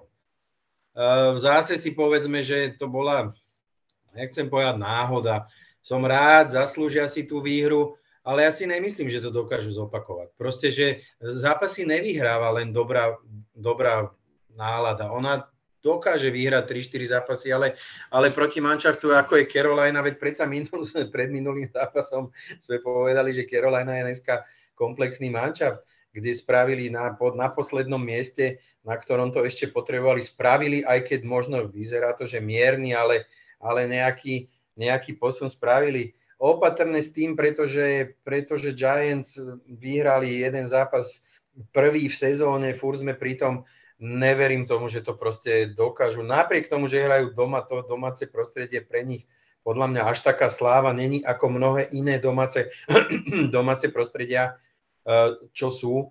Zase si povedzme, že to bola, nechcem povedať náhoda, som rád, zaslúžia si tú výhru, ale ja si nemyslím, že to dokážu zopakovať. Proste, že zápasy nevyhráva len dobrá, dobrá nálada. Ona dokáže vyhrať tri štyri zápasy, ale, ale proti manšaftu, ako je Carolina, veď predsa minul, pred minulým zápasom sme povedali, že Carolina je dneska komplexný manšaft, kde spravili na, na poslednom mieste, na ktorom to ešte potrebovali, spravili, aj keď možno vyzerá to, že mierny, ale, ale nejaký, nejaký posun spravili. Opatrné s tým, pretože, pretože Giants vyhrali jeden zápas prvý v sezóne, furt sme pritom, neverím tomu, že to proste dokážu. Napriek tomu, že hrajú doma, to domáce prostredie pre nich podľa mňa až taká sláva není ako mnohé iné domáce, domáce prostredia, čo sú.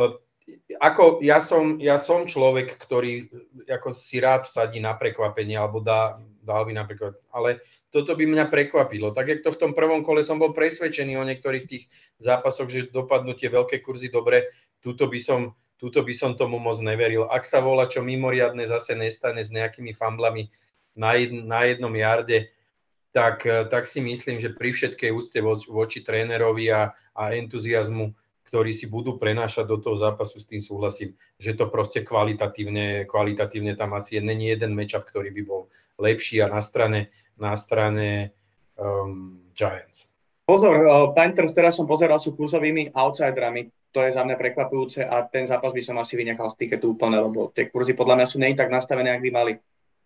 Ako ja som, ja som človek, ktorý ako si rád vsadí na prekvapenie, alebo dá, dal by napríklad, ale toto by mňa prekvapilo. Tak, jak to v tom prvom kole som bol presvedčený o niektorých tých zápasoch, že dopadnú tie veľké kurzy dobre, túto by som, túto by som tomu moc neveril. Ak sa volá čo mimoriadne zase nestane s nejakými famblami na, jed, na jednom jarde, tak, tak si myslím, že pri všetkej úcte voči, voči trénerovi a, a entuziazmu, ktorí si budú prenášať do toho zápasu, s tým súhlasím, že to proste kvalitatívne, kvalitatívne tam asi je, není jeden matchup, ktorý by bol lepší a na strane na strane um, Giants. Pozor, uh, Panthers, teraz som pozeral, sú kurzovými outsiderami. To je za mňa prekvapujúce a ten zápas by som asi vynechal z tiketu úplne, lebo tie kurzy podľa mňa sú nej tak nastavené, jak by mali.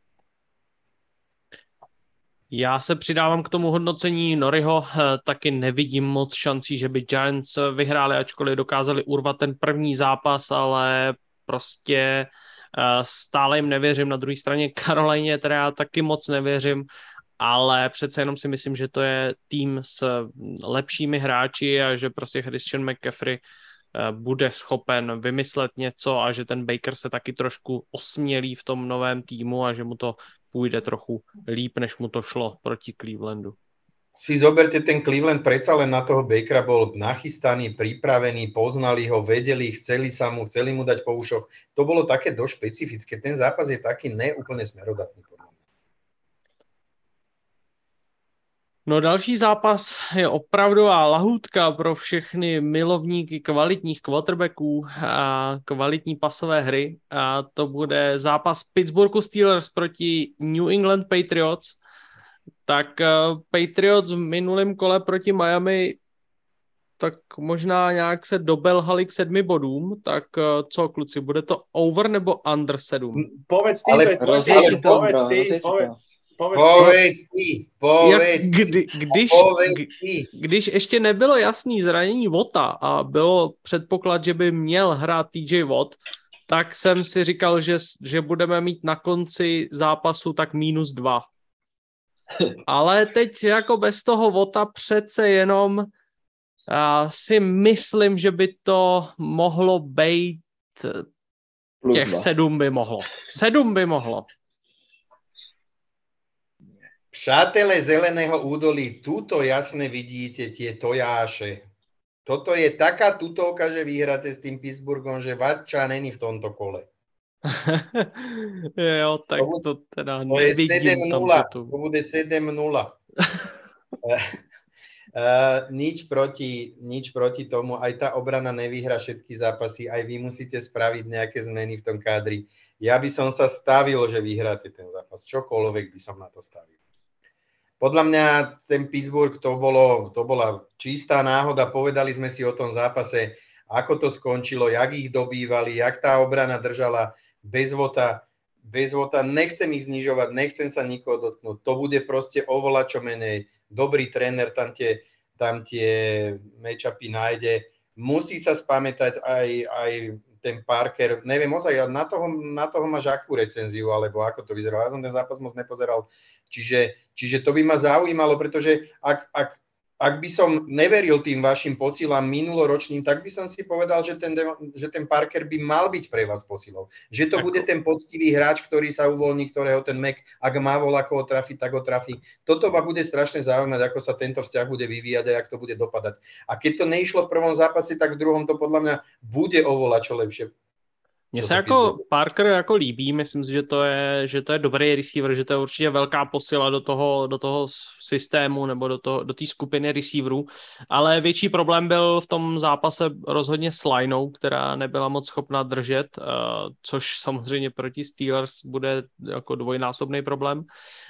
Já se přidávám k tomu hodnocení Noriho, taky nevidím moc šancí, že by Giants vyhráli, ačkoliv dokázali urvat ten první zápas, ale prostě stále jim nevěřím. Na druhé straně Carolině teda já taky moc nevěřím, ale přece jenom si myslím, že to je tým s lepšími hráči a že prostě Christian McCaffrey bude schopen vymyslet něco a že ten Baker se taky trošku osmělí v tom novém týmu a že mu to půjde trochu líp, než mu to šlo proti Clevelandu. Si zoberte, ten Cleveland predsa len na toho Bakera bol nachystaný, pripravený, poznali ho, vedeli, chceli sa mu, chceli mu dať po ušoch. To bolo také dosť špecifické. Ten zápas je taký neúplne smerodatný. No další zápas je opravdová lahůdka pro všechny milovníky kvalitních quarterbacků a kvalitní pasové hry. A to bude zápas Pittsburghu Steelers proti New England Patriots. Tak uh, Patriots v minulém kole proti Miami tak možná nějak se dobelhali k sedmi bodům, tak co, kluci, bude to over nebo under sedm? Povedz ty, ale, to je tvoj rozjeď tým, si to, povedz bro, ty, rozjeď si povedz, to. povedz, Povedz ty, povedz Jak, kdy, ty, když, povedz kdy, ty. když ještě nebylo jasný zranění Vota a bylo předpoklad, že by měl hrát T J Watt, tak jsem si říkal, že, že budeme mít na konci zápasu tak minus dva. Ale teď jako bez toho Vota přece jenom uh, si myslím, že by to mohlo být těch sedm by mohlo. Sedm by mohlo. Přátelé Zeleného údolí, tuto jasne vidíte tie tojáše. Toto je taká tutovka, že vyhráte s tým Pittsburghom, že Vatča není v tomto kole. Jo, tak to teda to je nevidím sedem nula, tam. To bude sedem nula. Uh, nič, proti, nič proti tomu, aj tá obrana nevyhrá všetky zápasy, aj vy musíte spraviť nejaké zmeny v tom kádri. Ja by som sa stavil, že vyhráte ten zápas. Čokoľvek by som na to stavil. Podľa mňa ten Pittsburgh to, bolo, to bola čistá náhoda. Povedali sme si o tom zápase, ako to skončilo, jak ich dobývali, jak tá obrana držala bez Vota. Bez Vota nechcem ich znižovať, nechcem sa nikoho dotknúť. To bude proste oveľa čo menej. Dobrý tréner tam tie, tam tie matchupy nájde. Musí sa spamätať aj, aj ten Parker. Neviem, ozaj, na toho, na toho máš akú recenziu, alebo ako to vyzeralo. Ja som ten zápas moc nepozeral. Čiže, čiže to by ma zaujímalo, pretože ak, ak, ak by som neveril tým vašim posílám minuloročným, tak by som si povedal, že ten, že ten Parker by mal byť pre vás posílou. Že to Ako? bude ten poctivý hráč, ktorý sa uvoľní, ktorého ten Mac, ak má voľa koho trafiť, tak ho trafí. Toto ma bude strašne zaujímať, ako sa tento vzťah bude vyvíjať a jak to bude dopadať. A keď to neišlo v prvom zápase, tak v druhom to podľa mňa bude oveľa čo lepšie. Mně se jako Parker jako líbí, myslím si, že to je, že to je dobrý receiver, že to je určitě velká posila do toho, do toho systému nebo do toho, do té skupiny receiverů, ale větší problém byl v tom zápase rozhodně s lineou, která nebyla moc schopná držet, což samozřejmě proti Steelers bude jako dvojnásobný problém.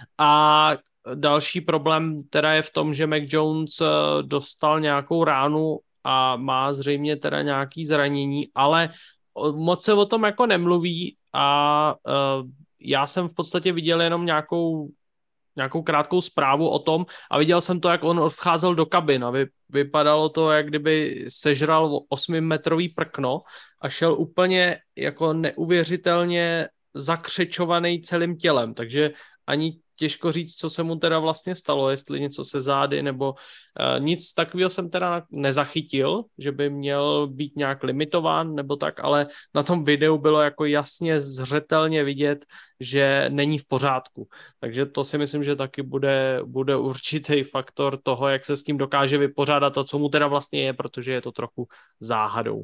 A další problém teda je v tom, že Mac Jones dostal nějakou ránu a má zřejmě teda nějaký zranění, ale moc se o tom jako nemluví a uh, já jsem v podstatě viděl jenom nějakou, nějakou krátkou zprávu o tom a viděl jsem to, jak on odcházel do kabin a vy, vypadalo to, jak kdyby sežral osmimetrový prkno a šel úplně jako neuvěřitelně zakřečovaný celým tělem, takže ani těžko říct, co se mu teda vlastně stalo, jestli něco se zády, nebo uh, nic takového jsem teda nezachytil, že by měl být nějak limitován, nebo tak, ale na tom videu bylo jako jasně zřetelně vidět, že není v pořádku. Takže to si myslím, že taky bude, bude určitý faktor toho, jak se s tím dokáže vypořádat a co mu teda vlastně je, protože je to trochu záhadou.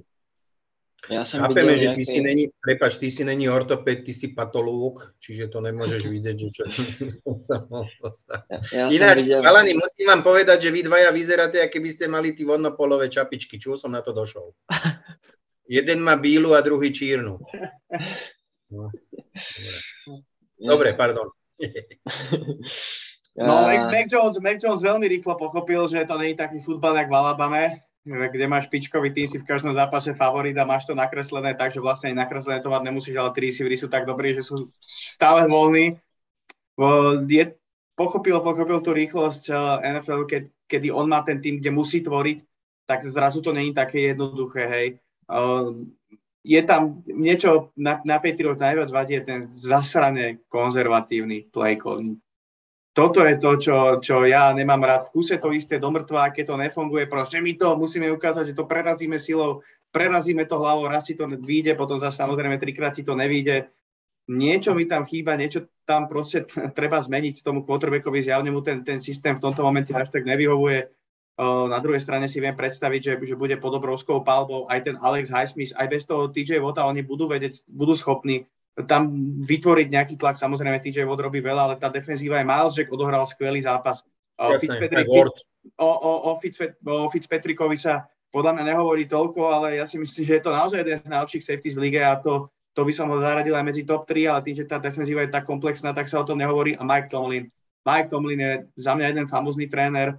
Ja som Chápeme, že nejaké... ty si není, prepáč, ty si není ortoped, ty si patológ, čiže to nemôžeš vidieť, že čo sa mohlo stať. Ja, ja Ináč, videl... chalani, musím vám povedať, že vy dvaja vyzeráte, aké by ste mali tí vodnopolové čapičky. Čul som na to došol. Jeden má bílu a druhý čírnu. No. Dobre, pardon. No, Mac, Mac, Jones, Mac Jones veľmi rýchlo pochopil, že to nie je taký futbal, jak v Alabame, kde máš špičkový tým, si v každom zápase favorit a máš to nakreslené tak, že vlastne aj nakreslené to mať nemusíš, ale tí receivery sú tak dobrí, že sú stále voľní. Je, pochopil, pochopil tú rýchlosť en ef el, keď, kedy on má ten tým, kde musí tvoriť, tak zrazu to nie je také jednoduché, hej. Je tam niečo, na, na Patriots najviac vadí, je ten zasrane konzervatívny play calling. Toto je to, čo, čo ja nemám rád. V kuse to isté do mŕtva, keď to nefunguje, proste my to musíme ukázať, že to prerazíme silou, prerazíme to hlavou, raz ti to vyjde, potom zase samozrejme trikrát ti to nevyjde. Niečo mi tam chýba, niečo tam proste treba zmeniť tomu quarterbackovi, zjavne mu ten, ten systém v tomto momente až tak nevyhovuje. Na druhej strane si viem predstaviť, že, že bude pod obrovskou palbou aj ten Alex Highsmith, aj bez toho té jé Watta, oni budú vedieť, budú schopní tam vytvoriť nejaký tlak. Samozrejme, té jé Watt robí veľa, ale tá defenzíva je Miles Jack odohral skvelý zápas. Jasne, Fitzpatrick, o, o, o, Fitzpet, o Fitzpatrickovi sa podľa mňa nehovorí toľko, ale ja si myslím, že je to naozaj jeden z najlepších safeties v lige a to, to by som ho zaradil aj medzi top tri, ale tým, že tá defenzíva je tak komplexná, tak sa o tom nehovorí. A Mike Tomlin. Mike Tomlin je za mňa jeden famózny tréner,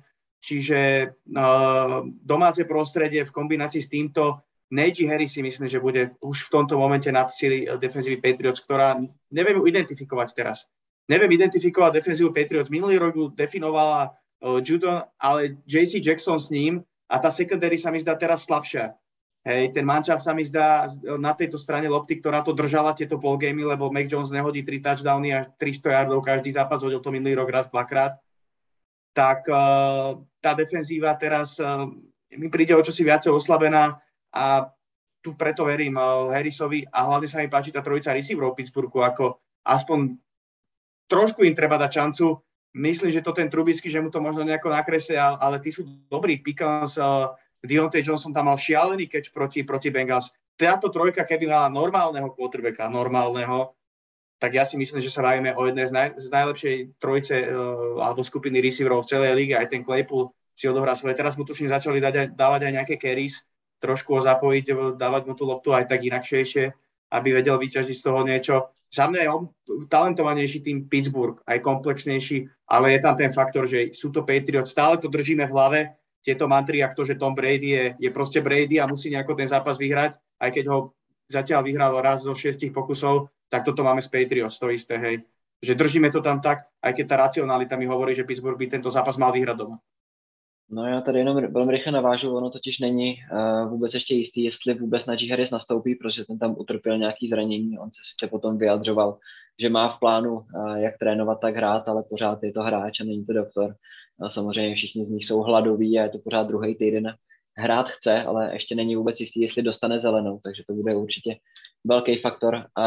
čiže uh, domáce prostredie v kombinácii s týmto, Najee Harris si myslím, že bude už v tomto momente na sily defenzívy Patriots, ktorá neviem ju identifikovať teraz. Neviem identifikovať defenzívu Patriots. Minulý rok ju definovala uh, Judon, ale J C Jackson s ním a tá secondary sa mi zdá teraz slabšia. Hej, ten mančaft sa mi zdá na tejto strane lopty, ktorá to držala tieto ballgamy, lebo Mac Jones nehodí tri touchdowny a tristo yardov každý zápas, hodil to minulý rok raz, dvakrát. Tak uh, tá defenzíva teraz uh, mi príde o čosi viacej oslabená a tu preto verím uh, Harrisovi a hlavne sa mi páči tá trojica receiverov v Pittsburghu, ako aspoň trošku im treba dať šancu. Myslím, že to ten Trubisky, že mu to možno nejako nakreslia, ale tí sú dobrí. Pickens, uh, Deontay Johnson tam mal šialený catch proti, proti Bengals. Táto trojka, keby mala normálneho quarterbacka, normálneho, tak ja si myslím, že sa bavíme o jednej z, naj, z najlepšej trojice uh, alebo skupiny receiverov v celej líge. Aj ten Claypool si odohrá svoje. Teraz mu tuším začali dať, dávať aj nejaké carries, trošku ho zapojiť, dávať mu tú loptu aj tak inakšejšie, aby vedel vyťažiť z toho niečo. Za mňa je on talentovanejší tým Pittsburgh, aj komplexnejší, ale je tam ten faktor, že sú to Patriots. Stále to držíme v hlave, tieto mantry, jak to, že Tom Brady je, je proste Brady a musí nejako ten zápas vyhrať, aj keď ho zatiaľ vyhral raz zo šiestich pokusov, tak toto máme z Patriots, to isté, hej. Že držíme to tam tak, aj keď tá racionalita mi hovorí, že Pittsburgh by tento zápas mal vyhrať doma. No já tady jenom velmi rychle navážu, ono totiž není uh, vůbec ještě jistý, jestli vůbec Najee Harris nastoupí, protože ten tam utrpěl nějaký zranění, on se sice potom vyjadřoval, že má v plánu uh, jak trénovat, tak hrát, ale pořád je to hráč a není to doktor. A samozřejmě všichni z nich jsou hladoví a je to pořád druhý týden. Hrát chce, ale ještě není vůbec jistý, jestli dostane zelenou, takže to bude určitě velký faktor. A,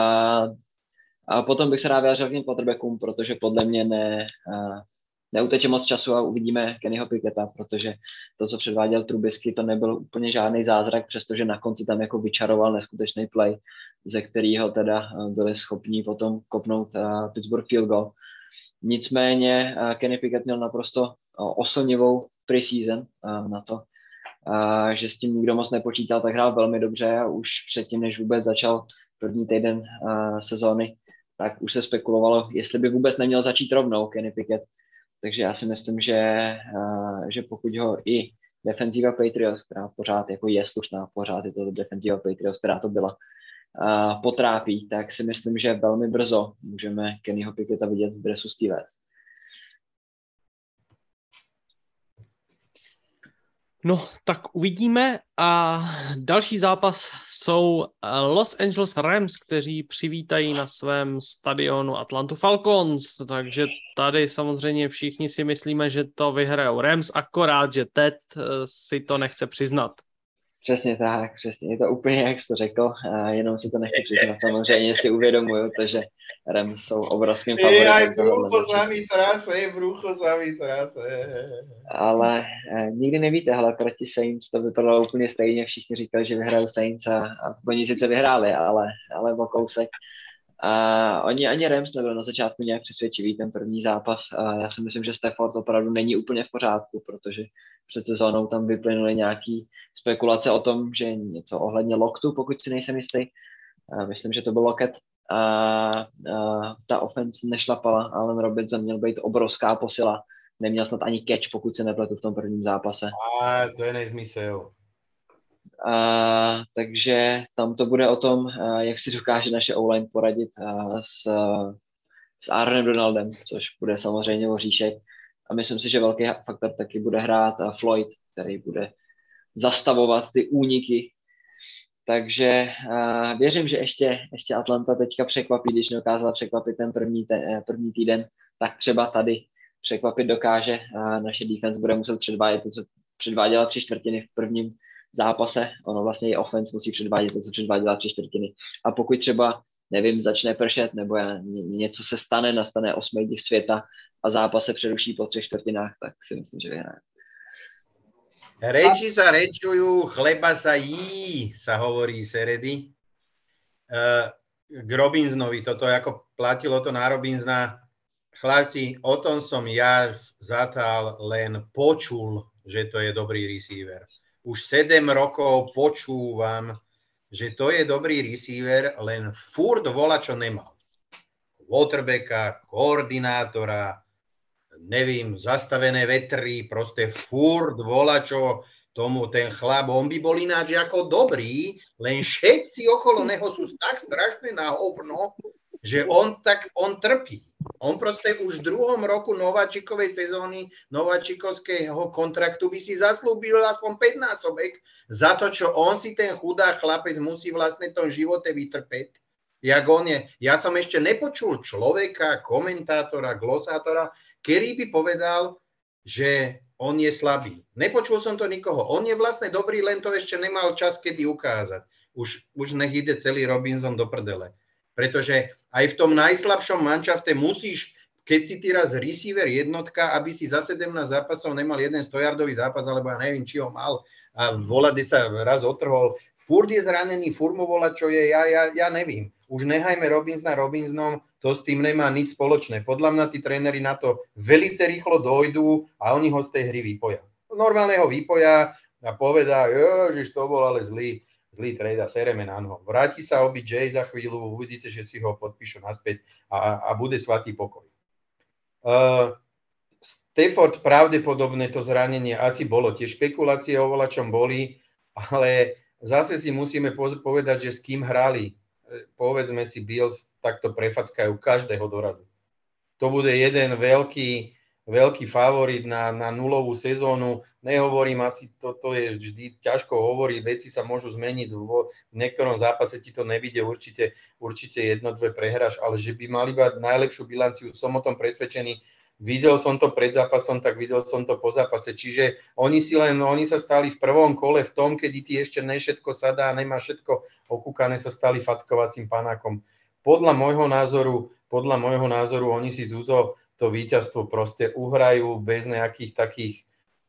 a potom bych se rád vyjádřil k těm quarterbackům, protože podle mě ne... Uh, neuteče moc času a uvidíme Kennyho Picketta, protože to, co předváděl Trubisky, to nebyl úplně žádný zázrak, přestože na konci tam jako vyčaroval neskutečný play, ze kterého teda byli schopni potom kopnout uh, Pittsburgh field goal. Nicméně uh, Kenny Pickett měl naprosto uh, oslnivou preseason uh, na to, uh, že s tím nikdo moc nepočítal, tak hrál velmi dobře a už předtím, než vůbec začal první týden uh, sezóny, tak už se spekulovalo, jestli by vůbec neměl začít rovnou Kenny Pickett. Takže já si myslím, že, uh, že pokud ho i defenzíva Patriots, která pořád jako je slušná, pořád je to defenzíva Patriots, která to byla, uh, potrápí, tak si myslím, že velmi brzo můžeme Kennyho Picketta vidět v dresu Steelers. No, tak uvidíme. A další zápas jsou Los Angeles Rams, kteří přivítají na svém stadionu Atlantu Falcons, takže tady samozřejmě všichni si myslíme, že to vyhrajou Rams, akorát, že Ted si to nechce přiznat. Přesně tak, přesně, je to úplně jak jsi to řekl, a jenom si to nechci přiznat, samozřejmě si uvědomuju to, že Rams jsou obrovským favoritem. Aj brucho za mi trase, brucho za mi trase. Ale eh, nikdy nevíte, hele, proti Saints to vypadalo úplně stejně, všichni říkali, že vyhrajou Saints a, a oni sice vyhráli, ale, ale o kousek. A oni ani Rams nebyl na začátku nějak přesvědčivý ten první zápas. A já si myslím, že Stafford opravdu není úplně v pořádku, protože před sezónou tam vyplynuly nějaký spekulace o tom, že něco ohledně loktu, pokud si nejsem jistý. A myslím, že to byl loket. A, a ta offense nešlapala, Allen Robinson měl být obrovská posila. Neměl snad ani catch, pokud se nepletu v tom prvním zápase. A to je nezmysel. A, takže tam to bude o tom, a, jak si dokáže naše O-line poradit a, s, s Aaronem Donaldem, což bude samozřejmě oříšek. A myslím si, že velký faktor taky bude hrát a Floyd, který bude zastavovat ty úniky. Takže a, věřím, že ještě, ještě Atlanta teďka překvapí, když nedokázala překvapit ten první, ten, první týden, tak třeba tady překvapit dokáže a naše defense bude muset předvádět to, co předváděla tři čtvrtiny v prvním zápase. Ono vlastně i offense musí předvádět to, co předváděla tři čtvrtiny. A pokud třeba, nevím, začne pršet, nebo něco se stane, nastane osmý div světa a zápas se přeruší po třech čtvrtinách, tak si myslím, že vyhraje. Reči sa rečujú, chleba sa jí, sa hovorí Seredy. Uh, k Robinsonovi, toto ako platilo to na Robinsona. Chlapci, o tom som ja zatal len počul, že to je dobrý receiver. Už sedem rokov počúvam, že to je dobrý receiver, len furt volá, čo nemal. Quarterbacka, koordinátora, nevím, zastavené vetry, proste furt volačo tomu ten chlap, on by bol ináč ako dobrý, len všetci okolo neho sú tak strašne na hovno, že on tak, on trpí. On proste už v druhom roku nováčikovej sezóny, nováčikovského kontraktu by si zaslúbil aspoň päťnásobek za to, čo on si ten chudák chlapec musí vlastne v tom živote vytrpeť. Jak on je. Ja som ešte nepočul človeka, komentátora, glosátora, ktorý by povedal, že on je slabý. Nepočul som to nikoho. On je vlastne dobrý, len to ešte nemal čas, kedy ukázať. Už, už nech ide celý Robinson do prdele. Pretože aj v tom najslabšom manšafte musíš, keď si ty raz receiver jednotka, aby si za sedemnásť zápasov nemal jeden stojardový zápas, alebo ja neviem, či ho mal a volade sa raz otrhol. Furt je zranený, furt mu volá, čo je, ja, ja, ja nevím. Už nehajme Robinsona Robinsonom, to s tým nemá nič spoločné. Podľa mňa tí tréneri na to velice rýchlo dojdú a oni ho z tej hry vypoja. Normálne ho vypoja a povedá, ježiš, to bol ale zlý, zlý trade a sereme na noho. Vráti sa O B J za chvíľu, uvidíte, že si ho podpíšu naspäť a, a bude svatý pokoj. Uh, Stafford pravdepodobne to zranenie asi bolo. Tie špekulácie o volačom boli, ale zase si musíme povedať, že s kým hrali. Povedzme si, Bills takto prefackajú každého doradu. To bude jeden veľký, veľký favorit na, na nulovú sezónu. Nehovorím asi, toto je vždy ťažko hovoriť, veci sa môžu zmeniť, v niektorom zápase ti to nevidie, určite, určite jedno, dve prehráš, ale že by mali mať najlepšiu bilanciu, som o tom presvedčený. Videl som to pred zápasom, tak videl som to po zápase. Čiže oni si len, oni sa stali v prvom kole v tom, kedy ti ešte ne všetko sadá, nemá všetko okúkané, sa stali fackovacím panákom. Podľa môjho názoru, podľa môjho názoru, oni si túto to víťazstvo proste uhrajú bez nejakých takých,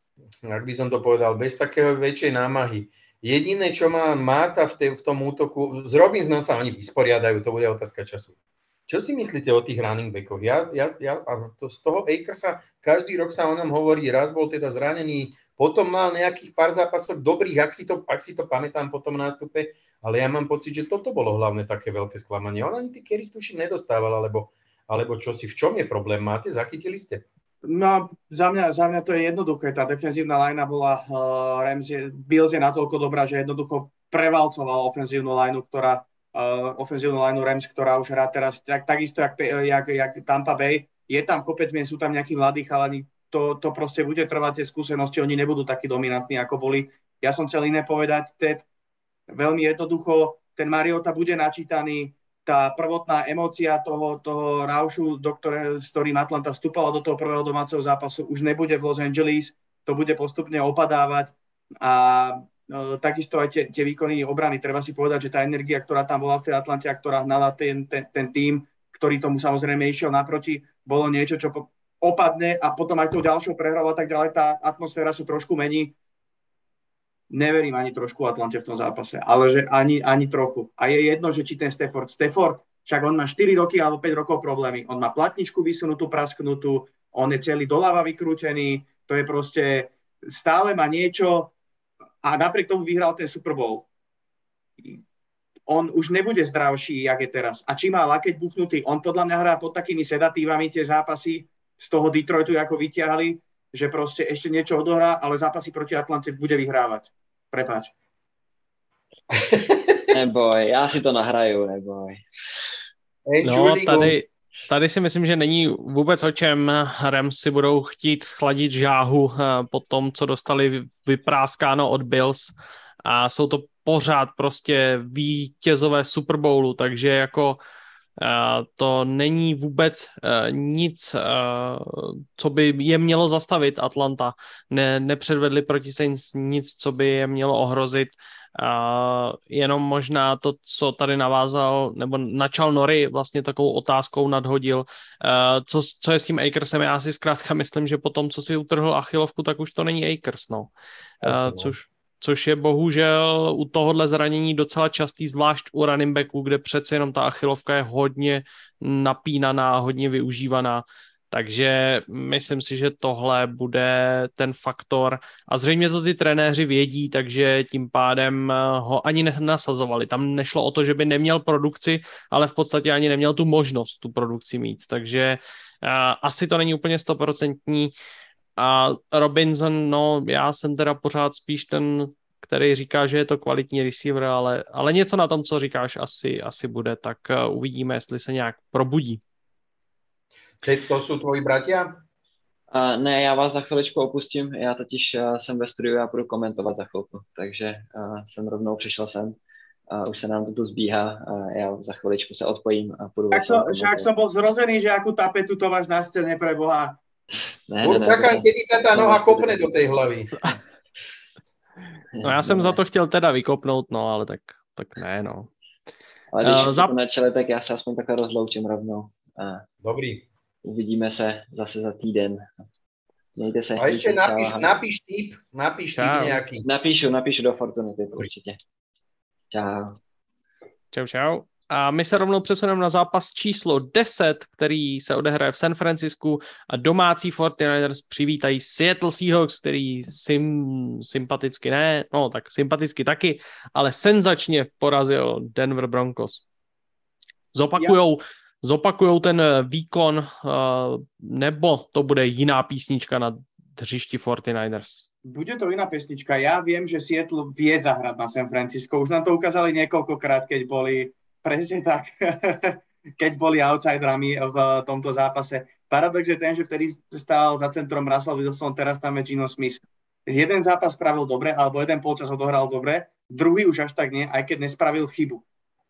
ak by som to povedal, bez takého väčšej námahy. Jediné, čo má Máta v, te, v tom útoku, s Robinsonom sa oni vysporiadajú, to bude otázka času. Čo si myslíte o tých running backoch? Ja, ja, ja, a to, z toho Akersa každý rok sa o ňom hovorí, raz bol teda zranený, potom mal nejakých pár zápasov dobrých, ak si to, ak si to pamätám po tom nástupe, ale ja mám pocit, že toto bolo hlavne také veľké sklamanie. On ani tí carries tuším nedostával, alebo, alebo čo si, v čom je problém? Máte, zachytili ste? No, za mňa, za mňa to je jednoduché. Tá defenzívna linea bola, uh, Rams je, Bills je natoľko dobrá, že jednoducho prevalcovala ofenzívnu lineu, ktorá Uh, ofenzívnu lineu Rams, ktorá už hrá teraz tak, takisto, jak, jak, jak Tampa Bay. Je tam kopec mien, sú tam nejakí mladí chalani, to, to proste bude trvať tie skúsenosti, oni nebudú takí dominantní, ako boli. Ja som chcel iné povedať, Ted, veľmi jednoducho, ten Mariota bude načítaný, tá prvotná emócia toho, toho raušu, do ktoré, s ktorým Atlanta vstúpala do toho prvého domáceho zápasu, už nebude v Los Angeles, to bude postupne opadávať a No, takisto aj tie, tie výkony obrany. Treba si povedať, že tá energia, ktorá tam bola v tej Atlante a ktorá hnala ten, ten, ten tím, ktorý tomu samozrejme išiel naproti, bolo niečo, čo opadne a potom aj tou ďalšou prehrou a tak ďalej, tá atmosféra sa trošku mení. Neverím ani trošku Atlante v tom zápase, ale že ani, ani trochu. A je jedno, že či ten Stafford, Stafford, však on má štyri roky alebo päť rokov problémy. On má platničku vysunutú, prasknutú, on je celý doľava vykrútený, to je proste, stále má niečo, a napriek tomu vyhral ten Super Bowl. On už nebude zdravší, jak je teraz. A či má lakeť buchnutý, on podľa mňa hrá pod takými sedatívami tie zápasy z toho Detroitu, ako vyťahli, že proste ešte niečo odohrá, ale zápasy proti Atlante bude vyhrávať. Prepáč. Neboj, já si to nahraju, neboj. No, tady, tady si myslím, že není vůbec o čem. Rams si budou chtít schladit žáhu po tom, co dostali vypráskáno od Bills a jsou to pořád prostě vítězové Super Bowlu, takže jako to není vůbec nic, co by je mělo zastavit Atlanta. Ne, nepředvedli proti Saints nic, co by je mělo ohrozit. Uh, jenom možná to, co tady navázal, nebo načal Nori vlastně takovou otázkou nadhodil, uh, co, co je s tím Akersem, já si zkrátka myslím, že po tom, co si utrhl achilovku, tak už to není Akers, no. Uh, což, což je bohužel u tohohle zranění docela častý, zvlášť u running backů, kde přece jenom ta achilovka je hodně napínaná, hodně využívaná, Takže myslím si, že tohle bude ten faktor a zřejmě to ty trenéři vědí, takže tím pádem ho ani nenasazovali. Tam nešlo o to, že by neměl produkci, ale v podstatě ani neměl tu možnost tu produkci mít. Takže uh, asi to není úplně stoprocentní. A Robinson, no já jsem teda pořád spíš ten, který říká, že je to kvalitní receiver, ale, ale něco na tom, co říkáš, asi, asi bude, tak uh, uvidíme, jestli se nějak probudí. Teď to jsou tvoji bratia? Uh, ne, já vás za chviličku opustím, já totiž uh, jsem ve studiu, já budu komentovat za chvilku, takže uh, jsem rovnou přišel sem. Uh, už se nám to tu zbíhá a já za chviličku se odpojím a půjdu. Tak som, však som bol zrozený, že akú tapetu to máš na stene pre Boha. Buď čakám, kedy ta ta noha kopne do tej hlavy. No já jsem za to chtěl teda vykopnout, no ale tak, tak ne, no. Ale když uh, za... to načele, tak já se aspoň takhle rozloučím rovnou. A dobrý. Uvidíme se zase za týden. Mějte se. A ještě napíš, napíš tip, napíš tip nějaký. Napíšu, napíšu do Fortuny tip, určitě. Čau. Čau, čau. A my se rovnou přesuneme na zápas číslo deset, který se odehraje v San Francisku a domácí forty-niners přivítají Seattle Seahawks, který sim, sympaticky ne, no tak sympaticky taky, ale senzačně porazil Denver Broncos. Zopakujou, zopakujou ten výkon, nebo to bude jiná písnička na hřišti forty-niners? Bude to iná pesnička. Ja viem, že Seattle vie zahrať na San Francisco. Už nám to ukázali niekoľkokrát, keď boli presne tak, keď boli outsiderami v tomto zápase. Paradox je ten, že vtedy stál za centrom Russell Wilson, teraz tam je Geno Smith. Jeden zápas spravil dobre, alebo jeden polčas odohral dobre, druhý už až tak nie, aj keď nespravil chybu.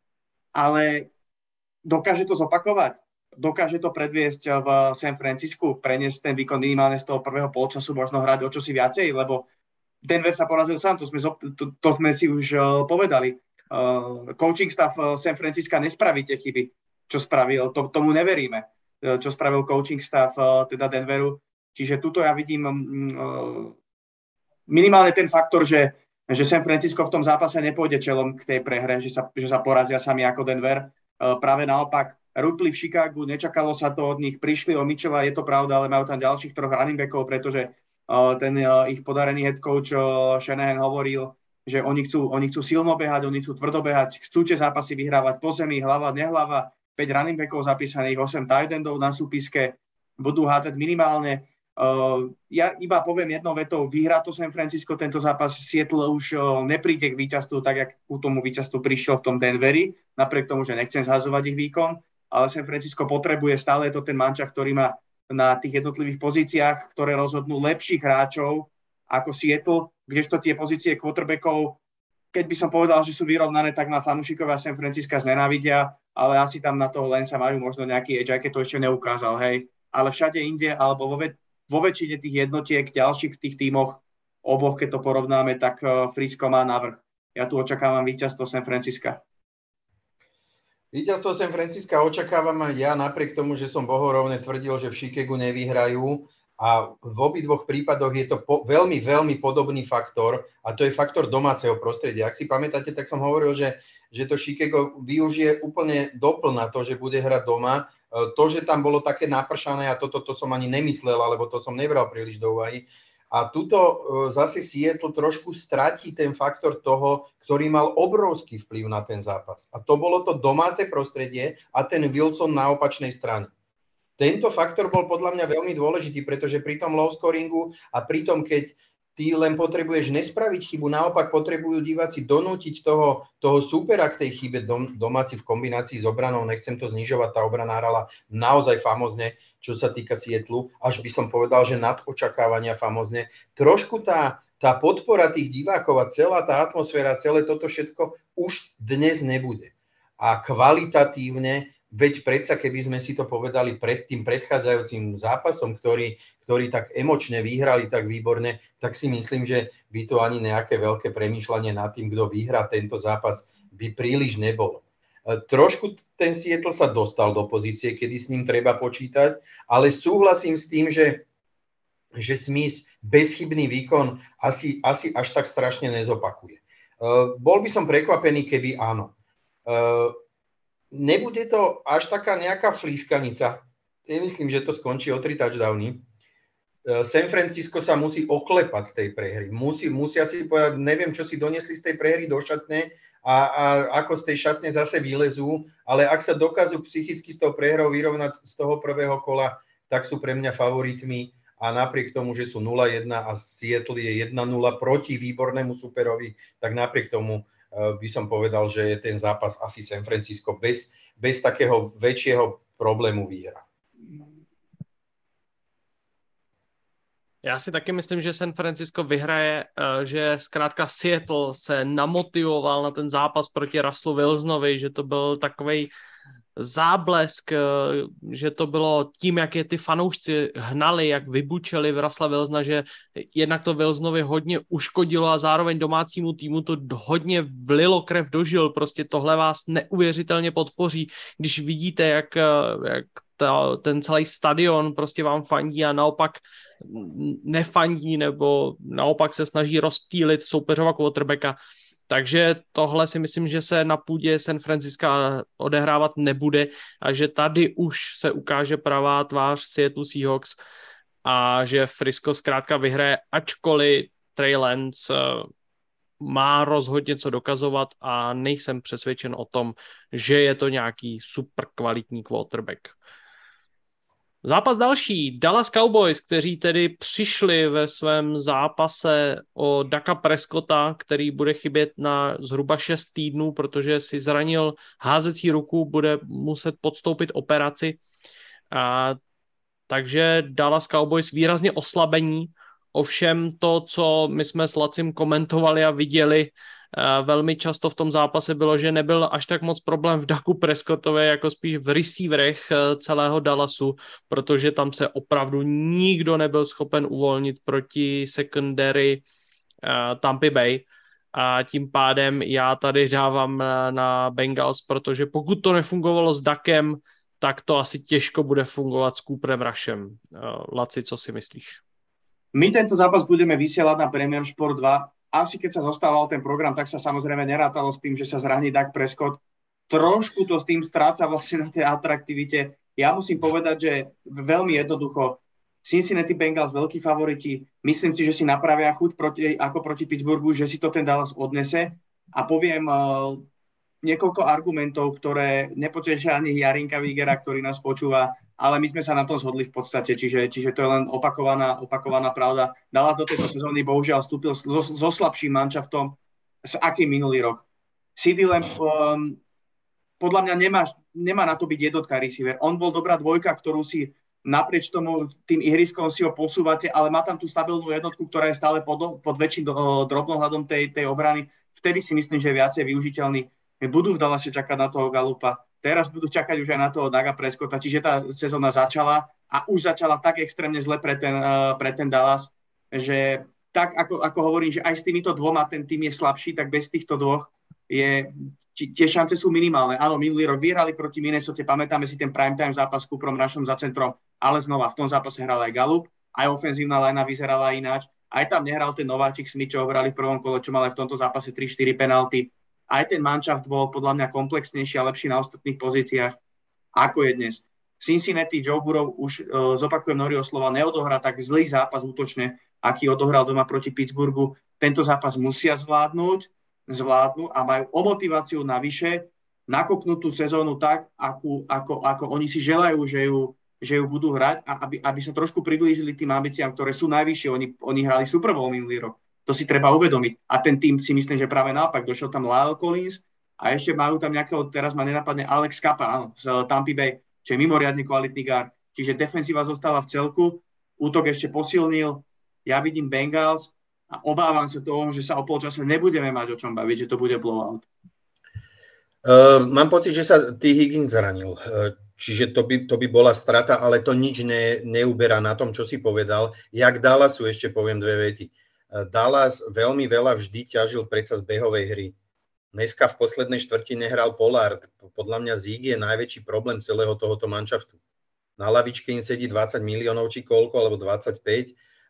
Ale dokáže to zopakovať? Dokáže to predviesť v San Francisku, preniesť ten výkon minimálne z toho prvého polčasu, možno hrať o čosi viacej, lebo Denver sa porazil sám, to sme, to, to sme si už uh, povedali. Uh, coaching staff uh, San Francisca nespraví tie chyby, čo spravil, to, tomu neveríme, uh, čo spravil coaching staff uh, teda Denveru. Čiže tuto ja vidím uh, minimálne ten faktor, že, že San Francisco v tom zápase nepôjde čelom k tej prehre, že sa, že sa porazia sami ako Denver. Uh, práve naopak, rúpli v Chicagu, nečakalo sa to od nich, prišli o Mitchella, je to pravda, ale majú tam ďalších troch running backov, pretože uh, ten uh, ich podarený head coach uh, Shanahan hovoril, že oni chcú, oni chcú silno behať, oni chcú tvrdo behať, chcú tie zápasy vyhrávať po zemi, hlava, nehlava, päť running backov zapísaných, osem tight endov na súpiske, budú hádzať minimálne. Uh, ja iba poviem jednou vetou, vyhrá to San Francisco tento zápas, Seattle už uh, nepríde k víťazstvu, tak jak ku tomu víťazstvu prišiel v tom Denveri, napriek tomu, že nechcem zhazovať ich výkon, ale San Francisco potrebuje, stále je to ten mančaft, ktorý má na tých jednotlivých pozíciách, ktoré rozhodnú lepších hráčov ako Seattle, kdežto tie pozície quarterbackov, keď by som povedal, že sú vyrovnané, tak na fanúšikovia San Francisca znenávidia, ale asi tam na toho Lensa majú možno nejaký edge, aj keď to ešte neukázal, hej. Ale všade inde, alebo vo, ve- vo väčšine tých jednotiek, ďalších v tých tímoch, oboch, keď to porovnáme, tak uh, Frisco má navrch. Ja tu očakávam víťazstvo San Francisca. Víťazstvo San Francisca očakávam aj ja, napriek tomu, že som bohorovne tvrdil, že v Chicagu nevyhrajú. A v obidvoch prípadoch je to po, veľmi, veľmi podobný faktor a to je faktor domáceho prostredia. Ak si pamätáte, tak som hovoril, že, že to Chicago využije úplne doplna to, že bude hrať doma. To, že tam bolo také napršané a toto to som ani nemyslel, alebo to som nebral príliš do úvahy. A tuto zase Seattle trošku stratí ten faktor toho, ktorý mal obrovský vplyv na ten zápas. A to bolo to domáce prostredie a ten Wilson na opačnej strane. Tento faktor bol podľa mňa veľmi dôležitý, pretože pri tom low scoringu a pri tom, keď ty len potrebuješ nespraviť chybu, naopak potrebujú diváci donútiť toho, toho súpera k tej chybe dom, domáci v kombinácii s obranou. Nechcem to znižovať, tá obrana hrala naozaj famózne, čo sa týka Seattlu, až by som povedal, že nad očakávania famózne. Trošku tá, tá podpora tých divákov a celá tá atmosféra, celé toto všetko už dnes nebude. A kvalitatívne, veď predsa, keby sme si to povedali pred tým predchádzajúcim zápasom, ktorý, ktorý tak emočne vyhrali, tak výborne, tak si myslím, že by to ani nejaké veľké premýšľanie nad tým, kto vyhrá tento zápas, by príliš nebolo. Trošku ten Seattle sa dostal do pozície, kedy s ním treba počítať, ale súhlasím s tým, že, že Smith bezchybný výkon asi, asi až tak strašne nezopakuje. Uh, bol by som prekvapený, keby áno. Uh, nebude to až taká nejaká flískanica, nemyslím, že to skončí o tri touchdowny. San Francisco sa musí oklepať z tej prehry. Musí, musia si povedať, neviem, čo si donesli z tej prehry do šatne a, a ako z tej šatne zase vylezú, ale ak sa dokážu psychicky s tou prehrou vyrovnať z toho prvého kola, tak sú pre mňa favoritmi a napriek tomu, že sú nula jedna a Seattle je jedna nula proti výbornému superovi, tak napriek tomu uh, by som povedal, že je ten zápas asi San Francisco bez, bez takého väčšieho problému výhra. Já si taky myslím, že San Francisco vyhraje, že zkrátka Seattle se namotivoval na ten zápas proti Russellu Wilsonovi, že to byl takovej záblesk, že to bylo tím, jak je ty fanoušci hnali, jak vybučeli v Russella Wilsona, že jednak to Wilsonovi hodně uškodilo a zároveň domácímu týmu to hodně vlilo krev do žil. Prostě tohle vás neuvěřitelně podpoří, když vidíte, jak, jak ta, ten celý stadion prostě vám fandí a naopak nefandí nebo naopak se snaží rozptýlit soupeřova quarterbacka. Takže tohle si myslím, že se na půdě San Francisca odehrávat nebude a že tady už se ukáže pravá tvář Seattle Seahawks a že Frisco zkrátka vyhraje, ačkoliv Trey Lance má rozhodně co dokazovat a nejsem přesvědčen o tom, že je to nějaký super kvalitní quarterback. Zápas další, Dallas Cowboys, kteří tedy přišli ve svém zápase o Daka Prescotta, který bude chybět na zhruba šest týdnů, protože si zranil házecí ruku, bude muset podstoupit operaci. A, takže Dallas Cowboys výrazně oslabení, ovšem to, co my jsme s Lacim komentovali a viděli, velmi často v tom zápase bylo, že nebyl až tak moc problém v Daku Prescottově, jako spíš v receiverech celého Dallasu, protože tam se opravdu nikdo nebyl schopen uvolnit proti secondary Tampa Bay a tím pádem já tady dávám na Bengals, protože pokud to nefungovalo s Dakem, tak to asi těžko bude fungovat s Cooperem Rushem. Laci, co si myslíš? My tento zápas budeme vysielať na Premier Sport dva. Asi keď sa zostával ten program, tak sa samozrejme nerátalo s tým, že sa zraní Dak Prescott. Trošku to s tým stráca vlastne na tej atraktivite. Ja musím povedať, že veľmi jednoducho Cincinnati Bengals veľkí favoriti. Myslím si, že si napravia chuť proti, ako proti Pittsburghu, že si to ten Dallas odnese. A poviem uh, niekoľko argumentov, ktoré nepotešia ani Jarinka Vigera, ktorý nás počúva, ale my sme sa na tom zhodli v podstate, čiže, čiže to je len opakovaná, opakovaná pravda. Dallas do tejto sezóny bohužiaľ vstúpil so, so slabším manšaftom, s akým minulý rok. CeeDee Lamb um, podľa mňa nemá, nemá na to byť jednotka receiver. On bol dobrá dvojka, ktorú si naprieč tomu tým ihriskom si ho posúvate, ale má tam tú stabilnú jednotku, ktorá je stále pod, pod väčším drobnohľadom tej, tej obrany. Vtedy si myslím, že je viacej využiteľný. Budú v Dallase čakať na toho Gallupa. Teraz budú čakať už aj na toho Daga Prescotta, čiže tá sezóna začala a už začala tak extrémne zle pre ten, uh, pre ten Dallas, že tak ako, ako hovorím, že aj s týmito dvoma ten tým je slabší, tak bez týchto dvoch je, tie šance sú minimálne. Áno, minulý rok vyhrali proti Minnesote, pamätáme si ten primetime zápas s Cooperom Rushom za centrom, ale znova v tom zápase hral aj Gallup, aj ofenzívna linea vyzerala ináč, aj tam nehral ten nováčik Smith, čo ho hrali v prvom kole, čo mal aj v tomto zápase tri štyri penalty. Aj ten manšaft bol podľa mňa komplexnejší a lepší na ostatných pozíciách, ako je dnes. Cincinnati, Joe Burrow, už uh, zopakujem Noriho slova, neodohrá tak zlý zápas útočne, aký odohral doma proti Pittsburghu. Tento zápas musia zvládnuť, zvládnu a majú o motiváciu navyše nakopnúť tú sezónu tak, ako, ako, ako oni si želajú, že ju, že ju budú hrať a aby, aby sa trošku priblížili tým ambíciám, ktoré sú najvyššie. Oni, oni hrali Super Bowl minulý rok. To si treba uvedomiť. A ten tým si myslím, že práve naopak. Došiel tam Lyle Collins a ešte majú tam nejakého, teraz ma nenapadne, Alex Kappa, áno, z Tampa Bay, čo je mimoriadne kvalitný guard. Čiže defenzíva zostáva v celku, útok ešte posilnil. Ja vidím Bengals a obávam sa toho, že sa o polčase nebudeme mať o čom baviť, že to bude blowout. Uh, mám pocit, že sa T. Higgins zranil. Uh, čiže to by, to by bola strata, ale to nič ne, neuberá na tom, čo si povedal. Jak Dallasu ešte poviem dve vety. Dallas veľmi veľa vždy ťažil predsa z behovej hry. Dneska v poslednej štvrtine hral Pollard. Podľa mňa Zig je najväčší problém celého tohoto manšaftu. Na lavičke im sedí dvadsať miliónov či koľko, alebo dvadsaťpäť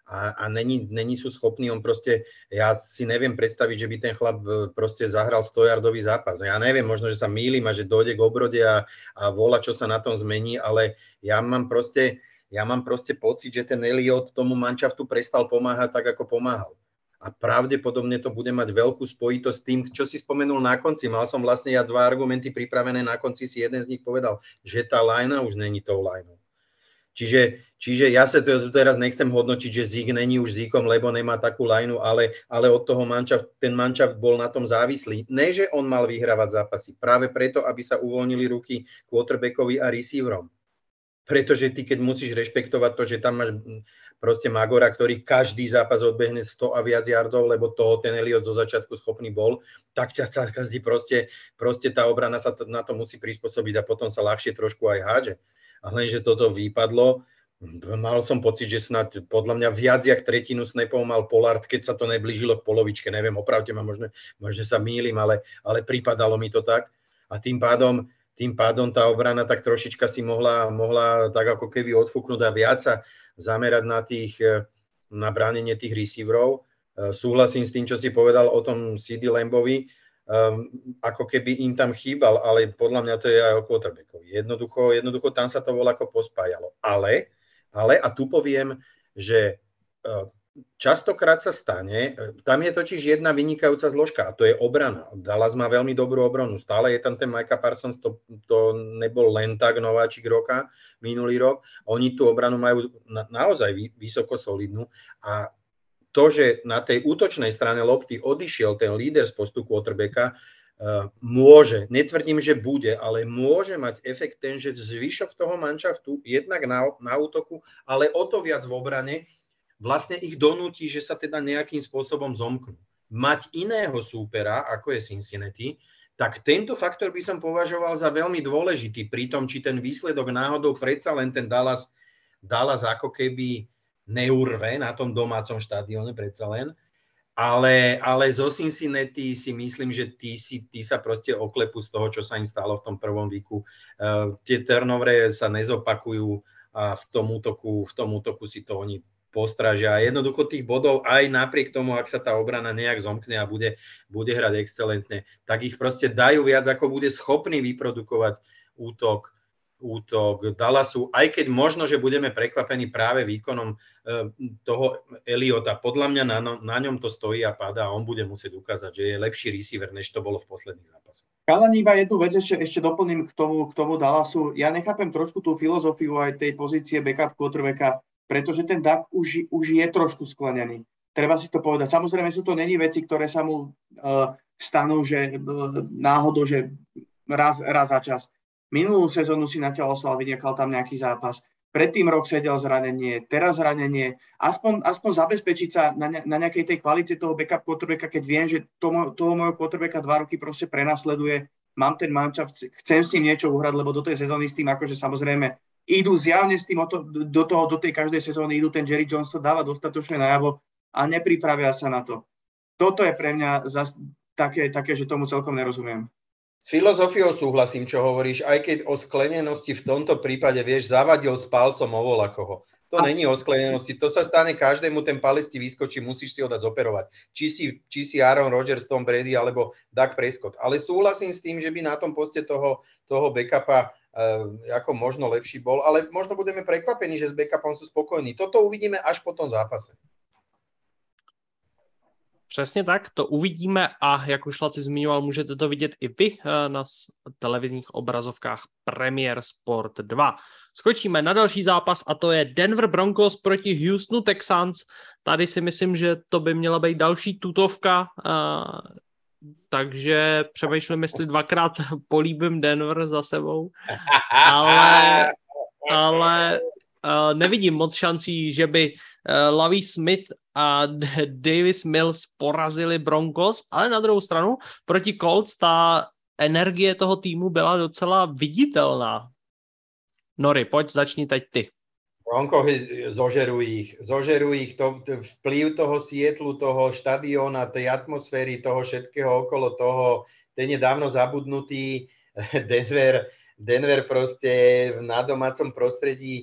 a, a není, není sú schopní, on proste, ja si neviem predstaviť, že by ten chlap proste zahral stojardový zápas. Ja neviem, možno, že sa mýlim a že dojde k obrode a, a volá, čo sa na tom zmení, ale ja mám proste, ja mám proste pocit, že ten Elliot tomu manšaftu prestal pomáhať tak, ako pomáhal. A pravdepodobne to bude mať veľkú spojitosť s tým, čo si spomenul na konci. Mal som vlastne ja dva argumenty pripravené, na konci si jeden z nich povedal, že tá lajna už není tou lajnou. Čiže, čiže ja sa to teraz nechcem hodnotiť, že Zík není už Zíkom, lebo nemá takú lajnu, ale, ale od toho manšaft, ten manšaft bol na tom závislý. Ne, že on mal vyhrávať zápasy, práve preto, aby sa uvoľnili ruky quarterbackovi a receiverom. Pretože ty, keď musíš rešpektovať to, že tam máš proste Magora, ktorý každý zápas odbehne sto a viac yardov, lebo toho ten Elliot zo začiatku schopný bol, tak ťa každý proste, proste tá obrana sa to, na to musí prispôsobiť a potom sa ľahšie trošku aj hádže. A lenže toto vypadlo, mal som pocit, že snad podľa mňa viac jak tretinu snapov mal Pollard, keď sa to neblížilo k polovičke, neviem, opravte ma, možno, možno sa mýlim, ale, ale pripadalo mi to tak. A tým pádom Tým pádom tá obrana tak trošička si mohla, mohla tak ako keby odfúknuť a viac sa zamerať na, tých, na bránenie tých receiverov. Súhlasím s tým, čo si povedal o tom C D Lambovi, um, ako keby im tam chýbal, ale podľa mňa to je aj o quarterbackovi. Jednoducho, jednoducho tam sa to voľ ako pospájalo. Ale, ale, a tu poviem, že uh, častokrát sa stane, tam je totiž jedna vynikajúca zložka a to je obrana. Dallas má veľmi dobrú obranu, stále je tam ten Micah Parsons, to, to nebol len tak nováčik roka, minulý rok. Oni tú obranu majú na, naozaj vysoko solidnú a to, že na tej útočnej strane lopty odišiel ten líder z postu quarterbacka, uh, môže, netvrdím, že bude, ale môže mať efekt ten, že zvyšok toho manšaftu jednak na, na útoku, ale o to viac v obrane, vlastne ich donúti, že sa teda nejakým spôsobom zomknú. Mať iného súpera, ako je Cincinnati, tak tento faktor by som považoval za veľmi dôležitý pri tom, či ten výsledok náhodou predsa len ten Dallas, Dallas ako keby neurve na tom domácom štadióne predsa len. Ale, ale zo Cincinnati si myslím, že tí, si, tí sa proste oklepú z toho, čo sa im stalo v tom prvom víku. Uh, tie turnovery sa nezopakujú a v tom útoku, v tom útoku si to oni postražia. A jednoducho tých bodov aj napriek tomu, ak sa tá obrana nejak zomkne a bude, bude hrať excelentne, tak ich proste dajú viac, ako bude schopný vyprodukovať útok, útok Dallasu, aj keď možno, že budeme prekvapení práve výkonom e, toho Elliota. Podľa mňa na, na ňom to stojí a padá a on bude musieť ukázať, že je lepší receiver, než to bolo v posledných zápasoch. Kalani, iba jednu vec ešte, ešte doplním k tomu, k tomu Dallasu. Ja nechápem trošku tú filozofiu aj tej pozície backup quarterbacka, pretože ten Dak už, už je trošku sklenený. Treba si to povedať. Samozrejme sú to není veci, ktoré sa mu uh, stanú, že uh, náhodou, že raz, raz za čas. Minulú sezónu si natiaľ oslal, vynechal tam nejaký zápas. Predtým rok sedel zranenie, teraz zranenie. Aspoň, aspoň zabezpečiť sa na, ne, na nejakej tej kvalite toho backup quarterbacka, keď viem, že toho, toho môjho quarterbacka dva roky proste prenasleduje. Mám ten manšaft, chcem s ním niečo uhrať, lebo do tej sezóny s tým akože samozrejme idú zjavne s tým do toho, do tej každej sezóny idú, ten Jerry Jones to dáva dostatočne najavo a nepripravia sa na to. Toto je pre mňa zas také, také, že tomu celkom nerozumiem. S filozofiou súhlasím, čo hovoríš, aj keď o sklenenosti v tomto prípade, vieš, zavadil s palcom o volakoho. To není o sklenenosti, to sa stane každému, ten palec ti vyskočí, musíš si ho dať zoperovať. Či si, či si Aaron Rodgers, Tom Brady alebo Dak Prescott. Ale súhlasím s tým, že by na tom poste toho, toho backupa uh, ako možno lepší bol, ale možno budeme prekvapení, že s backupom sú spokojní. Toto uvidíme až po tom zápase. Přesně tak, to uvidíme a jak už Laci zmiňoval, můžete to vidět i vy na televizních obrazovkách Premier Sport dva. Skočíme na další zápas a to je Denver Broncos proti Houstonu Texans. Tady si myslím, že to by měla být další tutovka, takže přemýšlím, jestli dvakrát políbím Denver za sebou, ale, ale nevidím moc šancí, že by Lovie Smith a Davis Mills porazili Broncos, ale na druhou stranu proti Colts ta energie toho týmu byla docela viditelná. Nori, pojď, začni teď ty. Broncos zožerujú ich, zožerujú ich to, vplyv toho Sietlu, toho štadióna, tej atmosféry, toho všetkého okolo toho, ten je dávno zabudnutý. Denver, Denver proste na domácom prostredí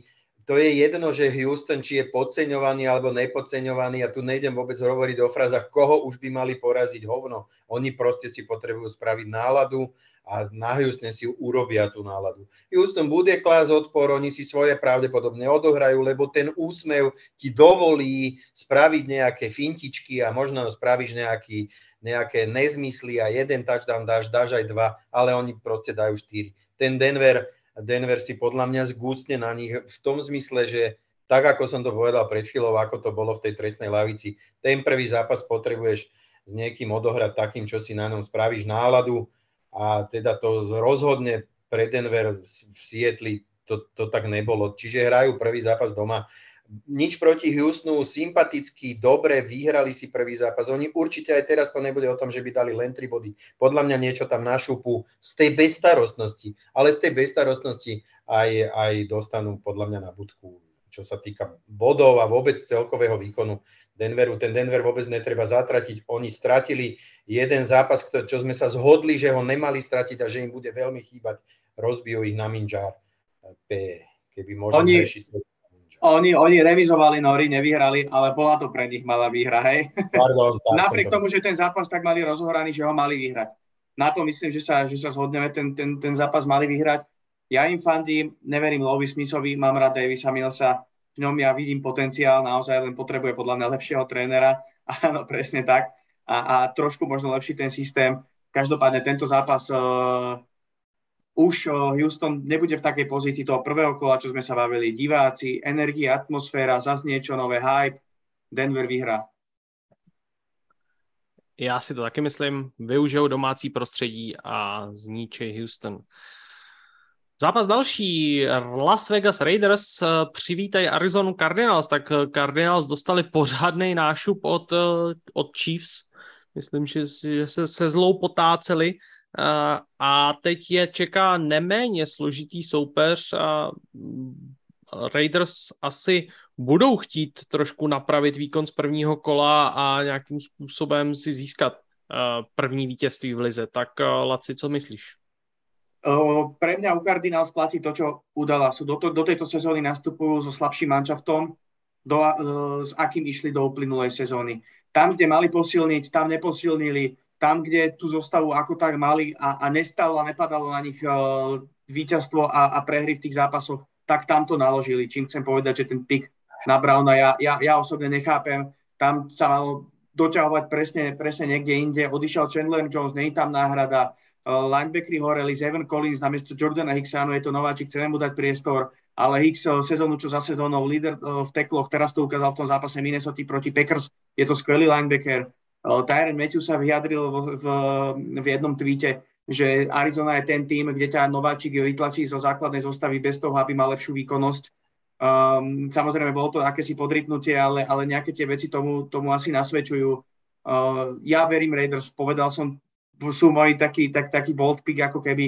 to je jedno, že Houston, či je podceňovaný alebo nepodceňovaný, a tu nejdem vôbec hovoriť o frázach, koho už by mali poraziť, hovno. Oni proste si potrebujú spraviť náladu a na Houstone si urobia tú náladu. Houston bude klásť odpor, oni si svoje pravdepodobne odohrajú, lebo ten úsmev ti dovolí spraviť nejaké fintičky a možno spravíš nejaký, nejaké nezmysly a jeden touchdown dáš, dáš aj dva, ale oni proste dajú štyri. Ten Denver Denver si podľa mňa zgústne na nich v tom zmysle, že tak, ako som to povedal pred chvíľou, ako to bolo v tej trestnej lavici, ten prvý zápas potrebuješ s niekým odohrať takým, čo si na ňom spravíš náladu a teda to rozhodne pre Denver v Seattle to, to tak nebolo. Čiže hrajú prvý zápas doma. Nič proti Houstonu, sympaticky, dobre, vyhrali si prvý zápas. Oni určite aj teraz to nebude o tom, že by dali len tri body. Podľa mňa niečo tam našúpu z tej bezstarostnosti, ale z tej bezstarostnosti aj, aj dostanú podľa mňa na budku, čo sa týka bodov a vôbec celkového výkonu Denveru. Ten Denver vôbec netreba zatratiť. Oni stratili jeden zápas, čo sme sa zhodli, že ho nemali stratiť a že im bude veľmi chýbať. Rozbijú ich na minžár. Keby možno Oni... rešiť. Oni, oni remizovali Nori, nevyhrali, ale bola to pre nich malá výhra, hej. Pardon, Napriek tomu, že ten zápas tak mali rozohraný, že ho mali vyhrať. Na to myslím, že sa, že sa zhodneme, ten, ten, ten zápas mali vyhrať. Ja im fandím, neverím Lovi Smithovi, mám rád Davisa Millsa, v ňom ja vidím potenciál, naozaj len potrebuje podľa mňa lepšieho trénera. Áno, presne tak. A, a trošku možno lepší ten systém. Každopádne tento zápas... Uh, Už Houston nebude v takej pozícii toho prvého kola, čo sme sa bavili. Diváci, energia, atmosféra, zase niečo nové, hype. Denver vyhrá. Já si to taky myslím. Využijou domácí prostředí a zničí Houston. Zápas další. Las Vegas Raiders přivítají Arizonu Cardinals. Tak Cardinals dostali pořádnej nášup od, od Chiefs. Myslím, že, že se, se zlou potáceli. Uh, a teď je čeká neméně složitý soupeř a Raiders asi budou chtít trošku napravit výkon z prvního kola a nějakým způsobem si získat uh, první vítězství v lize. Tak uh, Laci, co myslíš? Uh, pre mňa u Cardinals platí to, čo udala. Sú do, to, do tejto sezóny nastupujú so slabším manšaftom, do, uh, s akým išli do uplynulej sezóny. Tam, kde mali posilniť, tam neposilnili. Tam, kde tú zostavu ako tak mali a, a nestalo a nepadalo na nich uh, víťazstvo a, a prehry v tých zápasoch, tak tam to naložili. Čím chcem povedať, že ten pik na Browna ja, ja, ja osobne nechápem. Tam sa malo doťahovať presne, presne niekde inde. Odišiel Chandler Jones, nie je tam náhrada. Uh, linebackery horeli, Evan Collins namiesto Jordana Hicksa, no je to nováčik, chceme mu dať priestor, ale Hicks uh, sezónu čo za sezónou, líder uh, v tekloch, teraz to ukázal v tom zápase Minnesota proti Packers, je to skvelý linebacker. Tyrann Matthew sa vyjadril v, v, v jednom tweete, že Arizona je ten tým, kde ťa nováčik vytlačí zo základnej zostavy bez toho, aby mal lepšiu výkonnosť. Um, samozrejme, bolo to akési podrypnutie, ale, ale nejaké tie veci tomu, tomu asi nasvedčujú. Uh, ja verím Raiders, povedal som, sú moji taký, tak, taký bold pick, ako keby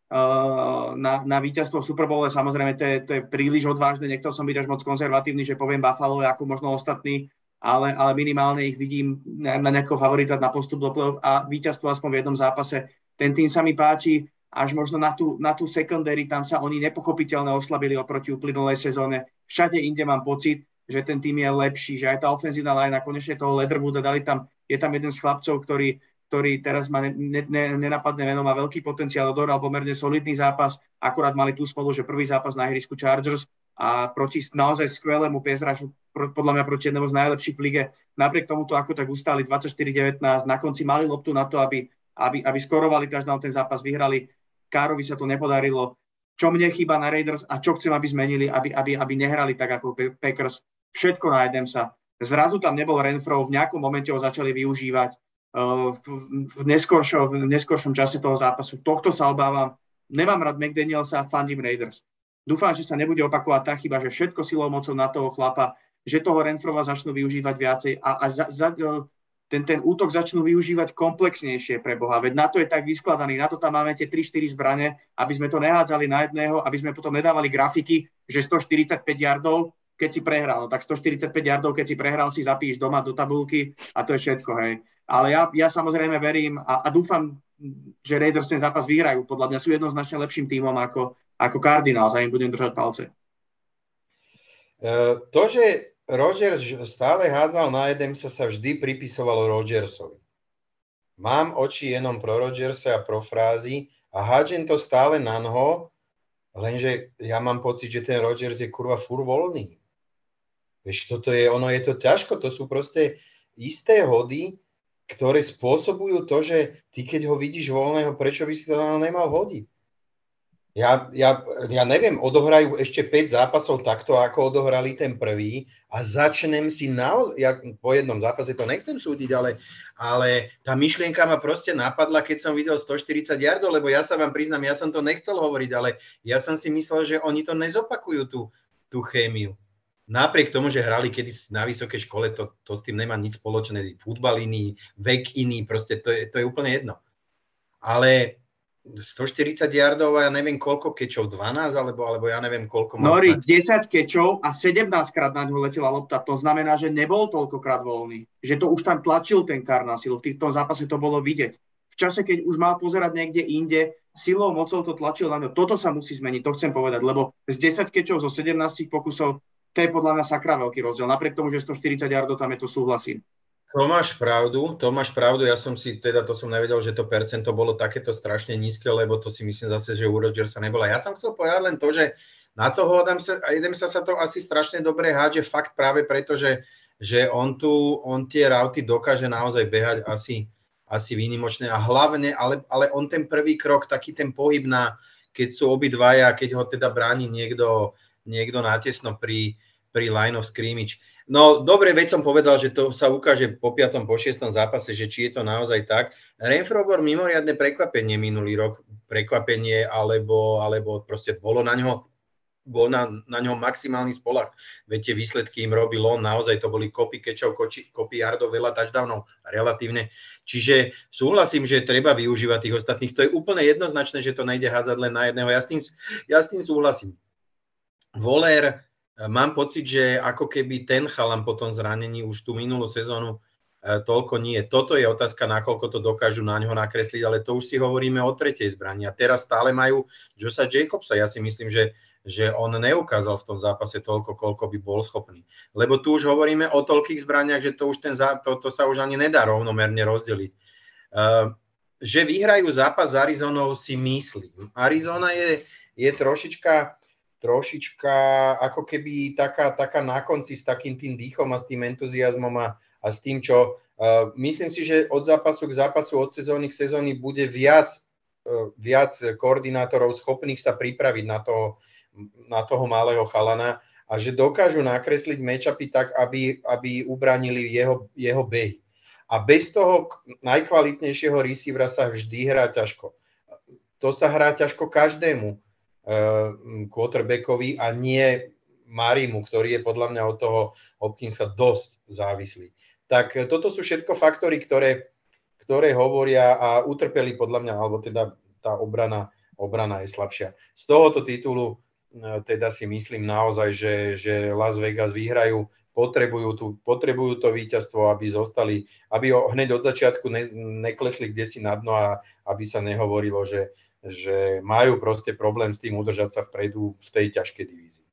uh, na, na víťazstvo v Super Bowle. Samozrejme, to je, to je príliš odvážne, nechcel som byť až moc konzervatívny, že poviem Buffalo ako možno ostatní, Ale, ale minimálne ich vidím na, na nejakého favorita na postup do play-off a víťazstvo aspoň v jednom zápase. Ten tým sa mi páči, až možno na tú, na tú secondary, tam sa oni nepochopiteľne oslabili oproti uplynulej sezóne. Všade inde mám pocit, že ten tým je lepší, že aj tá ofenzívna line, konečne toho Leatherwooda dali tam, je tam jeden z chlapcov, ktorý, ktorý teraz má ne, ne, nenapadné meno, má veľký potenciál, odohral pomerne solidný zápas, akurát mali tú spolu, že prvý zápas na ihrisku Chargers a proti naozaj skvelému pezrašu, podľa mňa proti jednému z najlepších v lige. Napriek tomuto, ako tak ustáli dvadsaťštyri devätnásť, na konci mali loptu na to, aby, aby, aby skorovali touchdown, ten zápas vyhrali. Károvi sa to nepodarilo. Čo mne chýba na Raiders a čo chcem, aby zmenili, aby, aby, aby nehrali tak ako Packers. Všetko nájdem sa. Zrazu tam nebol Renfro, v nejakom momente ho začali využívať uh, v, v, neskoršom, v neskoršom čase toho zápasu. Tohto sa obávam. Nemám rád McDanielsa, fandím Raiders. Dúfam, že sa nebude opakovať tá chyba, že všetko silou mocou na toho chlapa, že toho Renfrova začnú využívať viacej a, a za, za, ten, ten útok začnú využívať komplexnejšie pre Boha. Veď na to je tak vyskladaný, na to tam máme tie tri štyri zbrane, aby sme to nehádzali na jedného, aby sme potom nedávali grafiky, že stoštyridsaťpäť yardov, keď si prehral. No tak stoštyridsaťpäť yardov, keď si prehral, si zapíš doma do tabulky a to je všetko, hej. Ale ja, ja samozrejme verím a, a dúfam, že Raiders ten zápas vyhrajú. Podľa mňa sú jednoznačne lepším tímom ako, ako Cardinals a im budem držať palce. To, že Rodgers stále hádzal na Adamsa, sa vždy pripisovalo Rodgersovi. Mám oči jenom pro Rodgersa a pro frázy a hádžem to stále na noho, lenže ja mám pocit, že ten Rodgers je kurva furt voľný. Vieš, toto je, ono je to ťažko, to sú proste isté hody, ktoré spôsobujú to, že ty keď ho vidíš voľného, prečo by si to nemal hodiť? Ja, ja, ja neviem, odohrajú ešte päť zápasov takto, ako odohrali ten prvý a začnem si naozaj, ja po jednom zápase to nechcem súdiť, ale, ale tá myšlienka ma proste napadla, keď som videl stoštyridsať yardov, lebo ja sa vám priznám, ja som to nechcel hovoriť, ale ja som si myslel, že oni to nezopakujú, tú, tú chémiu. Napriek tomu, že hrali kedysi na vysokej škole, to, to s tým nemá nič spoločné, futbal iný, vek iný, proste to je, to je úplne jedno. Ale stoštyridsať yardov a ja neviem koľko kečov, dvanásť alebo, alebo ja neviem koľko. Nori, desať kečov a sedemnásťkrát na ňo letela lopta, to znamená, že nebol toľkokrát voľný. Že to už tam tlačil ten Cardinals, v tom zápase to bolo vidieť. V čase, keď už mal pozerať niekde inde, silou, mocou to tlačil na ňo. Toto sa musí zmeniť, to chcem povedať, lebo z desať kečov zo sedemnásť pokusov, to je podľa mňa sakra veľký rozdiel. Napriek tomu, že stoštyridsať yardov tam je, to súhlasím. To máš pravdu, to máš pravdu, ja som si, teda to som nevedel, že to percento bolo takéto strašne nízke, lebo to si myslím zase, že u Rodgersa nebola. Ja som chcel povedať len to, že na toho Adamsa, Adamsa sa to asi strašne dobre hádže, fakt práve preto, že, že on, tu, on tie rauty dokáže naozaj behať asi, asi výnimočné a hlavne, ale, ale on ten prvý krok, taký ten pohyb na, keď sú obidvaja, keď ho teda bráni niekto, niekto natesno pri, pri line of scrimmage. No, dobre, veď som povedal, že to sa ukáže po piatom, po šiestom zápase, že či je to naozaj tak. Renfro bol mimoriadne prekvapenie minulý rok, prekvapenie, alebo, alebo proste bolo na ňo, bol na, na ňom maximálny spolach. Veď tie výsledky im robil on, naozaj to boli kopy kečov, kopy yardov, veľa touchdownov, relatívne. Čiže súhlasím, že treba využívať tých ostatných. To je úplne jednoznačné, že to nejde hádzať len na jedného. Ja s tým, ja s tým súhlasím. Voler, mám pocit, že ako keby ten chalan po tom zranení už tú minulú sezónu e, toľko nie. Toto je otázka, nakoľko to dokážu na ňo nakresliť, ale to už si hovoríme o tretej zbrani. A teraz stále majú Josha Jacobsa. Ja si myslím, že, že on neukázal v tom zápase toľko, koľko by bol schopný. Lebo tu už hovoríme o toľkých zbraniach, že to, už ten, to, to sa už ani nedá rovnomerne rozdeliť. E, že vyhrajú zápas s Arizonou, si myslím. Arizona je, je trošička... trošička ako keby taká, taká na konci s takým tým dýchom a s tým entuziasmom a, a s tým, čo uh, myslím si, že od zápasu k zápasu, od sezóny k sezóny bude viac, uh, viac koordinátorov schopných sa pripraviť na toho, na toho malého chalana a že dokážu nakresliť matchupy tak, aby, aby ubránili jeho, jeho behy. A bez toho najkvalitnejšieho receivera sa vždy hrá ťažko. To sa hrá ťažko každému quarterbackovi a nie Marimu, ktorý je podľa mňa od toho Hopkinsa dosť závislý. Tak toto sú všetko faktory, ktoré, ktoré hovoria a utrpeli podľa mňa, alebo teda tá obrana, obrana je slabšia. Z tohoto titulu teda si myslím naozaj, že, že Las Vegas vyhrajú, potrebujú, tu, potrebujú to víťazstvo, aby zostali, aby ho hneď od začiatku ne, neklesli kdesi na dno a aby sa nehovorilo, že že majú proste problém s tým udržať sa vpredu v tej ťažkej divízii.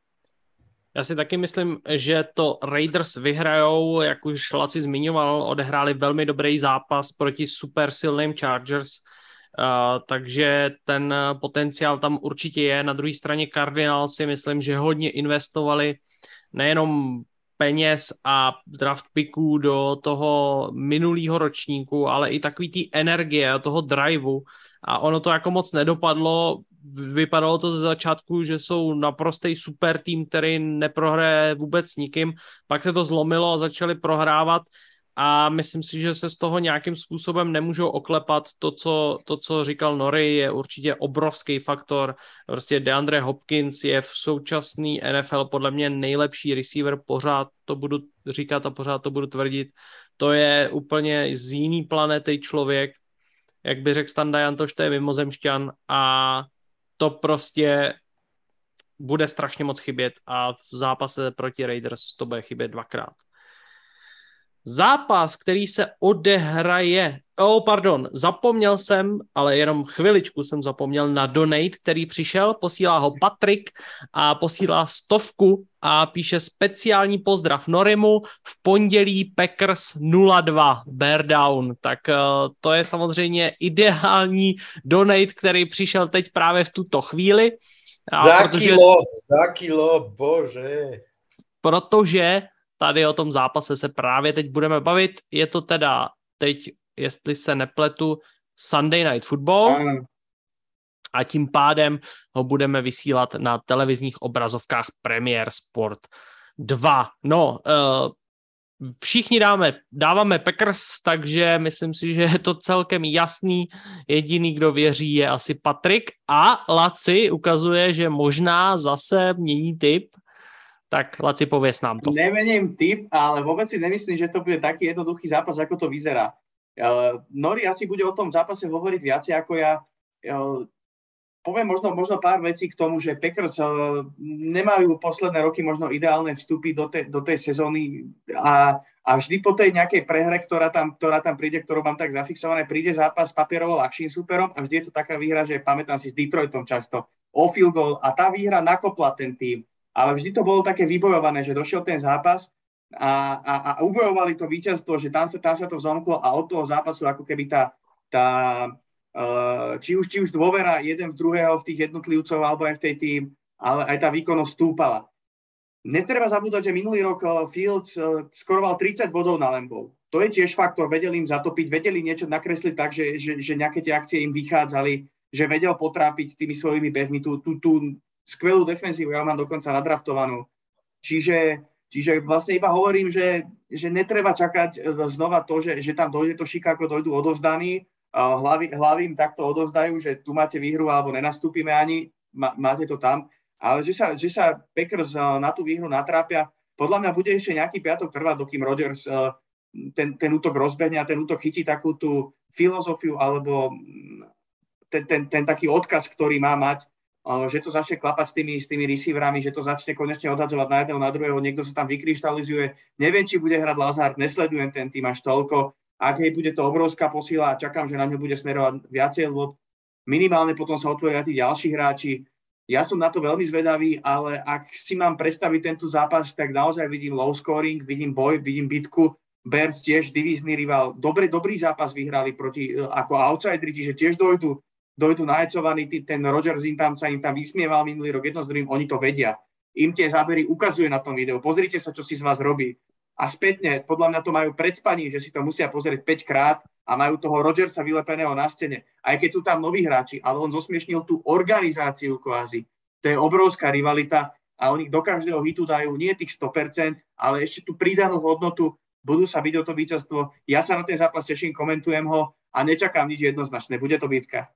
Já si taky myslím, že to Raiders vyhrajou, jak už Laci zmiňoval, odehráli velmi dobrý zápas proti super silným Chargers, uh, takže ten potenciál tam určitě je. Na druhé straně Cardinals si myslím, že hodně investovali nejenom peněz a draft picků do toho minulého ročníku, ale i takový té energie a toho driveu. A ono to jako moc nedopadlo. Vypadalo to ze začátku, že jsou naprostý super tým, který neprohraje vůbec nikým. Pak se to zlomilo a začali prohrávat. A myslím si, že se z toho nějakým způsobem nemůžou oklepat. To, co, to, co říkal Nori, je určitě obrovský faktor. Prostě DeAndre Hopkins je v současný N F L podle mě nejlepší receiver, pořád to budu říkat a pořád to budu tvrdit. To je úplně z jiný planety člověk. Jak by řekl Standa Jantoš, to je mimozemšťan a to prostě bude strašně moc chybět a v zápase proti Raiders to bude chybět dvakrát. zápas, který se odehraje, oh pardon, zapomněl jsem, ale jenom chviličku jsem zapomněl na donate, který přišel, posílá ho Patrik a posílá stovku a píše speciální pozdrav Norimu, v pondělí Packers nula dva, bear down, tak uh, to je samozřejmě ideální donate, který přišel teď právě v tuto chvíli. A za protože, kilo, za kilo, bože. Protože tady o tom zápase se právě teď budeme bavit. Je to teda teď, jestli se nepletu, Sunday Night Football. Áno. A tím pádem ho budeme vysílat na televizních obrazovkách Premier Sport dva. No, uh, všichni dáme, dáváme Packers, takže myslím si, že je to celkem jasný. Jediný, kdo věří, je asi Patrik. A Laci ukazuje, že možná zase mění tip. Tak Laci, pověs nám to. Nemením tip, ale vôbec si nemyslím, že to bude taký jednoduchý zápas, ako to vyzerá. Uh, Nori asi bude o tom zápase hovoriť viacej ako ja. Uh, poviem možno, možno pár vecí k tomu, že Packers uh, nemajú posledné roky možno ideálne vstupy do, te, do tej sezóny a, a vždy po tej nejakej prehre, ktorá tam, ktorá tam príde, ktorú mám tak zafixované, príde zápas s papierovo ľahším súperom a vždy je to taká výhra, že pamätám si s Detroitom často o field goal a tá výhra nakopla ten tým. Ale vždy to bolo také vybojované, že došiel ten zápas a, a, a ubojovali to víťazstvo, že tam sa, tam sa to vzomklo a od toho zápasu ako keby tá, tá uh, či, už, či už dôvera jeden v druhého v tých jednotlivcov alebo aj v tej tým, ale aj tá výkonnosť stúpala. Netreba zabúdať, že minulý rok Fields uh, skoroval tridsať bodov na Lambov. To je tiež faktor, vedeli im zatopiť, vedeli niečo nakresliť tak, že, že, že nejaké tie akcie im vychádzali, že vedel potrápiť tými svojimi behmi tú, tú, tú skvelú defenzívu, ja mám dokonca nadraftovanú. Čiže, čiže vlastne iba hovorím, že, že netreba čakať znova to, že, že tam dojde to Chicago, dojdú odovzdaní, hlavy, hlavy im takto odovzdajú, že tu máte výhru alebo nenastúpime ani, má, máte to tam, ale že sa, že sa Packers na tú výhru natrápia, podľa mňa bude ešte nejaký piatok trvať, dokým Rodgers ten, ten útok rozbehne a ten útok chytí takú tú filozofiu alebo ten, ten, ten taký odkaz, ktorý má mať, že to začne klapať s tými, s tými receiverami, že to začne konečne odhadzovať na jedného, na druhého, niekto sa tam vykryštalizuje. Neviem, či bude hrať Lazard, nesledujem ten tým až toľko. Ak jej bude to obrovská posila a čakám, že na ňu bude smerovať viacej, lebo minimálne potom sa otvoria tí ďalší hráči. Ja som na to veľmi zvedavý, ale ak si mám predstaviť tento zápas, tak naozaj vidím low scoring, vidím boj, vidím bitku. Bears tiež divízny rival. Dobrý, dobrý zápas vyhrali proti, ako outsideri, čiže tiež dojdu dojdu najecovaní, ten Rodgers im tam sa im tam vysmieval minulý rok jedno s druhým, oni to vedia. Im tie zábery ukazuje na tom videu. Pozrite sa, čo si z vás robí. A spätne, podľa mňa to majú pred spaním, že si to musia pozrieť päť krát a majú toho Rodgersa vylepeného na stene. Aj keď sú tam noví hráči, ale on zosmiešnil tú organizáciu kvázi. To je obrovská rivalita a oni do každého hitu dajú nie tých sto percent, ale ešte tú pridanú hodnotu, budú sa byť o to víťazstvo. Ja sa na ten zápas teším, komentujem ho a nečakám nič jednoznačné. Bude to bitka.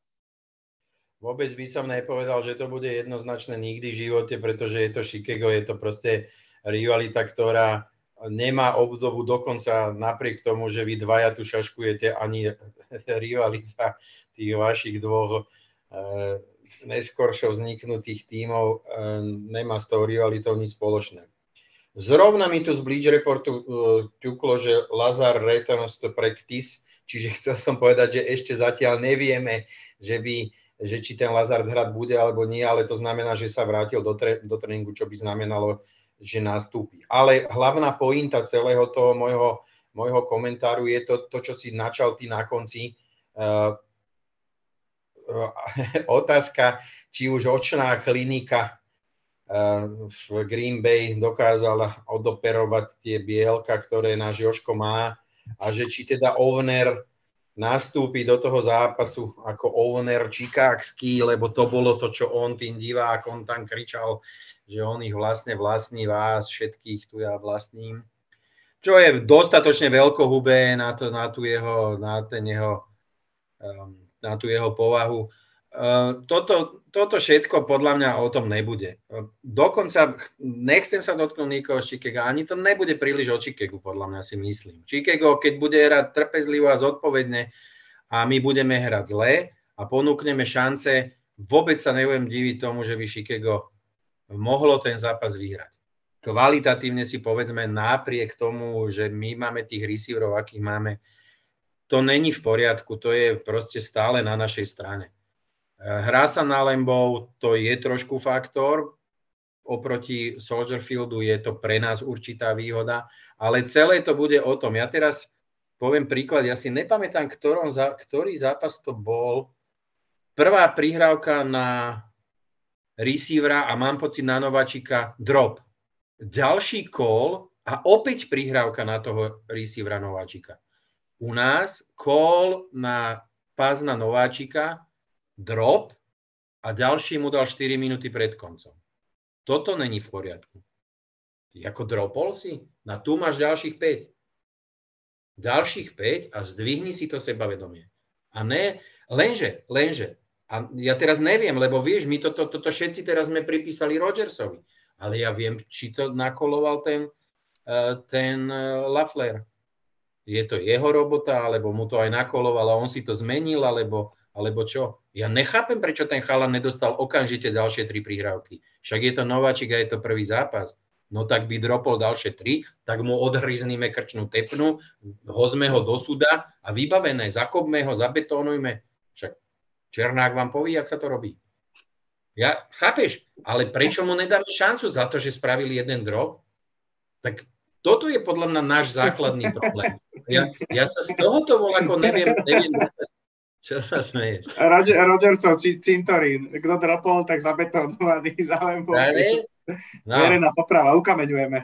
Vôbec by som nepovedal, že to bude jednoznačné nikdy v živote, pretože je to Chicago, je to proste rivalita, ktorá nemá obdobu, dokonca napriek tomu, že vy dvaja tu šaškujete, ani rivalita tých vašich dvoch e, neskôršou vzniknutých tímov e, nemá s tou rivalitou nič spoločné. Zrovna mi tu z Bleach Reportu e, ťuklo, že Lazard returns to practice, čiže chcel som povedať, že ešte zatiaľ nevieme, že by že či ten Lazard hrať bude alebo nie, ale to znamená, že sa vrátil do, tre, do tréningu, čo by znamenalo, že nastúpi. Ale hlavná pointa celého toho môjho, môjho komentáru je to, to, čo si načal ty na konci. Uh, uh, otázka, či už očná klinika uh, v Green Bay dokázala odoperovať tie bielka, ktoré náš Jožko má a že či teda Ovner nastúpi do toho zápasu ako owner čikákský, lebo to bolo to, čo on tým divákom tam kričal, že on ich vlastne vlastní vás, všetkých tu ja vlastním. Čo je dostatočne veľkohubé na, to, na, tú jeho, na, ten jeho, na tú jeho povahu. Toto, toto všetko podľa mňa o tom nebude. Dokonca nechcem sa dotknúť nikoho z Chicaga, ani to nebude príliš o Chicagu, podľa mňa si myslím. Chicago, keď bude hrať trpezlivo a zodpovedne a my budeme hrať zle a ponúkneme šance, vôbec sa nebudem diviť tomu, že by Chicago mohlo ten zápas vyhrať. kvalitatívne si povedzme napriek tomu, že my máme tých receiverov, akých máme, to není v poriadku, to je proste stále na našej strane. Hrá sa na Lambou, to je trošku faktor, oproti Soldier Fieldu je to pre nás určitá výhoda, ale celé to bude o tom. Ja teraz poviem príklad, ja si nepamätám, ktorom, ktorý zápas to bol. Prvá prihrávka na receivera a mám pocit na nováčika drop. Ďalší call a opäť prihrávka na toho receivera nováčika. U nás call na pás na nováčika, drop a ďalší mu dal štyri minúty pred koncom. Toto není v poriadku. Ako dropol si? Na tu máš ďalších päť. Ďalších päť a zdvihni si to sebavedomie. A ne, lenže, lenže, a ja teraz neviem, lebo vieš, my toto, toto všetci teraz sme pripísali Rodgersovi, ale ja viem, či to nakoloval ten, ten Lafleur. Je to jeho robota, alebo mu to aj nakoloval a on si to zmenil, alebo, alebo čo? Ja nechápem, prečo ten chalan nedostal okamžite ďalšie tri prihrávky. Však je to nováčik a je to prvý zápas. No tak by dropol ďalšie tri, tak mu odhryzníme krčnú tepnu, hozme ho do súda a vybavené, zakopme ho, zabetónujme. Však Černák vám povie, jak sa to robí. Ja, chápeš, ale prečo mu nedáme šancu za to, že spravili jeden drop? Tak toto je podľa mňa náš základný problém. Ja, ja sa z tohoto voľako neviem, neviem, čo sa smeješ. Roger, Rodgersov cintorín. Kto dropol, tak zabetónovaný za Lambou. No. Verejná poprava, ukameňujeme.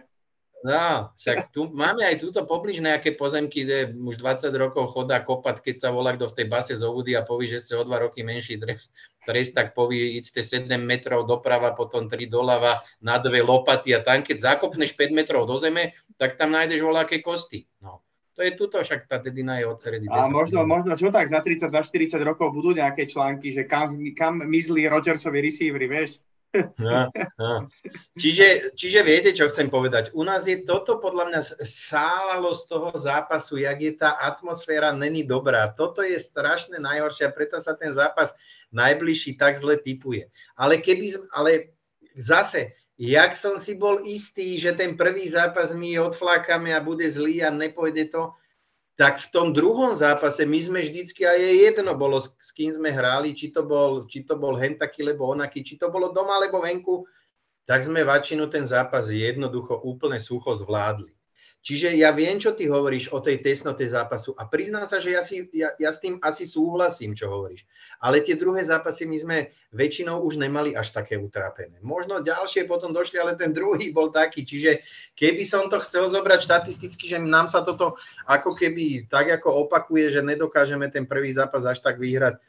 No, však tu máme aj túto poblíž nejaké pozemky, kde už dvadsať rokov chodá kopať, keď sa volá kto v tej base zobudí a povie, že ste o dva roky menší trest, tak povie, idete sedem metrov doprava, potom tri doľava na dve lopaty a tam, keď zakopneš päť metrov do zeme, tak tam nájdeš voľaké kosti. No. To je tuto, však tá dedina je od Ceredy. A možno, možno, čo tak za tridsať, za štyridsať rokov budú nejaké články, že kam, kam mizli Rodgersovi receivery, vieš? No, no. Čiže, čiže viete, čo chcem povedať? U nás je toto podľa mňa sálalo z toho zápasu, jak je tá atmosféra není dobrá. Toto je strašne najhoršie a preto sa ten zápas najbližší tak zle tipuje. Ale keby, ale zase, jak som si bol istý, že ten prvý zápas my odflákame a bude zlý a nepôjde to, tak v tom druhom zápase my sme vždycky, a je jedno bolo, s kým sme hrali, či to bol, či to bol hen taký, lebo onaký, či to bolo doma, alebo venku, tak sme väčšinu ten zápas jednoducho úplne sucho zvládli. Čiže ja viem, čo ty hovoríš o tej tesnote zápasu a priznám sa, že ja, si, ja, ja s tým asi súhlasím, čo hovoríš. Ale tie druhé zápasy my sme väčšinou už nemali až také utrápené. Možno ďalšie potom došli, ale ten druhý bol taký. Čiže keby som to chcel zobrať štatisticky, že nám sa toto ako keby tak ako opakuje, že nedokážeme ten prvý zápas až tak vyhrať.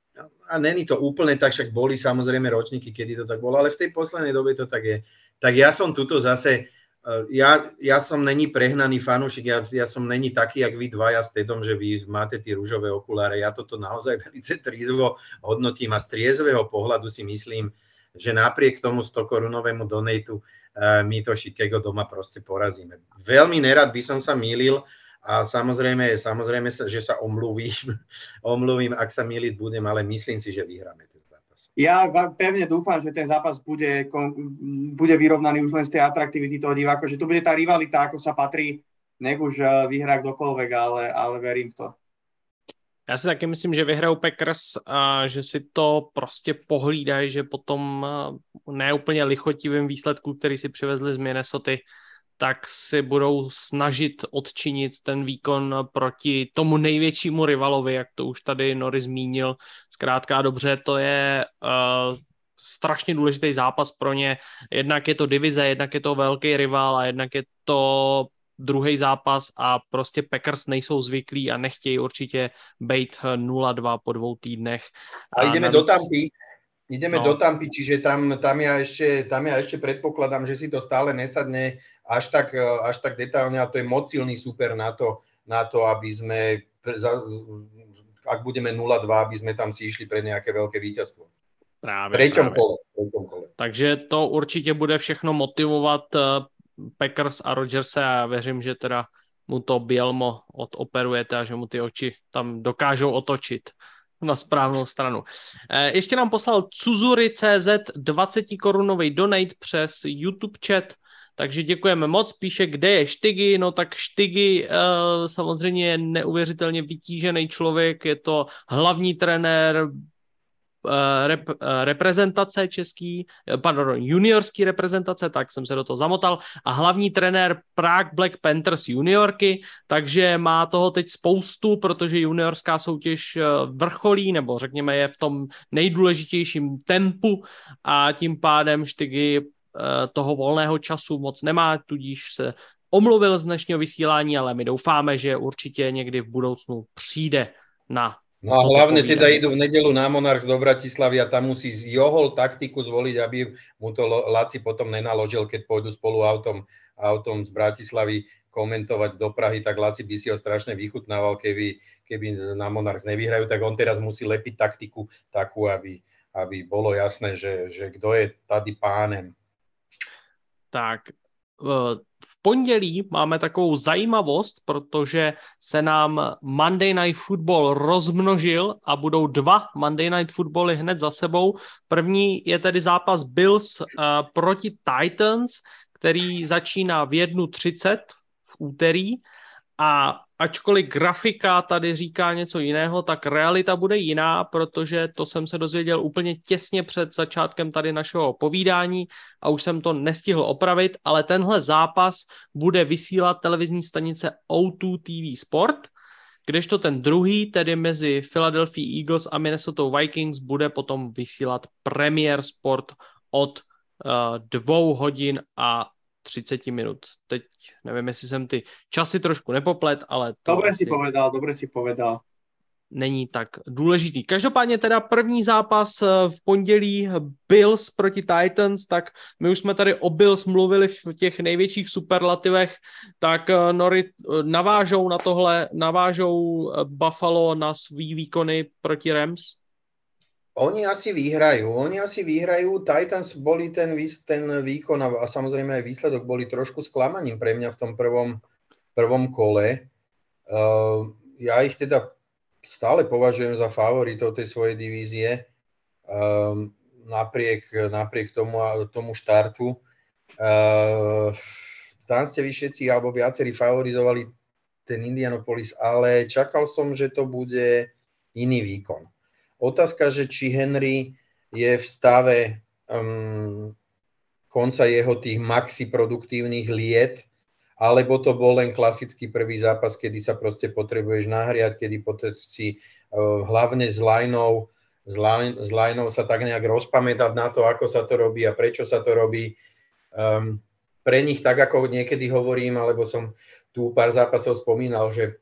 A není to úplne tak, však boli samozrejme ročníky, kedy to tak bolo, ale v tej poslednej dobe to tak je. Tak ja som tuto zase... Ja, ja som není prehnaný fanúšik, ja, ja som není taký, jak vy dvaja s Tedom, že vy máte tie ružové okuláre. Ja toto naozaj veľmi trízvo hodnotím a z triezvého pohľadu si myslím, že napriek tomu sto korunovému donatu uh, my to Chicago doma proste porazíme. Veľmi nerad by som sa mýlil a samozrejme, samozrejme že sa omluvím, omluvím, ak sa mýliť budem, ale myslím si, že vyhráme. Ja pevne dúfam, že ten zápas bude, bude vyrovnaný už len z tej atraktivity toho diváka, že tu bude tá rivalita, ako sa patrí, nech už vyhrá kdokoľvek, ale, ale verím v to. Já si taky myslím, že vyhrajou Packers a že si to prostě pohlídají, že potom neúplně lichotivým výsledku, který si přivezli z Minnesoty, tak si budou snažit odčinit ten výkon proti tomu největšímu rivalovi, jak to už tady Nori zmínil. Zkrátka dobře, to je uh, strašně důležitý zápas pro ně. Jednak je to divize, jednak je to velký rival a jednak je to druhý zápas a prostě Packers nejsou zvyklí a nechtějí určitě bejt nula dva po dvou týdnech. A, a ideme navíc... do Tampy. Ideme no. do Tampy, čiže tam, tam, ja ešte, tam ja ešte predpokladám, že si to stále nesadne až tak, až tak detailne a to je moc silný super na to, na to aby sme, ak budeme nula dva, aby sme tam si išli pre nejaké veľké víťazstvo. Právě, Treťom právě. kole, treťom kole. Takže to určitě bude všechno motivovat Packers a Rodgerse a věřím, že teda mu to Bielmo odoperujete a že mu ty oči tam dokážou otočit na správnou stranu. Ještě nám poslal Cuzuri tečka cé zet dvacet korunový donate přes YouTube chat. Takže děkujeme moc. Píše, kde je Štygy. No tak Štygy uh, samozřejmě je neuvěřitelně vytížený člověk. Je to hlavní trenér Rep, reprezentace český, pardon, juniorský reprezentace, tak jsem se do toho zamotal, a hlavní trenér Prague Black Panthers juniorky, takže má toho teď spoustu, protože juniorská soutěž vrcholí, nebo řekněme je v tom nejdůležitějším tempu a tím pádem Štygy toho volného času moc nemá, tudíž se omluvil z dnešního vysílání, ale my doufáme, že určitě někdy v budoucnu přijde na No a hlavne teda idú v nedeľu na Monarchs do Bratislavy a tam musí Johol taktiku zvoliť, aby mu to Laci potom nenaložil, keď pôjdu spolu autom, autom z Bratislavy komentovať do Prahy, tak Laci by si ho strašne vychutnával, keby, keby na Monarchs nevyhrajú, tak on teraz musí lepiť taktiku takú, aby, aby bolo jasné, že, že kto je tady pánem. Tak, v pondělí máme takovou zajímavost, protože se nám Monday Night Football rozmnožil a budou dva Monday Night Footbally hned za sebou. První je tedy zápas Bills uh, proti Titans, který začíná v jedna třicet v úterý, a ačkoliv grafika tady říká něco jiného, tak realita bude jiná, protože to jsem se dozvěděl úplně těsně před začátkem tady našeho povídání a už jsem to nestihl opravit, ale tenhle zápas bude vysílat televizní stanice O dva T V Sport, kdežto ten druhý, tedy mezi Philadelphia Eagles a Minnesota Vikings, bude potom vysílat Premier Sport od uh, dvou hodin a třicet minut. Teď nevím, jestli jsem ty časy trošku nepoplet, ale to dobre asi si povedal, dobre si povedal. Není tak důležitý. Každopádně teda první zápas v pondělí Bills proti Titans, tak my už jsme tady o Bills mluvili v těch největších superlativech, tak Nori navážou na tohle, navážou Buffalo na svý výkony proti Rams? Oni asi vyhrajú, oni asi vyhrajú. Titans boli ten, ten výkon a, a samozrejme aj výsledok boli trošku sklamaním pre mňa v tom prvom, prvom kole. Uh, ja ich teda stále považujem za favoritov tej svojej divízie, uh, napriek, napriek tomu, tomu štartu. Uh, tam ste vy všetci alebo viacerí favorizovali ten Indianapolis, ale čakal som, že to bude iný výkon. Otázka, že či Henry je v stave um, konca jeho tých maxi produktívnych liet, alebo to bol len klasický prvý zápas, kedy sa proste potrebuješ nahriať, kedy si uh, hlavne s lineou, s, line, s lineou sa tak nejak rozpamätať na to, ako sa to robí a prečo sa to robí. Um, pre nich, tak ako niekedy hovorím, alebo som tu pár zápasov spomínal, že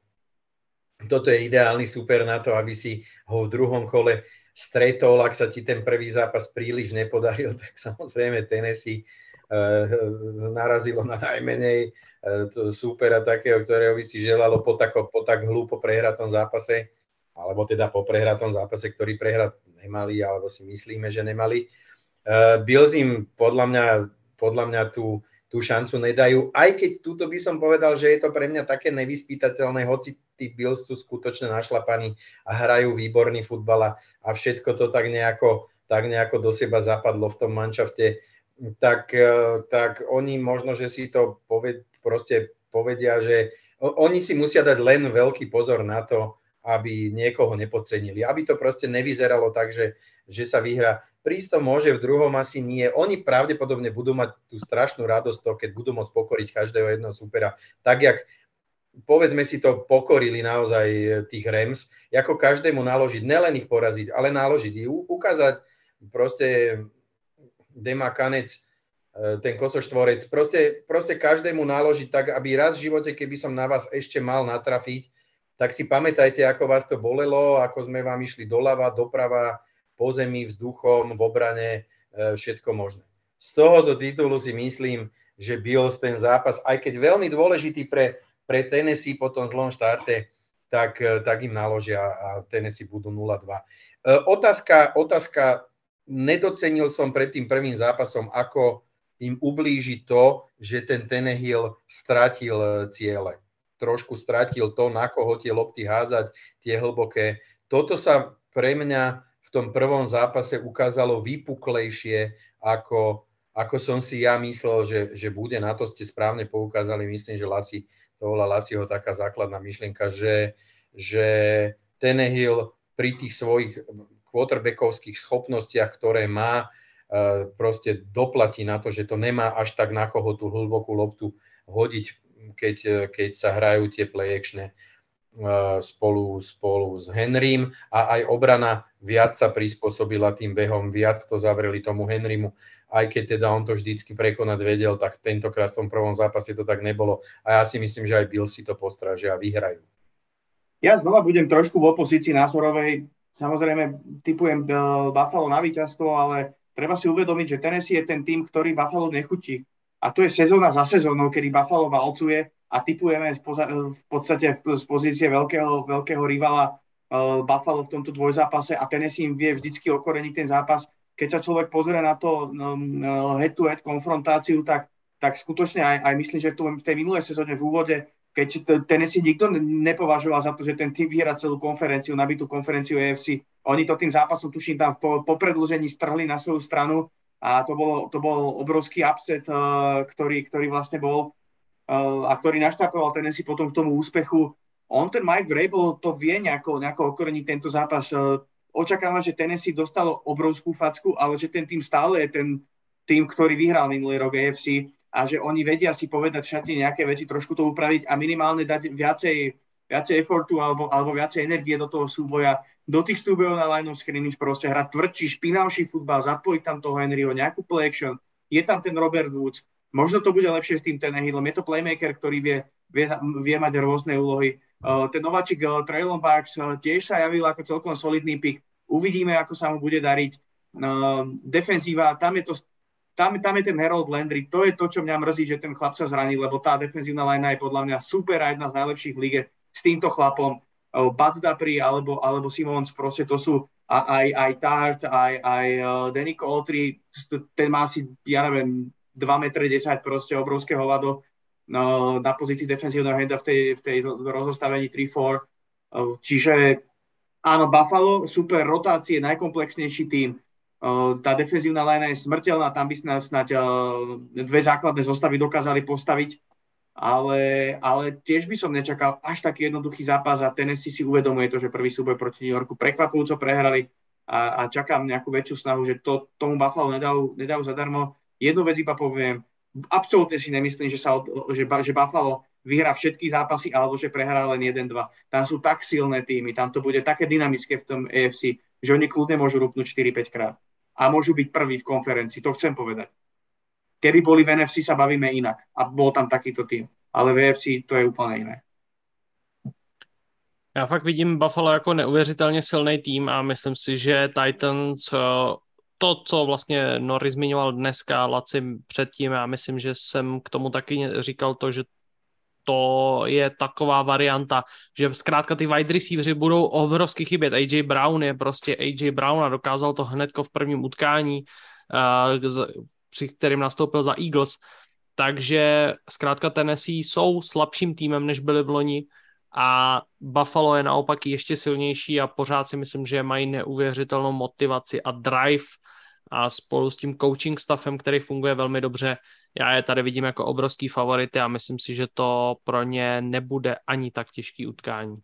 toto je ideálny super na to, aby si ho v druhom kole stretol, ak sa ti ten prvý zápas príliš nepodaril, tak samozrejme Tennessee uh, narazilo na najmenej uh, supera takého, ktorého by si želalo po, tako, po tak hlúpo prehratom zápase, alebo teda po prehratom zápase, ktorý prehrať nemali, alebo si myslíme, že nemali. Uh, Bills im podľa mňa, podľa mňa tú, tú šancu nedajú, aj keď túto by som povedal, že je to pre mňa také nevyspytateľné, hoci tí Bills sú skutočne našlapaní a hrajú výborný futbal a všetko to tak nejako, tak nejako do seba zapadlo v tom manšafte, tak, tak oni možno, že si to poved, proste povedia, že oni si musia dať len veľký pozor na to, aby niekoho nepodcenili, aby to proste nevyzeralo tak, že, že sa vyhrá. Prísť to môže, v druhom asi nie. Oni pravdepodobne budú mať tú strašnú radosť to, keď budú môcť pokoriť každého jedného supera. Tak, jak povedzme si to, pokorili naozaj tých Rams, ako každému naložiť, nelen ich poraziť, ale naložiť ich, ukázať proste Dema Kanec, ten kosoštvorec, proste, proste každému naložiť tak, aby raz v živote, keby som na vás ešte mal natrafiť, tak si pamätajte, ako vás to bolelo, ako sme vám išli doľava, doprava, po zemi, vzduchom, v obrane, všetko možné. Z tohoto titulu si myslím, že Bills ten zápas, aj keď veľmi dôležitý pre, pre Tennessee po tom zlom štarte, tak, tak im naložia a Tennessee budú nula dva. Otázka, otázka, nedocenil som pred tým prvým zápasom, ako im ublíži to, že ten Tannehill stratil ciele. Trošku stratil to, na koho tie lopty hádzať, tie hlboké. Toto sa pre mňa v tom prvom zápase ukázalo vypuklejšie ako, ako som si ja myslel, že, že bude. Na to ste správne poukázali. Myslím, že Laci, to bola Laciho taká základná myšlienka, že, že Tannehill pri tých svojich quarterbackovských schopnostiach, ktoré má, proste doplatí na to, že to nemá až tak na koho tú hlbokú loptu hodiť, keď, keď sa hrajú tie play-actiony spolu, spolu s Henrym a aj obrana viac sa prispôsobila tým behom, viac to zavreli tomu Henrymu, aj keď teda on to vždycky prekonať vedel, tak tentokrát v tom prvom zápase to tak nebolo a ja si myslím, že aj Bills si to postrážia a vyhrajú. Ja znova budem trošku v opozícii názorovej, samozrejme typujem Buffalo na víťazstvo, ale treba si uvedomiť, že Tennessee je ten tým, ktorý Buffalo nechutí. A to je sezóna za sezónou, kedy Buffalo valcuje a tipujeme v podstate z pozície veľkého, veľkého rivala Buffalo v tomto dvojzápase a Tennessee im vie vždycky okoreniť ten zápas. Keď sa človek pozrie na to head-to-head konfrontáciu, tak, tak skutočne aj, aj myslím, že v tej minulej sezóne v úvode, keď Tennessee nikto nepovažoval za to, že ten tým vyhrá celú konferenciu, nabitú konferenciu á ef cé. Oni to tým zápasom, tuším, tam po, po predĺžení strhli na svoju stranu a to, bolo, to bol obrovský upset, uh, ktorý, ktorý vlastne bol uh, a ktorý naštartoval Tennessee potom k tomu úspechu. On, ten Mike Vrabel, to vie nejako, nejako okoreniť tento zápas. Uh, očakávam, že Tennessee dostalo obrovskú facku, ale že ten tým stále je ten tým, ktorý vyhral minulý rok á ef cé a že oni vedia si povedať v šatni nejaké veci, trošku to upraviť a minimálne dať viacej, viacej effortu alebo, alebo viacej energie do toho súboja, do tých súbojov na line of scrimmage, proste hrať tvrdší, špinavší futbal, zapojiť tam toho Henryho, nejakú play action, je tam ten Robert Woods, možno to bude lepšie s tým Tannehillom, je to playmaker, ktorý vie, vie, vie mať rôzne úlohy. Uh, ten nováčik uh, Traylon Burks uh, tiež sa javil ako celkom solidný pick, uvidíme, ako sa mu bude dariť. Uh, defenzíva, tam je to Tam, tam je ten Harold Landry, to je to, čo mňa mrzí, že ten chlap sa zranil, lebo tá defenzívna linea je podľa mňa super a jedna z najlepších v lige s týmto chlapom. Bud Dupree alebo, alebo Simons, proste to sú a, aj, aj Tart, aj, aj uh, Danny Coltry, ten má asi, ja neviem, dva metre desať, proste obrovské hovado uh, na pozícii defenzívneho henda v tej, v tej rozostavení tri štyri. Uh, čiže áno, Buffalo, super rotácie, najkomplexnejší tým. Tá defenzívna linea je smrteľná, tam by snáď, snáď dve základné zostavy dokázali postaviť, ale, ale tiež by som nečakal až taký jednoduchý zápas a Tennessee si uvedomuje to, že prvý súboj proti New Yorku prekvapujúco prehrali a, a čakám nejakú väčšiu snahu, že to tomu Buffalo nedajú, nedajú zadarmo. Jednu vec iba poviem, absolútne si nemyslím, že, sa, že, že Buffalo vyhrá všetky zápasy alebo že prehrá len jeden dva. Tam sú tak silné týmy, tam to bude také dynamické v tom á ef cé, že oni kľudne môžu rúpnúť štyri päť krát. A môžu byť prví v konferencii, to chcem povedať. Kedy boli v en ef cé, sa bavíme inak. A bol tam takýto tým. Ale v á ef cé to je úplně jiné. Já fakt vidím Buffalo jako neuvěřitelně silný tým a myslím si, že Titans, to, co vlastně Norris zmiňoval dneska, Laci předtím, já myslím, že jsem k tomu taky říkal to, že to je taková varianta, že zkrátka ty wide receiveri budou obrovsky chybět. á jé Brown je prostě á jé Brown a dokázal to hnedko v prvním utkání, při kterým nastoupil za Eagles. Takže zkrátka Tennessee jsou slabším týmem, než byli v loni a Buffalo je naopak ještě silnější a pořád si myslím, že mají neuvěřitelnou motivaci a drive a spolu s tím coaching staffem, který funguje velmi dobře, já je tady vidím jako obrovský favority a myslím si, že to pro ně nebude ani tak těžký utkání.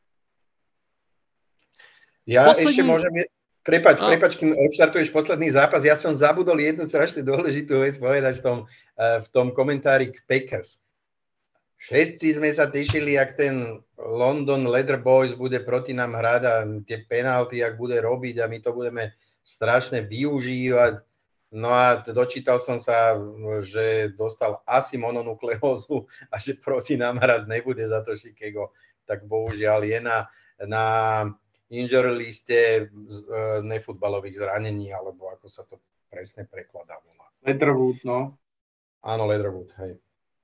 Ja Poslední... ešte môžem... Prepač, no. prepač, kým odštartuješ posledný zápas, ja som zabudol jednu strašne dôležitú vec povedať v tom, v tom komentári k Packers. Všetci sme sa tešili, jak ten London Leather Boys bude proti nám hrať a tie penalty, jak bude robiť a my to budeme strašne využívať. No a dočítal som sa, že dostal asi mononukleózu a že proti nám hrať nebude za to Chicago. Tak bohužiaľ je na, na injury liste nefutbalových zranení, alebo ako sa to presne prekladá. Leatherwood, no. Áno, Leatherwood, hej.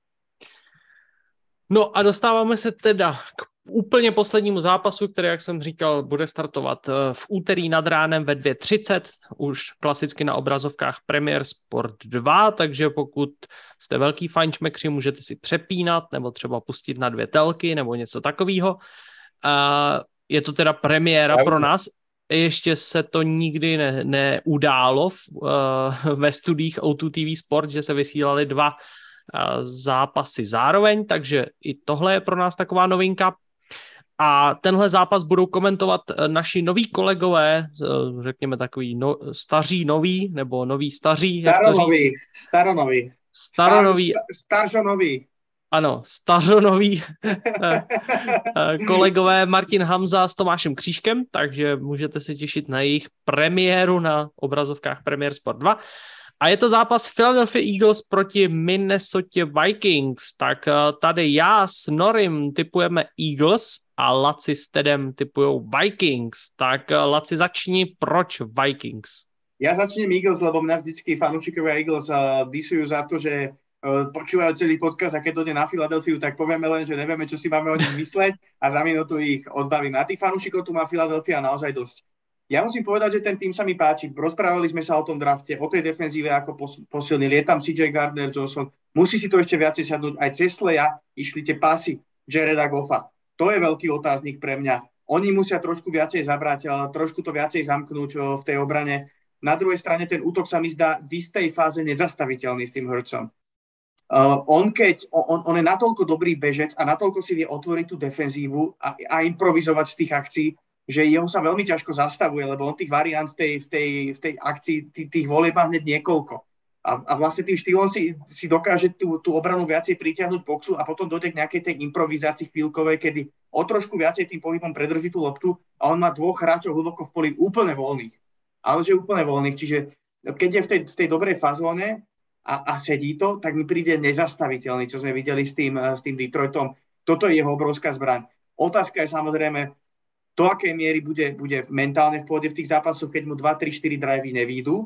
No a dostáváme se teda k úplně poslednímu zápasu, který, jak jsem říkal, bude startovat v úterý nad ránem ve dvě třicet, už klasicky na obrazovkách Premier Sport dva, takže pokud jste velký fajnšmekři, můžete si přepínat nebo třeba pustit na dvě telky nebo něco takového. Je to teda premiéra pro nás. ještě se to nikdy ne, neudálo v, uh, ve studiích ó dva té vé Sport, že se vysílali dva uh, zápasy zároveň, takže i tohle je pro nás taková novinka. A tenhle zápas budou komentovat naši noví kolegové, řekněme takový no, staří noví, nebo noví staří, jak to říct? Staronoví. Staronoví. Star, staržonoví. Ano, stařonoví kolegové Martin Hamza s Tomášem Křížkem, takže můžete se těšit na jejich premiéru na obrazovkách Premier Sport dva. A je to zápas Philadelphia Eagles proti Minnesota Vikings. Tak tady já s Norim tipujeme Eagles a Laci s Tedem tipujou Vikings. Tak Laci, začni, proč Vikings? Ja začnem Eagles, lebo mňa vždycky fanúšikovia Eagles uh, disujú za to, že uh, počúvajú celý podcast a keď to ide na Filadelfiu, tak povieme len, že nevieme, čo si máme o nich mysleť a za minútu ich odbavíme. A tých fanúšikov tu má Filadelfia naozaj dosť. Ja musím povedať, že ten tým sa mi páči. Rozprávali sme sa o tom drafte, o tej defenzíve, ako posilnili. Je tam C J Gardner-Johnson. Musí si to ešte viacej sadnúť. Aj cez Sleja išli tie pasy Jareda Goffa. To je veľký otáznik pre mňa. Oni musia trošku viacej zabrať, trošku to viacej zamknúť v tej obrane. Na druhej strane ten útok sa mi zdá v istej fáze nezastaviteľný s tým Hurtsom. Uh, on, keď, on, on je natoľko dobrý bežec a natoľko si vie otvoriť tú defenzívu a, a improvizovať z tých akcií, že jeho sa veľmi ťažko zastavuje, lebo on tých variant v tej, v tej, v tej akcii, tých, tých volieb má hneď niekoľko. A, a vlastne tým štýlom si, si dokáže tú, tú obranu viacej pritiahnuť boxu a potom dojde k nejakej tej improvizácii chvíľkovej, kedy o trošku viacej tým pohybom predrží tú loptu a on má dvoch hráčov hlboko v poli úplne voľných. Ale že úplne voľných. Čiže keď je v tej, v tej dobrej fazóne a, a sedí to, tak mi príde nezastaviteľný, čo sme videli s tým, s tým Detroitom. Toto je jeho obrovská zbraň. Otázka je samozrejme, do akej miery bude, bude mentálne v pôde v tých zápasoch, keď mu dva, tri, štyri drivey nevídu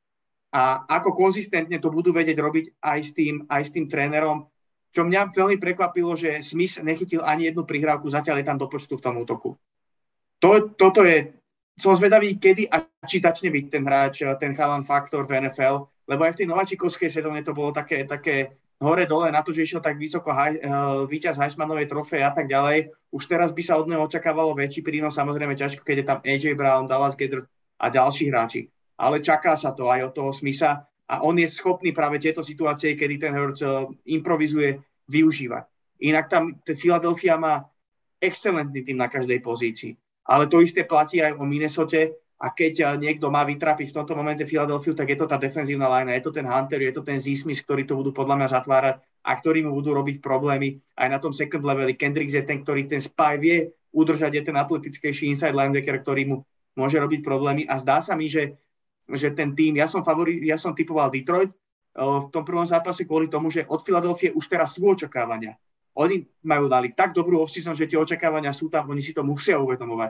a ako konzistentne to budú vedieť robiť aj s tým, aj s tým trénerom. Čo mňa veľmi prekvapilo, že Smith nechytil ani jednu prihrávku, zatiaľ je tam do počtu v tom útoku. To, toto je, som zvedavý, kedy a či začne byť ten hráč, ten chalan faktor v en ef el, lebo aj v tej nováčikovskej sezóne to bolo také, také hore-dole na to, že išiel tak vysoko haj, uh, víťaz Heismanovej trofeje a tak ďalej. Už teraz by sa od neho očakávalo väčší prínos, samozrejme ťažko, keď je tam á jé Brown, Dallas Goedert a ďalší hráči. Ale čaká sa to aj od toho Smitha a on je schopný práve tieto situácie, kedy ten Hurts uh, improvizuje, využívať. Inak tam Philadelphia má excelentný tým na každej pozícii. Ale to isté platí aj o Minnesote. A keď niekto má vytrapiť v tomto momente Philadelphia, tak je to tá defenzívna line, je to ten Hunter, je to ten Z-Smith, ktorí to budú podľa mňa zatvárať a ktorí mu budú robiť problémy aj na tom second leveli. Kendricks je ten, ktorý ten spy vie udržať, je ten atletickejší inside linebacker, ktorý mu môže robiť problémy a zdá sa mi, že, že ten tým, ja som favori, ja som typoval Detroit v tom prvom zápase kvôli tomu, že od Philadelphie už teraz sú očakávania. Oni majú dali tak dobrú off-season, že tie očakávania sú tam, oni si to musia uvedomovať.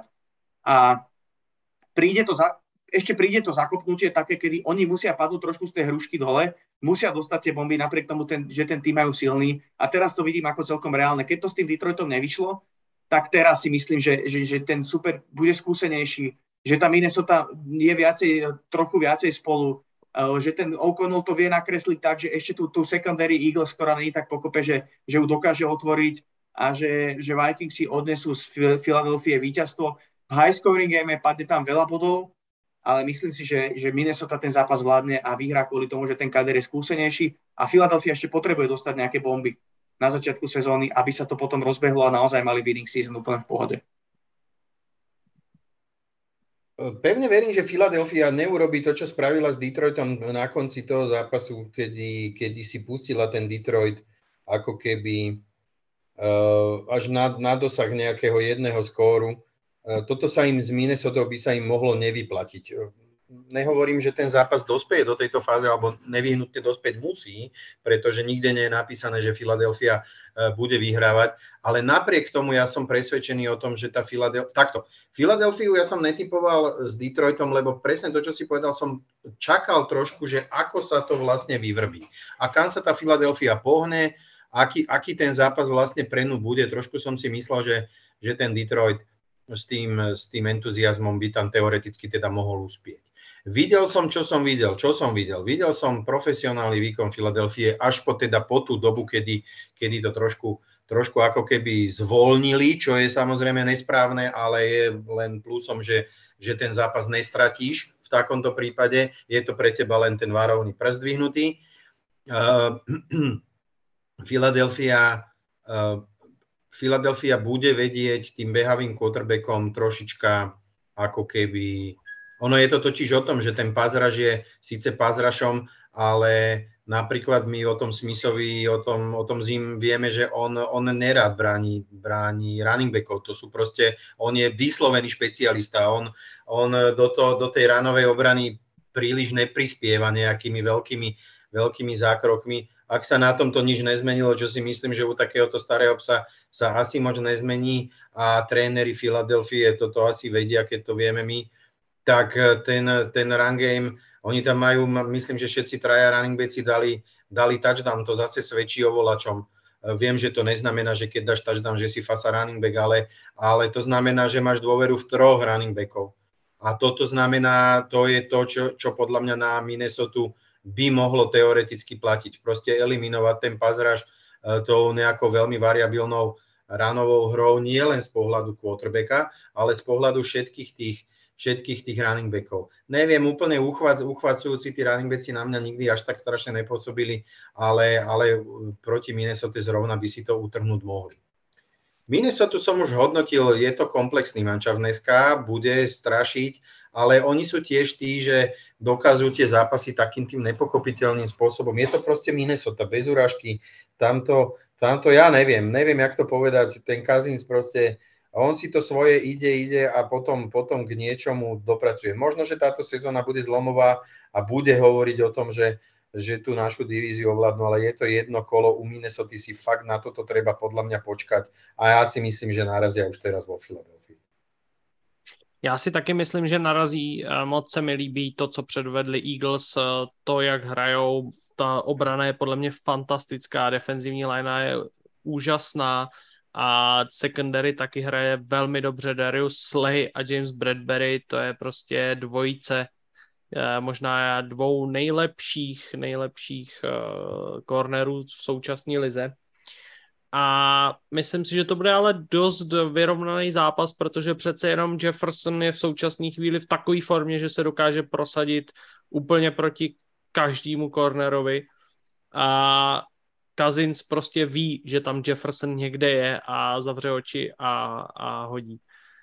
A príde to za, ešte príde to zakopnutie také, kedy oni musia padnúť trošku z tej hrušky dole, musia dostať tie bomby napriek tomu, ten, že ten tým majú silný. A teraz to vidím ako celkom reálne. Keď to s tým Detroitom nevyšlo, tak teraz si myslím, že, že, že ten super bude skúsenejší, že tá Minnesota je viacej, trochu viacej spolu, že ten O'Connell to vie nakresliť tak, že ešte tú, tú secondary Eagles, ktorá nie je tak pokope, že, že ju dokáže otvoriť a že, že Vikings si odnesú z Philadelphie víťazstvo. High scoring game, padne tam veľa bodov, ale myslím si, že, že Minnesota ten zápas vládne a vyhrá kvôli tomu, že ten kader je skúsenejší a Philadelphia ešte potrebuje dostať nejaké bomby na začiatku sezóny, aby sa to potom rozbehlo a naozaj mali winning season úplne v pohode. Pevne verím, že Philadelphia neurobí to, čo spravila s Detroitom na konci toho zápasu, kedy, kedy si pustila ten Detroit ako keby uh, až na, na dosah nejakého jedného skóru. Toto sa im z Minnesota by sa im mohlo nevyplatiť. Nehovorím, že ten zápas dospeje do tejto fáze, alebo nevyhnutne dospäť musí, pretože nikde nie je napísané, že Philadelphia bude vyhrávať, ale napriek tomu ja som presvedčený o tom, že tá Philadelphia... Takto, Philadelphiu ja som netypoval s Detroitom, lebo presne to, čo si povedal, som čakal trošku, že ako sa to vlastne vyvrbí. A kam sa tá Philadelphia pohne, aký, aký ten zápas vlastne pre ňu bude. Trošku som si myslel, že, že ten Detroit s tým, s tým entuziasmom by tam teoreticky teda mohol uspieť. Videl som, čo som videl, čo som videl. Videl som profesionálny výkon Filadelfie až po, teda po tú dobu, kedy, kedy to trošku, trošku ako keby zvolnili, čo je samozrejme nesprávne, ale je len plusom, že, že ten zápas nestratíš. V takomto prípade je to pre teba len ten varovný prst dvihnutý. Uh, Philadelphia, uh, Philadelphia bude vedieť tým behavým quarterbackom trošička ako keby... Ono je to totiž o tom, že ten pázraž je síce pázrašom, ale napríklad my o tom Smithovi, o tom, o tom Zim vieme, že on, on nerád bráni, bráni running backov. To sú proste, on je vyslovený špecialista. On, on do, to, do tej ranovej obrany príliš neprispieva nejakými veľkými, veľkými zákrokmi. Ak sa na tomto nič nezmenilo, čo si myslím, že u takéhoto starého psa sa asi moc nezmení a tréneri Filadelfie toto asi vedia, keď to vieme my, tak ten, ten run game, oni tam majú, myslím, že všetci traja running backi dali, dali touchdown, to zase svedčí o volačom. Viem, že to neznamená, že keď dáš touchdown, že si fasa running back, ale, ale to znamená, že máš dôveru v troch running backov. A toto znamená, to je to, čo, čo podľa mňa na Minnesota by mohlo teoreticky platiť. Proste eliminovať ten pazraž tou nejakou veľmi variabilnou runovou hrou, nie len z pohľadu quarterbacka, ale z pohľadu všetkých tých všetkých tých running backov. Neviem, úplne uchvac, uchvacujúci tí running backi na mňa nikdy až tak strašne nepôsobili, ale, ale proti Minnesota zrovna by si to utrhnúť mohli. Minnesota som už hodnotil, je to komplexný mančav dneska, bude strašiť, ale oni sú tiež tí, že dokážu tie zápasy takým tým nepochopiteľným spôsobom. Je to proste Minnesota, bez urážky, tamto, tamto ja neviem, neviem, jak to povedať, ten Cousins proste. A on si to svoje ide, ide a potom, potom k niečomu dopracuje. Možno, že táto sezóna bude zlomová a bude hovoriť o tom, že, že tú našu divíziu ovládnu, ale je to jedno kolo. U Minnesota si fakt na toto treba podľa mňa počkať a ja si myslím, že narazia už teraz vo Filadelfii. Já si taky myslím, že narazí. Moc se mi líbí to, co předvedli Eagles, to, jak hrajou. Ta obrana je podle mě fantastická, defenzivní linea je úžasná. A secondary taky hraje velmi dobře. Darius Slay a James Bradbury, to je prostě dvojice možná dvou nejlepších, nejlepších cornerů v současné lize. A myslím si, že to bude ale dost vyrovnaný zápas, protože přece jenom Jefferson je v současné chvíli v takové formě, že se dokáže prosadit úplně proti každému cornerovi. A Cousins prostě ví, že tam Jefferson někde je a zavře oči a, a hodí.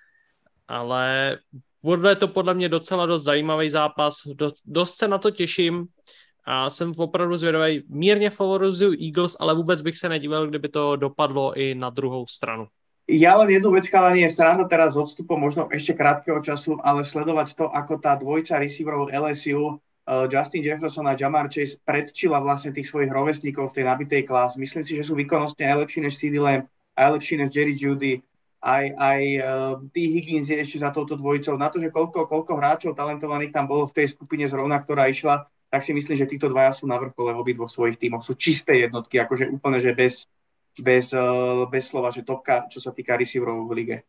Ale bude to podle mě docela dost zajímavý zápas. Dost, dost se na to těším a jsem opravdu zvědavý. Mírně favorizuju Eagles, ale vůbec bych se nedíval, kdyby to dopadlo i na druhou stranu. Ja len jednu vec, ale nie je sranda teraz s odstupom možno ešte krátkeho času, ale sledovať to, ako tá dvojica receiverov el es ú Justin Jefferson a Jamar Chase predčila vlastne tých svojich rovesníkov v tej nabitej klás. Myslím si, že sú výkonnostne aj lepší než CeeDee Lamb, aj lepší než Jerry Jeudy, aj, aj uh, T. Higgins je ešte za touto dvojicou. Na to, že koľko, koľko hráčov talentovaných tam bolo v tej skupine zrovna, ktorá išla, tak si myslím, že títo dvaja sú na vrchole v obidvoch svojich tímoch. Sú čisté jednotky, akože úplne, že bez, bez, uh, bez slova, že topka, čo sa týka receiverov v lige.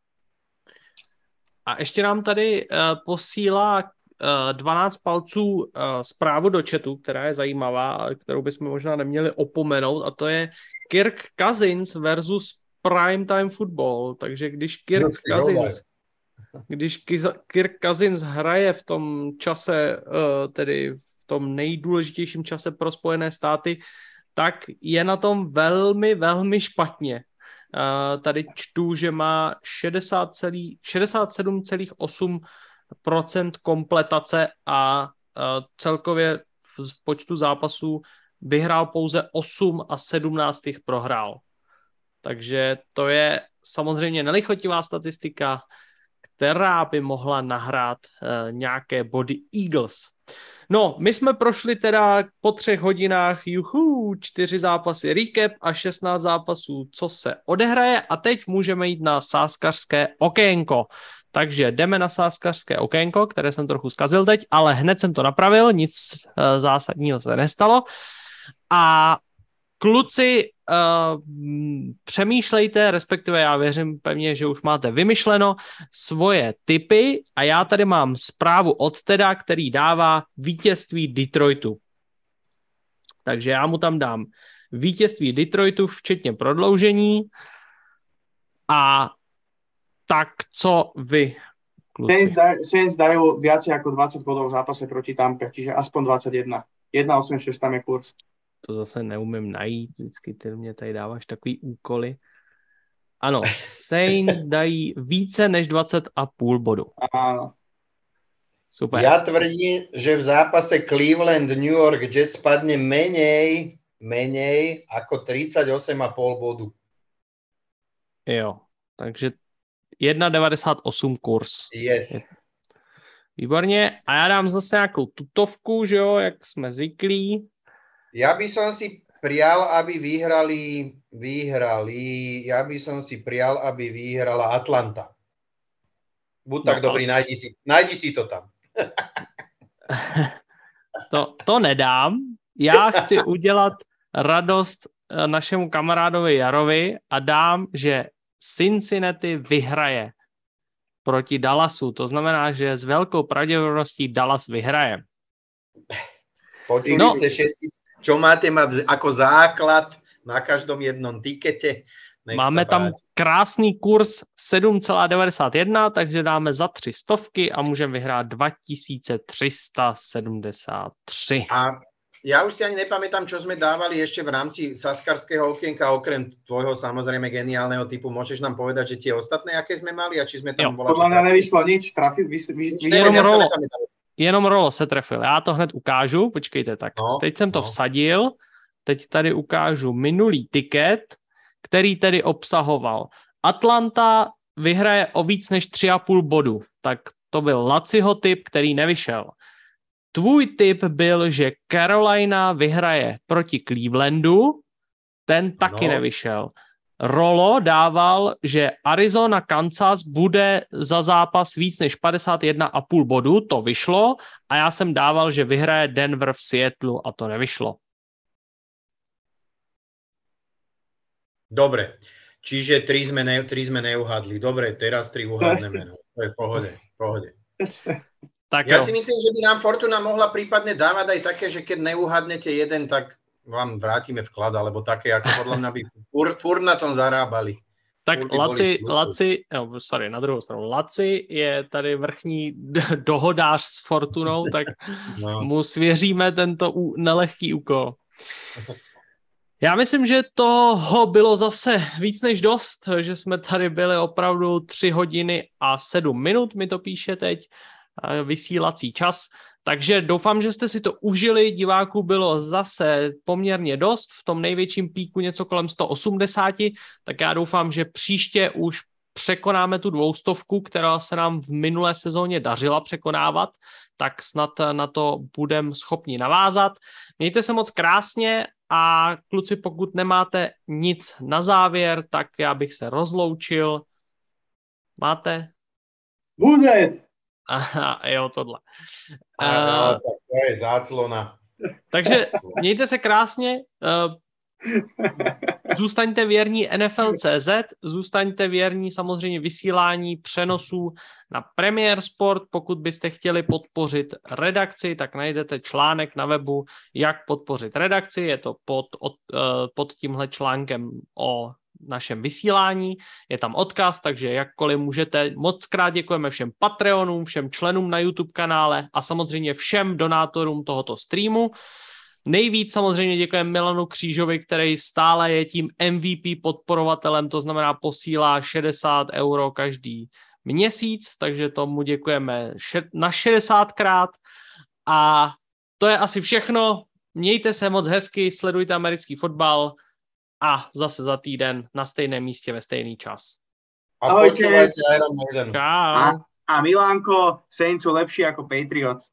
A ještě nám tady uh, posílá dvanáct palců zprávu do chatu, která je zajímavá, kterou bychom možná neměli opomenout, a to je Kirk Cousins versus Primetime Football. Takže když Kirk Cousins, když Kirk Cousins hraje v tom čase, tedy v tom nejdůležitějším čase pro Spojené státy, tak je na tom velmi, velmi špatně. Tady čtu, že má šedesát sedm celá osm procent kompletace a uh, celkově v, v počtu zápasů vyhrál pouze osm a sedmnáct jich prohrál. Takže to je samozřejmě nelichotivá statistika, která by mohla nahrát uh, nějaké body Eagles. No, my jsme prošli teda po třech hodinách, juhu, čtyři zápasy recap a šestnáct zápasů, co se odehraje, a teď můžeme jít na sázkařské okénko. Takže jdeme na sázkařské okénko, které jsem trochu zkazil teď, ale hned jsem to napravil, nic uh, zásadního se nestalo. A kluci, uh, přemýšlejte, respektive já věřím pevně, že už máte vymyšleno svoje tipy, a já tady mám zprávu od Teda, který dává vítězství Detroitu. Takže já mu tam dám vítězství Detroitu, včetně prodloužení. A tak co vy? kluci. Saints dajú viacej ako dvadsať bodov v zápase proti Tampe, čiže aspoň dvadsaťjeden. jedna osem šesť tam je kurz. To zase neumím najít, vždycky ty mě tady dáváš takový úkoly. Ano, Saints dají více než dvacet a půl bodu. Áno. Super. Ja tvrdím, že v zápase Cleveland New York Jets padne menej, menej ako tridsaťosem a pol bodu. Jo, takže jedna devadesát osm kurz. Yes. Výborně. A já dám zase nějakou tutovku, že jo, jak jsme zvyklí. Ja by som si prial, aby vyhrali, vyhrali, ja by som si prial, aby vyhrala Atlanta. Buď tak No, dobrý, najdi si, najdi si to tam. to, to nedám. Já chci udělat radost našemu kamarádovi Jarovi a dám, že Cincinnati vyhraje proti Dallasu. To znamená, že s velkou pravděpodobností Dallas vyhraje. Počuli No. ste všetci, čo máte mať ako základ na každom jednom tikete. Nech Máme sa tam páči. krásný kurz sedm celá devadesát jedna, takže dáme za tři stovky a můžeme vyhrát dva tisíce tři sta sedmdesát tři. A ja už si ani nepamätám, čo sme dávali ešte v rámci saskarského okienka, okrem tvojho samozrejme geniálneho typu. Môžeš nám povedať, že tie ostatné, aké sme mali a či sme tam Jo, volali? Podľa mňa nevyšlo nič, trafi, vy, vy, vy, Jenom ja sa rolo. nepamätám. Jenom Rolo se trefil. Já to hned ukážu. Počkejte, tak No, teď jsem to no. vsadil. Teď tady ukážu minulý tiket, který tedy obsahoval. Atlanta vyhraje o víc než tři a půl bodu. Tak to byl Laciho tip, který nevyšel. Tvůj tip byl, že Carolina vyhraje proti Clevelandu. Ten taky No. nevyšel. Rolo dával, že Arizona Kansas bude za zápas víc než padesát jedna a půl bodu, to vyšlo, a já jsem dával, že vyhraje Denver v Seattlu a to nevyšlo. Dobre, čiže tri sme, ne, tri sme neuhadli. Dobre, teraz tri uhádneme. No. To je v pohode, v pohode. Tak Ja jo. si myslím, že by nám Fortuna mohla prípadne dávať aj také, že keď neuhadnete jeden, tak vám vrátime vklad, alebo také, ako podľa mňa by fur, fur na tom zarábali. Tak Furt by Laci, boli plusy. Laci, no, sorry, na druhou stranu, Laci je tady vrchní d- dohodář s Fortunou, tak No. mu svěříme tento ú- nelehký úkol. Já myslím, že toho bylo zase víc než dost, že jsme tady byli opravdu tři hodiny a sedm minut, mi to píše teď, vysílací čas. Takže doufám, že jste si to užili, diváků bylo zase poměrně dost, v tom největším píku něco kolem sto osmdesát, tak já doufám, že příště už překonáme tu dvoustovku, která se nám v minulé sezóně dařila překonávat, tak snad na to budeme schopni navázat. Mějte se moc krásně a kluci, pokud nemáte nic na závěr, tak já bych se rozloučil. Máte? Bude! Aha, jo, tohle. A, no, tak to je záclona. Takže mějte se krásně, zůstaňte věrní N F L tečka cé zet, zůstaňte věrní samozřejmě vysílání přenosů na Premier Sport. Pokud byste chtěli podpořit redakci, tak najdete článek na webu, jak podpořit redakci. Je to pod, od, pod tímhle článkem o našem vysílání, je tam odkaz, takže jakkoliv můžete. Moc krát děkujeme všem Patreonům, všem členům na YouTube kanále a samozřejmě všem donátorům tohoto streamu. Nejvíc samozřejmě děkujeme Milanu Křížovi, který stále je tím M V P podporovatelem, to znamená posílá šedesát euro každý měsíc, takže tomu děkujeme na šedesátkrát a to je asi všechno. Mějte se moc hezky, sledujte americký fotbal a zase za týden na stejném místě ve stejný čas. A Ahojte. počúvajte Iron Maiden. Čau. A, a Milánko, Saints sú lepší ako Patriots.